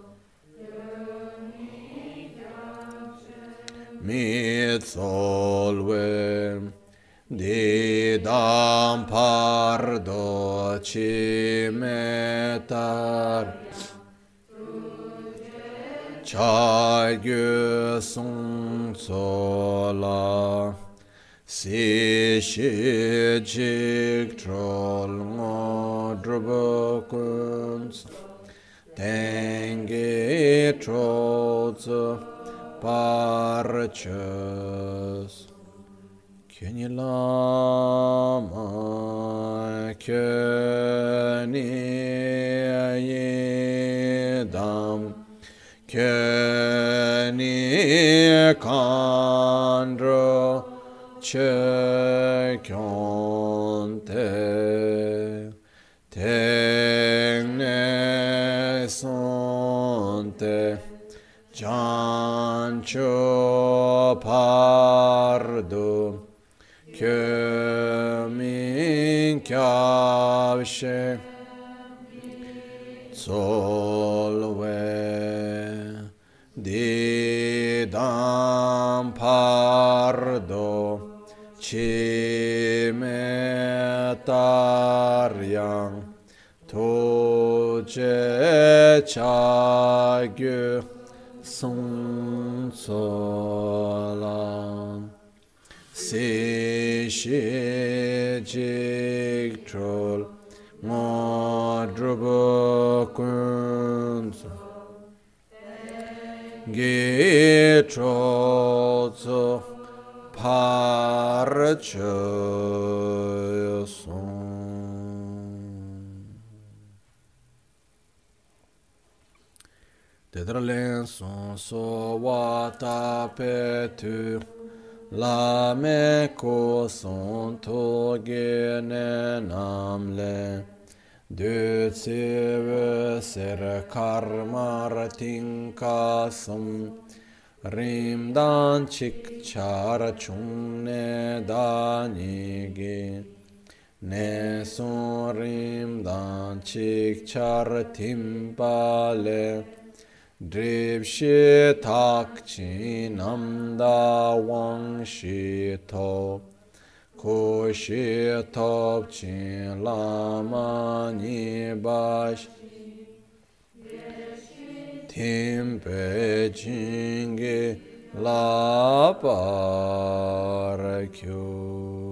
mitsolve didam pardo cimetar chagyu songsola si shi jik trol ngo drubo kunz tengi trol tsu parchus kyöni lama kyöni yidam kyöni kandra chö kyonte tengne sonte chancho pardo kyömin kyabshe solve didam pardo cimetaryang tuje chagyu songsola si shi jik trol ngo drubo kunso gi trol tso parchus Tedralen son so wata petu la me ko son to gene namle de seve ser karmar tinkasam rim dan chik char chungne danigi ne son rim dan chik char timpale drib shi tak chi namda wang shi top ko shi top chi lama ni bash timpe jingi la parakyo.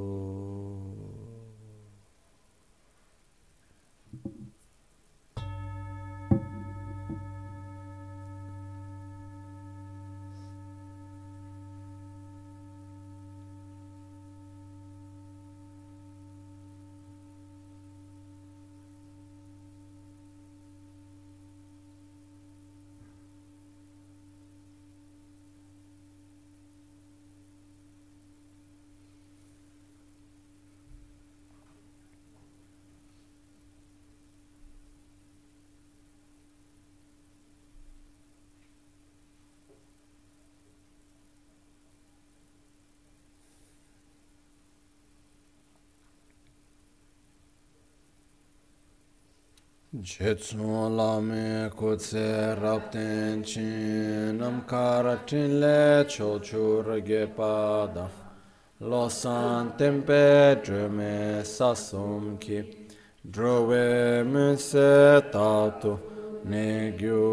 Jetsun lame kutse rapten chin nam karatin le chochur gepada lo san tempe drume sasum ki drove me se tatu ne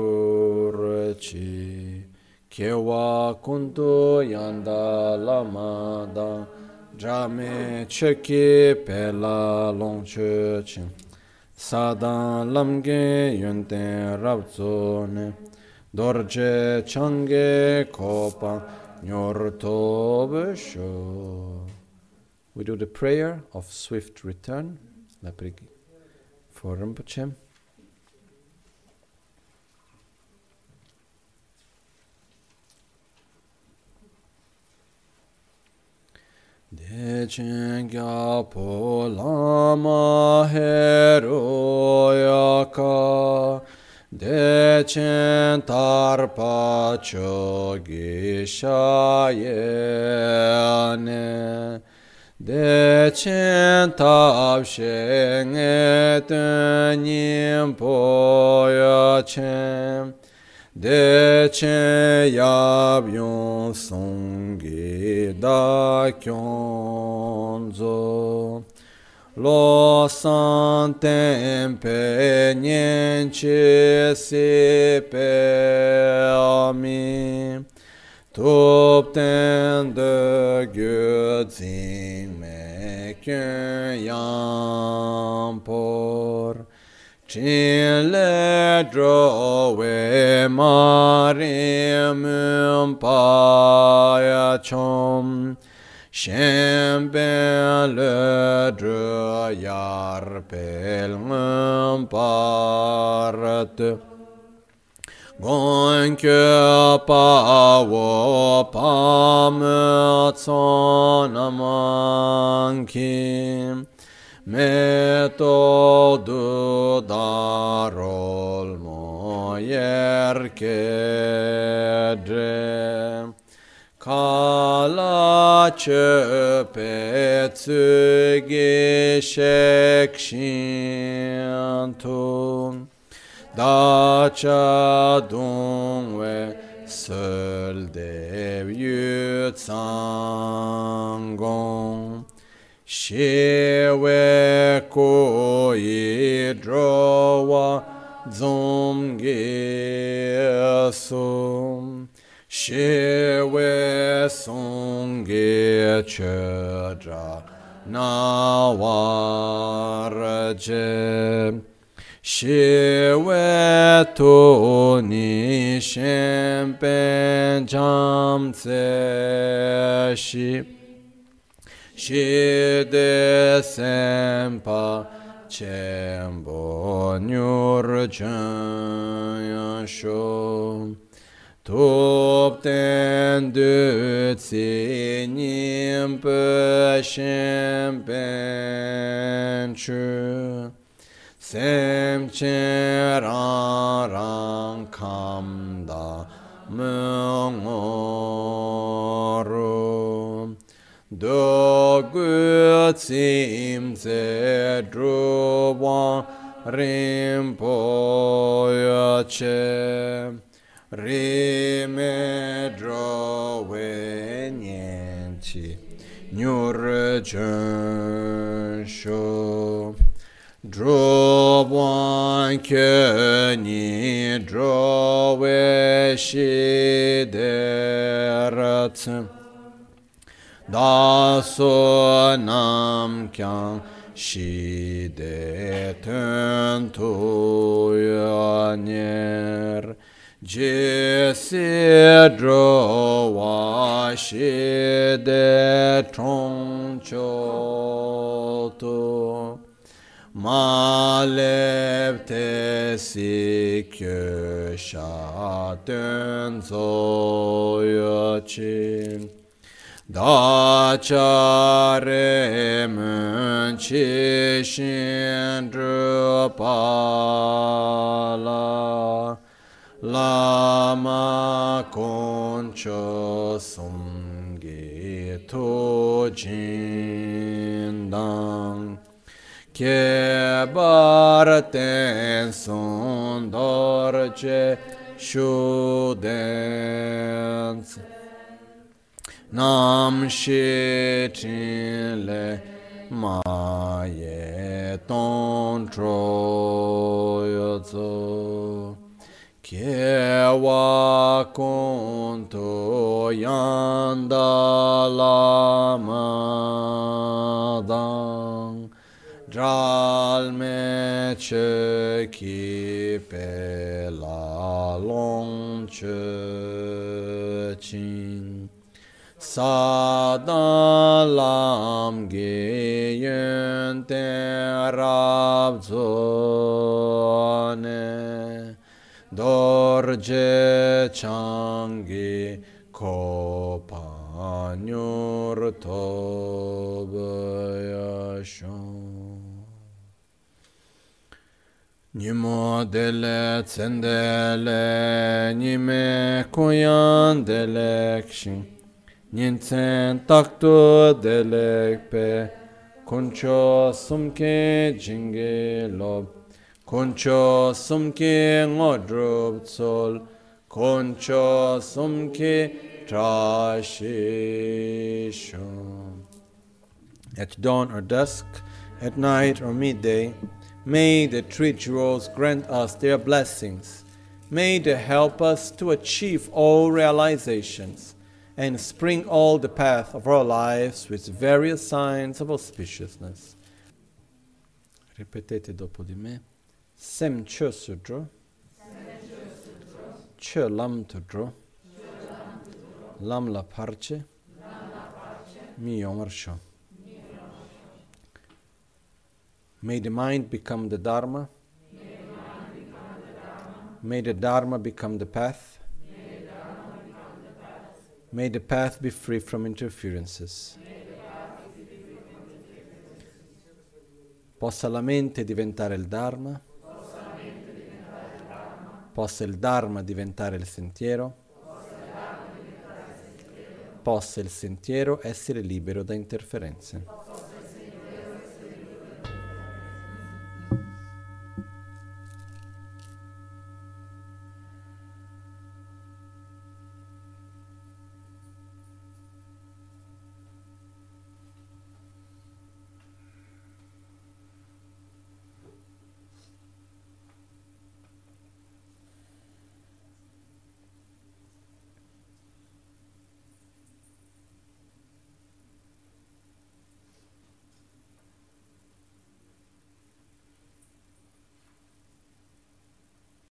gyurci kewa kuntu yanda lamada drame cheki pela longche sadan lamge yunten rabzone dorje change kopa nyorto besho. We do the prayer of swift return for Rinpoche. Dechen gyapo lama heroyaka Dechen tarpa chogishaye Dechen tapsheng etenyim poyachem Dechen yabyon songi da kyonzo Lo santem pe nienche si pe ami Tupten de gyödzing me kön yampor Chin le drove marim payachom Shem ben le dre yar pel part Gon que pa wo pa me tson amankim Me to du darol moyer kedre Kala çöpe tsugi shekshintum Dacha dungwe söl dev yutsangong Shewe koi drowa zomgesum Shewe songe chödra nawarje Shewe to ni shempen jamtse shi Shide sempa chembo nyur yansho Tupten dutsi nimpe shempen chu Semchen rang rang kamda mungoru Do gutsim ze druwa rimpoyache Rime drove nienti nyur jensho Drobwan köni drove shiderat Da so nam kyang shide tön tuyaner Jesi drova shide tronchoto Malev tesi köşa dön zoyachin Da çare mün çişin drupala Lama koncho sungi to jindang Ke barten son dorce shudens Nam shi chin le ma ye ton tro yo zo. Kye wa kun to yanda la ma dang. Dral me che ki pe la long che chin. Sada lam ge yen te rab zone. Dorje changi ko panyur tobaya shon. Nimo dele tsendele nime koyan delekshin. Nintsen takto delekpe koncho sumke jinge lob. Koncho sumke ngodrub tsol, koncho sumke trashishon. At dawn or dusk, at night or midday, may the three jewels grant us their blessings. May they help us to achieve all realizations and spring all the path of our lives with various signs of auspiciousness. Ripetete dopo di me. Sem chö sudro, chö lam tudro, lam la parce, mi yomarsho. May the mind become the Dharma. May the Dharma become the path. May the path be free from interferences. Possa la mente diventare il Dharma. Possa il Dharma diventare il sentiero. Possa il sentiero essere libero da interferenze.